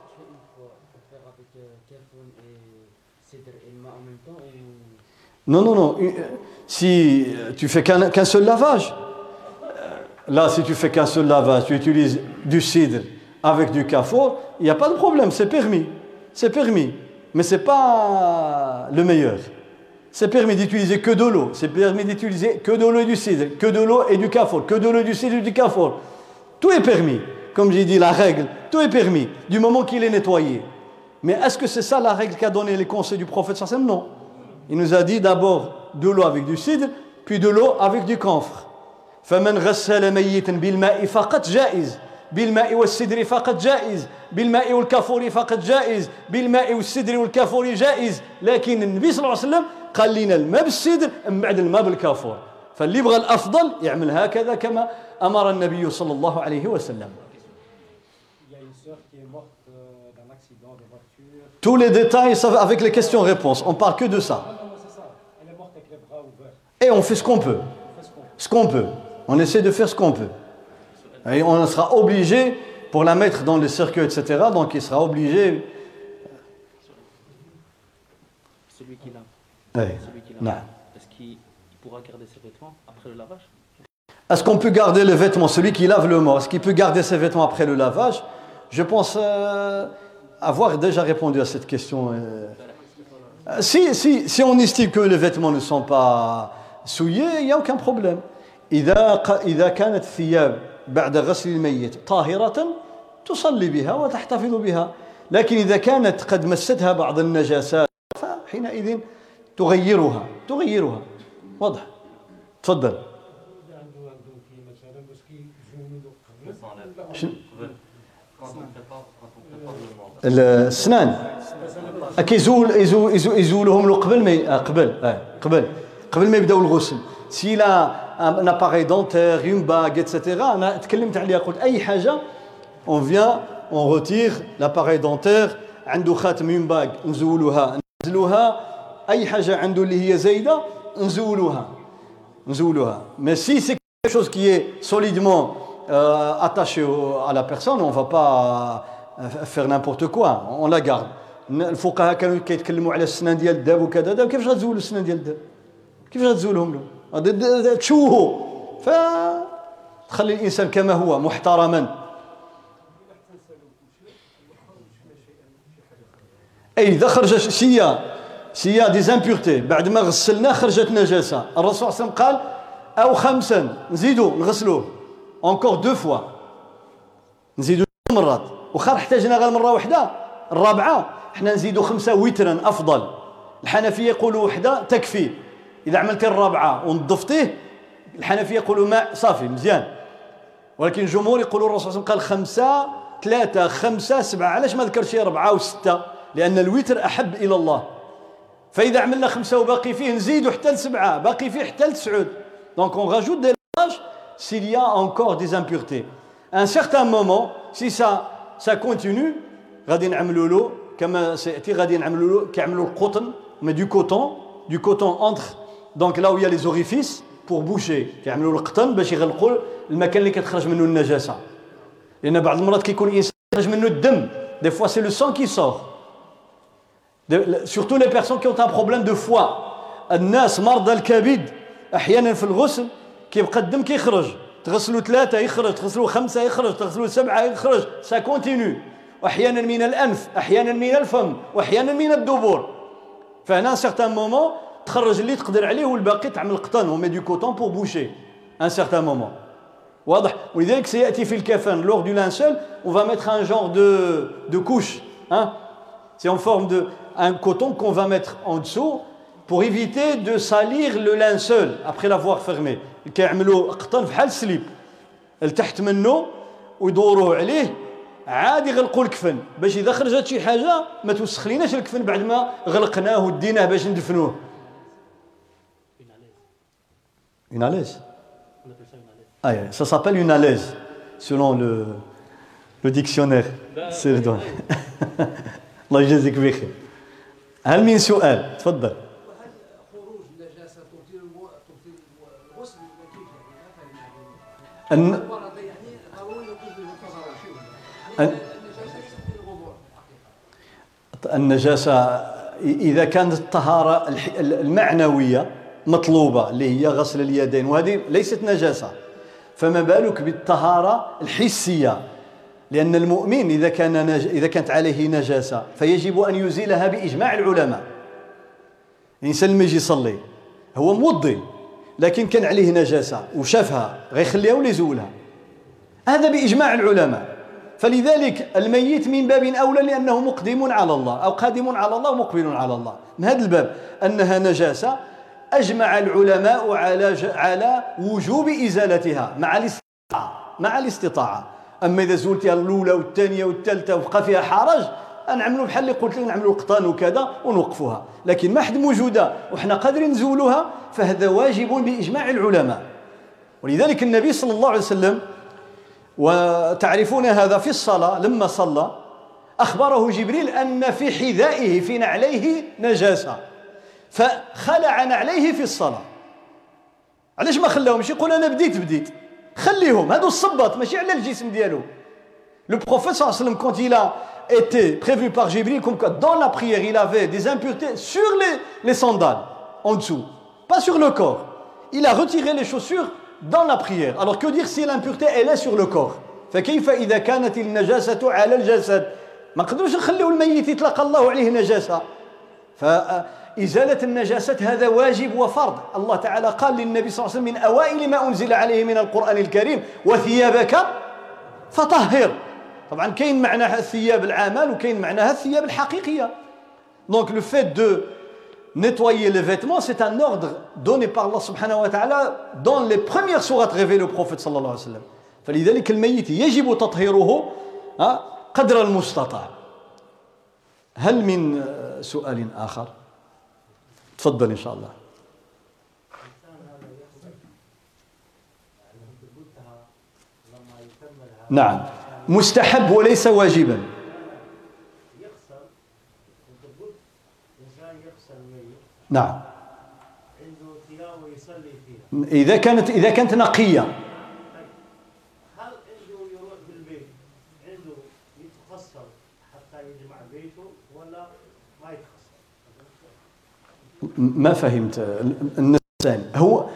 Non, non, non. Si tu fais qu'un, qu'un seul lavage, là, si tu fais qu'un seul lavage, tu utilises du cidre avec du kafur, il n'y a pas de problème, c'est permis. C'est permis. mais ce n'est pas le meilleur. C'est permis d'utiliser que de l'eau, c'est permis d'utiliser que de l'eau et du cidre, que de l'eau et du kafour, que de l'eau et du cidre et du kafour. Tout est permis. Comme j'ai dit, la règle, tout est permis, du moment qu'il est nettoyé. Mais est-ce que c'est ça la règle qu'a donné les conseils du prophète sallallahu alayhi wa sallam? Non. Il nous a dit d'abord de l'eau avec du cidre, puis de l'eau avec du camphre. فمن غسل ميتا بالماء فقط جائز بالماء والسدر فقط جائز بالماء والكافور فقط جائز بالماء والسدر والكافور جائز لكن النبي صلى الله عليه وسلم قال لنا الماء بالسدر من بعد الماء بالكافور فاللي يبغى الافضل يعمل هكذا كما امر النبي صلى الله عليه وسلم. Tous les détails avec les questions-réponses, on parle que de ça. Et on fait ce qu'on peut. Ce qu'on peut. On essaie de faire ce qu'on peut. Et on sera obligé, pour la mettre dans le cercueil, et cetera, donc il sera obligé... Celui qui lave. Oui. Celui qui lave. Est-ce qu'il pourra garder ses vêtements après le lavage? Est-ce qu'on peut garder le vêtement, celui qui lave le mort, est-ce qu'il peut garder ses vêtements après le lavage? Je pense euh, avoir déjà répondu à cette question. Euh, si, si, si on estime que les vêtements ne sont pas souillés, il n'y a aucun problème. إذا إذا كانت الثياب بعد غسل الميت طاهرة تصلي بها وتحتفظ بها، لكن إذا كانت قد مستها بعض النجاسات فحينئذ تغيرها تغيرها. واضح؟ تفضل. السنان كيزول يزول يزولهم له قبل ما قبل قبل قبل ما يبداو الغسل. S'il a un appareil dentaire, une bague, et cetera, on vient, on retire l'appareil dentaire, عنده خاتم une bague, نزولوها نزلوها أي حاجة عنده اللي هي زايدة نزولوها نزولوها. Mais si c'est quelque chose qui est solidement euh, attaché au, à la personne, on ne va pas euh, faire n'importe quoi, on la garde. الفقهاء كانوا كيتكلموا على السنان ديال الداب وكذا، كيفاش غتزولوا السنان ديال الداب؟ كيفاش غتزولهم له؟ تشوهه فتخلي الانسان كما هو محترما. اي اذا خرجت سيا سيا دي زامبورتي بعد ما غسلنا خرجت نجاسه، الرسول صلى الله عليه وسلم قال او خمسا نزيدوا نغسلوه انكور دو فوا، نزيدوا مرات، وخا احتاجنا غير مره واحده الرابعه حنا نزيدوا خمسه وترا افضل. الحنفيه يقولوا وحده تكفي، إذا عملتي الرابعة ونظفتيه الحنفية يقولوا ماء صافي مزيان، ولكن الجمهور يقولوا الرسول صلى الله عليه وسلم قال خمسة ثلاثة خمسة سبعة. علاش ما ذكرش أربعة وستة؟ لأن الوتر أحب إلى الله. فإذا عملنا خمسة وباقي فيه نزيدوا حتى لسبعة، باقي فيه حتى لتسعود. Donc on rajoute des lavages s'il y a encore des impuretés. À un certain moment, si ça ça continue, غادي نعملوا له كما سيأتي، غادي نعملوا له كيعملوا القطن mais du coton, du coton entre donc là où il y a les orifices pour boucher، كيعملوا القطن باش يغلقوا المكان اللي كتخرج منه النجاسه. لان بعض المرات كيكون الانسان يخرج منه الدم، des fois c'est le sang qui sort. surtout les personnes qui ont un problème de foie. الناس مرضى الكبد احيانا في الغسل كيبقى الدم كيخرج، تغسلوا ثلاثه يخرج، تغسلوا خمسه يخرج، تغسلوا سبعه يخرج، ça continue. واحيانا من الانف، احيانا من الفم، واحيانا من الدبر. فهنا un certain moment تخرج اللي تقدر عليه والباقي تعمل قطن ومي دو كوتون بور بوشي ان سيغتان مومون. واضح؟ ولذلك سياتي في الكفن لور دو لانسول on va mettre un genre de de couche, hein, c'est en forme de un coton qu'on va mettre en dessous pour éviter de salir le linceul après l'avoir fermé. كيعملوا قطن بحال السليب لتحت منه ويدوروه عليه عادي يغلقوا الكفن باش اذا خرجت شي حاجه ما توسخ ليناش الكفن بعد ما غلقناه وديناه باش ندفنوه. Une alaise. On appelle ça une alaise. Ah, yeah. Ça s'appelle une alaise, selon le, le dictionnaire. C'est le don. الله يجازيك بخير. هل من سؤال؟ تفضل. الن... النجاسة إذا كانت الطهارة المعنوية مطلوبة اللي هي غسل اليدين، وهذه ليست نجاسة، فما بالك بالطهارة الحسية لأن المؤمن إذا كان نج... إذا كانت عليه نجاسة فيجب أن يزيلها بإجماع العلماء. الإنسان لما يجي يصلي هو موضي لكن كان عليه نجاسة وشافها غيخليها ولا يزولها، هذا بإجماع العلماء. فلذلك الميت من باب أولى لأنه مقدم على الله أو قادم على الله ومقبل على الله. من هذا الباب أنها نجاسة أجمع العلماء على ج... على وجوب إزالتها مع الاستطاعة مع الاستطاعة. أما إذا زولتها الأولى والثانية والثالثة وبقى فيها حرج نعملوا بحال اللي قلت لك نعملوا قطان وكذا ونوقفوها، لكن ما حد موجودة وحنا قادرين نزولوها فهذا واجب بإجماع العلماء. ولذلك النبي صلى الله عليه وسلم وتعرفون هذا في الصلاة لما صلى أخبره جبريل أن في حذائه في نعليه نجاسة فخلع نعليه في الصلاة. علاش ما خلاهمش؟ يقول أنا بديت بديت خليهم هادو الصباط ماشي على الجسم ديالو. Le prophète sallallahu alayhi wa sallam, quand il a été prévenu par Jibril, comme que dans la prière il avait des impuretés sur les, les sandales en dessous, pas sur le corps, il a retiré les chaussures dans la prière. Alors que dire si l'impureté elle est sur le corps? فكيف إذا كانت النجاسة على الجسد؟ ما نقدروش نخليو الميت يطلق الله عليه نجاسة. فإزالة النجاسة هذا واجب وفرض. الله تعالى قال للنبي صلى الله عليه وسلم من أوائل ما أنزل عليه من القرآن الكريم وثيابك فطهر. طبعا كاين معناها الثياب العامل وكاين معناها الثياب الحقيقية. Donc le fait de nettoyer les vêtements c'est un ordre donné par Allah subhanahu wa ta'ala dans les premières sourates révélées au prophète صلى الله عليه وسلم. فلذلك الميت يجب تطهيره قدر المستطاع. هل من سؤال آخر؟ تفضل إن شاء الله. نعم مستحب وليس واجبا. نعم إذا كانت إذا كانت نقية. هل عنده يروح بالبيت عنده يتغسل حتى يجمع بيته ولا ما يتغسل؟ ما فهمت الإنسان هو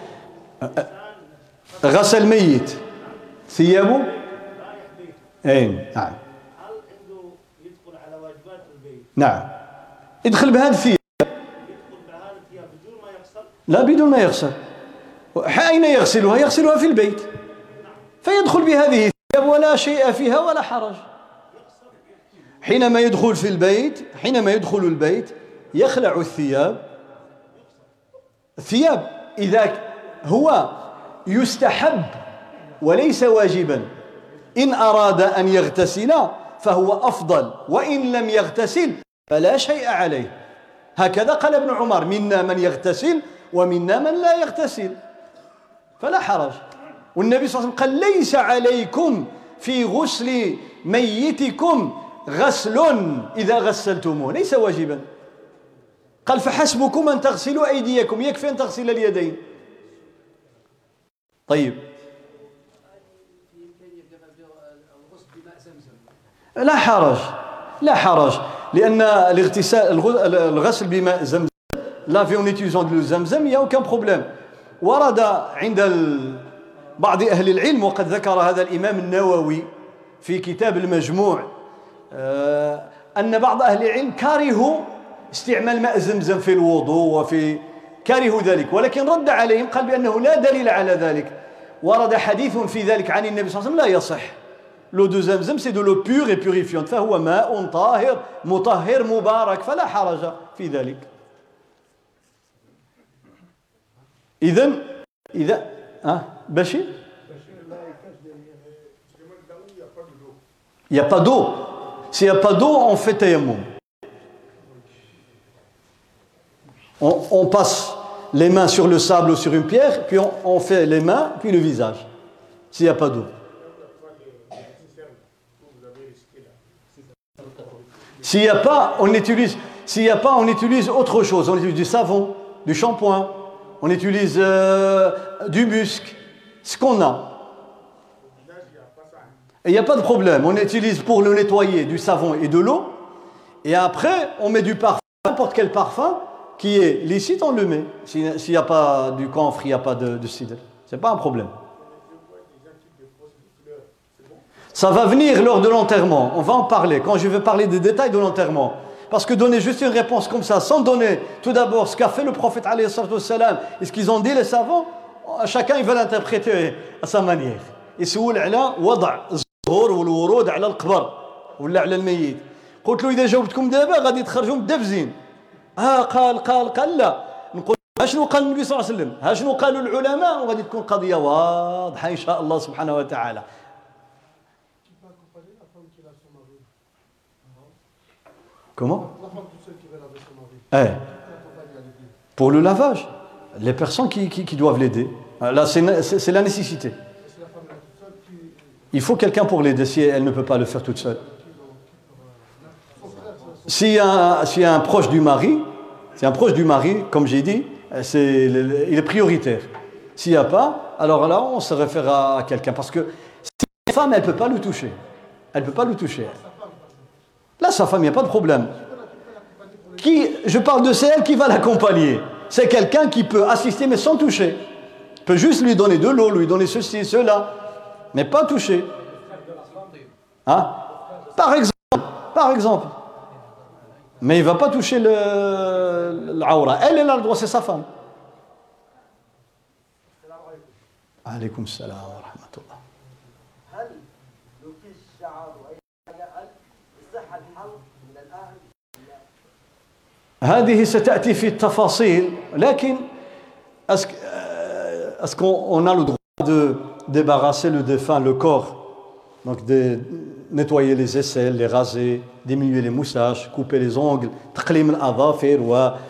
غسل ميت ثيابه اي نعم. هل عنده يدخل على واجبات البيت؟ نعم يدخل بهذا الثياب. يدخل بهذا الثياب بدون ما يغسل؟ لا بدون ما يغسل. أين يغسلها؟ يغسلها في البيت فيدخل بهذه الثياب ولا شيء فيها ولا حرج. حينما يدخل في البيت حينما يدخل البيت يخلع الثياب. الثياب إذا هو يستحب وليس واجبا. إن أراد أن يغتسل فهو أفضل وإن لم يغتسل فلا شيء عليه. هكذا قال ابن عمر منا من يغتسل ومنا من لا يغتسل فلا حرج. والنبي صلى الله عليه وسلم قال ليس عليكم في غسل ميتكم غسل إذا غسلتموه ليس واجبا. قال فحسبكم أن تغسلوا أيديكم يكفي أن تغسل اليدين. طيب لا حرج لا حرج لأن الاغتسال الغسل بماء زمزم لا في en utilisant de زمزم il y a aucun problème. ورد عند بعض أهل العلم وقد ذكر هذا الإمام النووي في كتاب المجموع أن بعض أهل العلم كرهوا استعمال ماء زمزم في الوضوء وفي كرهوا ذلك ولكن رد عليهم قال بأنه لا دليل على ذلك. ورد حديث في ذلك عن النبي صلى الله عليه وسلم لا يصح. L'eau de Zamzam c'est de l'eau pure et purifiante فهو ماء طاهر مطهر مبارك فلا حرج في ذلك. إذن إذا ها بشير il n'y a pas d'eau. S'il n'y a pas d'eau on fait tayammum. On, on passe les mains sur le sable ou sur une pierre puis on, on fait les mains puis le visage s'il n'y a pas d'eau. S'il n'y a pas, on utilise. S'il n'y a pas, on utilise autre chose. On utilise du savon, du shampoing, on utilise euh, du musc, ce qu'on a. Et il n'y a pas de problème. On utilise pour le nettoyer du savon et de l'eau. Et après, on met du parfum, n'importe quel parfum qui est licite, on le met. S'il n'y a pas du camphre, il n'y a pas de, de cidre. Ce n'est pas un problème. Ça va venir lors de l'enterrement. On va en parler quand je vais parler des détails de l'enterrement. Parce que donner juste une réponse comme ça, sans donner tout d'abord ce qu'a fait le prophète alayhi salatu wassalam et ce qu'ils ont dit les savants, chacun il va l'interpréter à sa manière. يسول على وضع الزهور والورود على القبر ولا على الميت. قلت له اذا جاوبتكم دابا غادي تخرجوا مدبزين. ها قال قال قال لا. نقول ها شنو قال النبي صلى الله عليه وسلم؟ ها شنو قالوا العلماء؟ وغادي تكون قضيه واضحه ان شاء الله سبحانه وتعالى. Comment? Eh, pour le lavage, les personnes qui, qui, qui doivent l'aider. Là, c'est, c'est, c'est la nécessité. Il faut quelqu'un pour l'aider si elle ne peut pas le faire toute seule. S'il y a, s'il y a un proche du mari, c'est un proche du mari, comme j'ai dit, c'est, il est prioritaire. S'il n'y a pas, alors là, on se réfère à quelqu'un. Parce que si la femme, elle ne peut pas le toucher. Elle ne peut pas le toucher. Là, sa femme, il n'y a pas de problème. Qui, je parle de celle qui va l'accompagner. C'est quelqu'un qui peut assister, mais sans toucher. Il peut juste lui donner de l'eau, lui donner ceci, cela, mais pas toucher. Hein? Par exemple. Par exemple. Mais il ne va pas toucher le, l'aura. Elle, elle a le droit, c'est sa femme. Alaykoum salam wa rahmatullah. هذه ستأتي في التفاصيل لكن est-ce qu'on a le droit de débarrasser le défunt, le corps, donc de nettoyer les aisselles, les raser, diminuer les moustaches, couper les ongles, تقليم الأظافر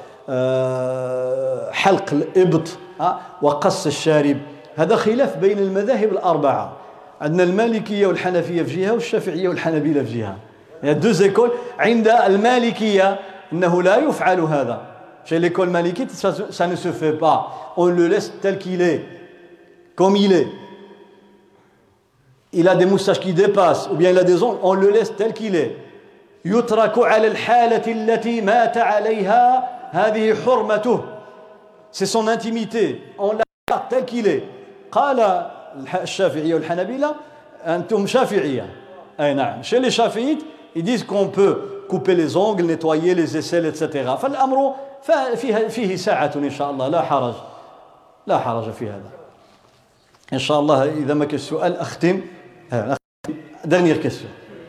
وحلق الإبط وقص الشارب. هذا خلاف بين المذاهب الأربعة. عندنا المالكية والحنفية في جهة والشافعية والحنابلة في جهة. Il y a deux écoles. عند المالكية إنه لا يفعل هذا. Chez l'école malikite, ça, ça ne se fait pas. On le laisse tel qu'il est, comme il est. Il a des moustaches qui dépassent, ou bien il a des ongles, on le laisse tel qu'il est. يترك على الحالة التي مات عليها هذه حرمته. C'est son intimité. On l'a tel qu'il est. قال الشافعية والحنابلة أنتم شافعية. أي نعم. Chez les chafiites, ils disent qu'on peut couper les ongles, nettoyer les aisselles, et cetera. فالأمر فيه فيه ساعة إن شاء الله لا حرج لا حرج في هذا. إن شاء الله إذا ما كان سؤال أختم. Dernière question.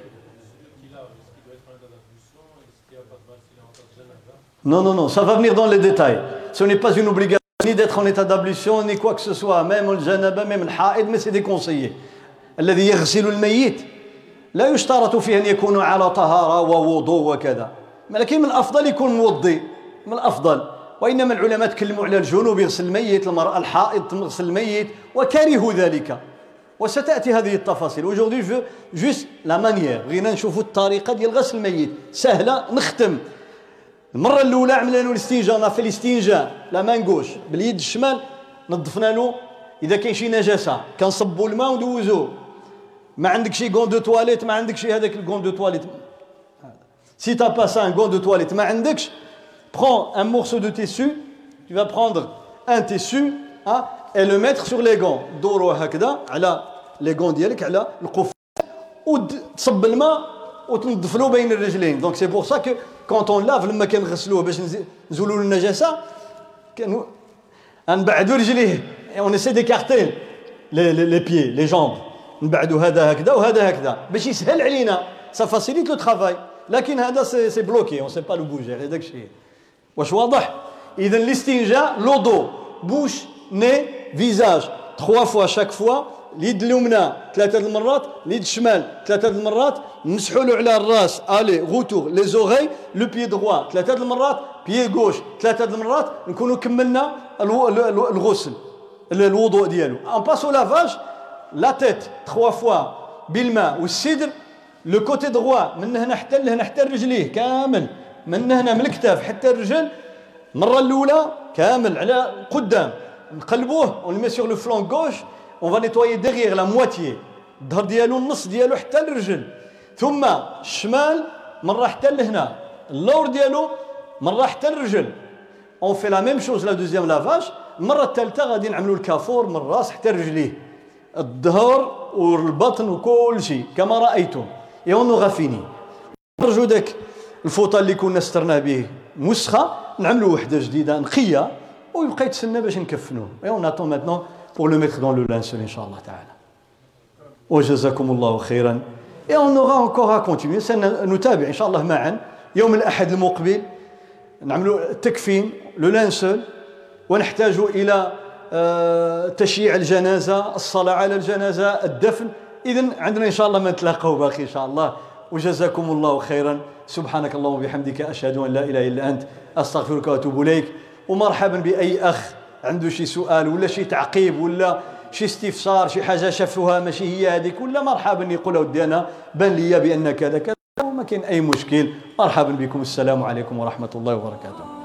Non, non, non, ça va venir dans les détails. Ce n'est pas une obligation ni d'être en état d'ablution, ni quoi que ce soit, même le janaba, même le haïd, mais c'est déconseillé. الذي يغسل الميت لا يشترط فيه أن يكون على طهارة ووضوء وكذا. لكن من الأفضل يكون موضي، من الأفضل. وإنما العلماء تكلموا على الجنوب يغسل الميت، المرأة الحائض تغسل الميت، وكرهوا ذلك. وستأتي هذه التفاصيل. Aujourd'hui je veux juste la manière. بغينا نشوفوا الطريقة ديال غسل الميت سهلة. نختم. المرة الأولى عملنا له الاستنجاء، نافي الاستنجاء لا مان غوش باليد الشمال، نظفنا له إذا كاين شي نجاسة كنصبوا الماء وندوزوه. ما عندك شي غون دو تواليت، ما عندك شي هذاك الغون دو تواليت. Si tu n'as pas ça, un gant de toilette, ما عندكش، prends un morceau de tissu, tu vas prendre un tissu hein, et le mettre sur les gants. دورو هكذا على les gants ديالك على القفاز وتصب الماء وتنظف له بين الرجلين. Donc c'est pour ça que quand on lave لما كنغسلوه باش نزولوا النجاسة كانوا نبعدوا رجليه et on essaie d'écarter les, les, les pieds, les jambes. نبعدوا هذا هكذا وهذا هكذا باش يسهل علينا. Ça facilite le travail. لكن هذا سي سي بلوكي، on sait pas le bouger. هذاك الشيء. واش واضح؟ إذا الاستنجاء لودو بوش ني فيزاج trois fois chaque fois. اليد اليمنى ثلاثة المرات، اليد الشمال ثلاثة المرات، نمسحوا له على الراس الي غوتور لي زوغي. لو بيي دروا ثلاثة المرات، بيي غوش ثلاثة المرات، نكونوا كملنا الغسل الوضوء ديالو. ان باسو لافاج لا تيت trois fois بالماء والسدر. لو كوتي دروا من هنا حتى لهنا حتى رجليه كامل، من هنا من الكتاف حتى الرجل المره الاولى كامل على قدام نقلبوه. on le met sur le flanc gauche. On va nettoyer derrière la moitié. الظهر ديالو النص ديالو حتى الرجل. ثم الشمال مره حتى لهنا، اللور ديالو مره حتى الرجل. on fait la même chose la deuxième lavage. المره الثالثه غادي نعملوا الكافور من الراس حتى رجليه. الظهر والبطن وكل شيء كما رأيتم. Et on aura fini. نرجو داك الفوطه اللي كنا سترناه به مسخه نعملوا وحده جديده نقيه ويبقى يتسنى باش نكفنوه. Et on attend maintenant pour le mettre dans le linceul inchallah ta'ala. وجزاكم الله خيرا. Et on aura encore à continuer. سنتابع ان شاء الله معا يوم الاحد المقبل نعملوا التكفين لو لانسول ونحتاج الى تشييع الجنازه، الصلاه على الجنازه، الدفن. اذن عندنا ان شاء الله ما نتلاقاو باقي ان شاء الله. وجزاكم الله خيرا. سبحانك اللهم وبحمدك اشهد ان لا اله الا انت استغفرك واتوب اليك. ومرحبا باي اخ عنده شي سؤال ولا شي تعقيب ولا شي استفسار، شي حاجه شافوها ماشي هي هذيك، ولا مرحبا يقول ودي انا بان لي بان كذا كذا وما كاين اي مشكل. مرحبا بكم. السلام عليكم ورحمه الله وبركاته.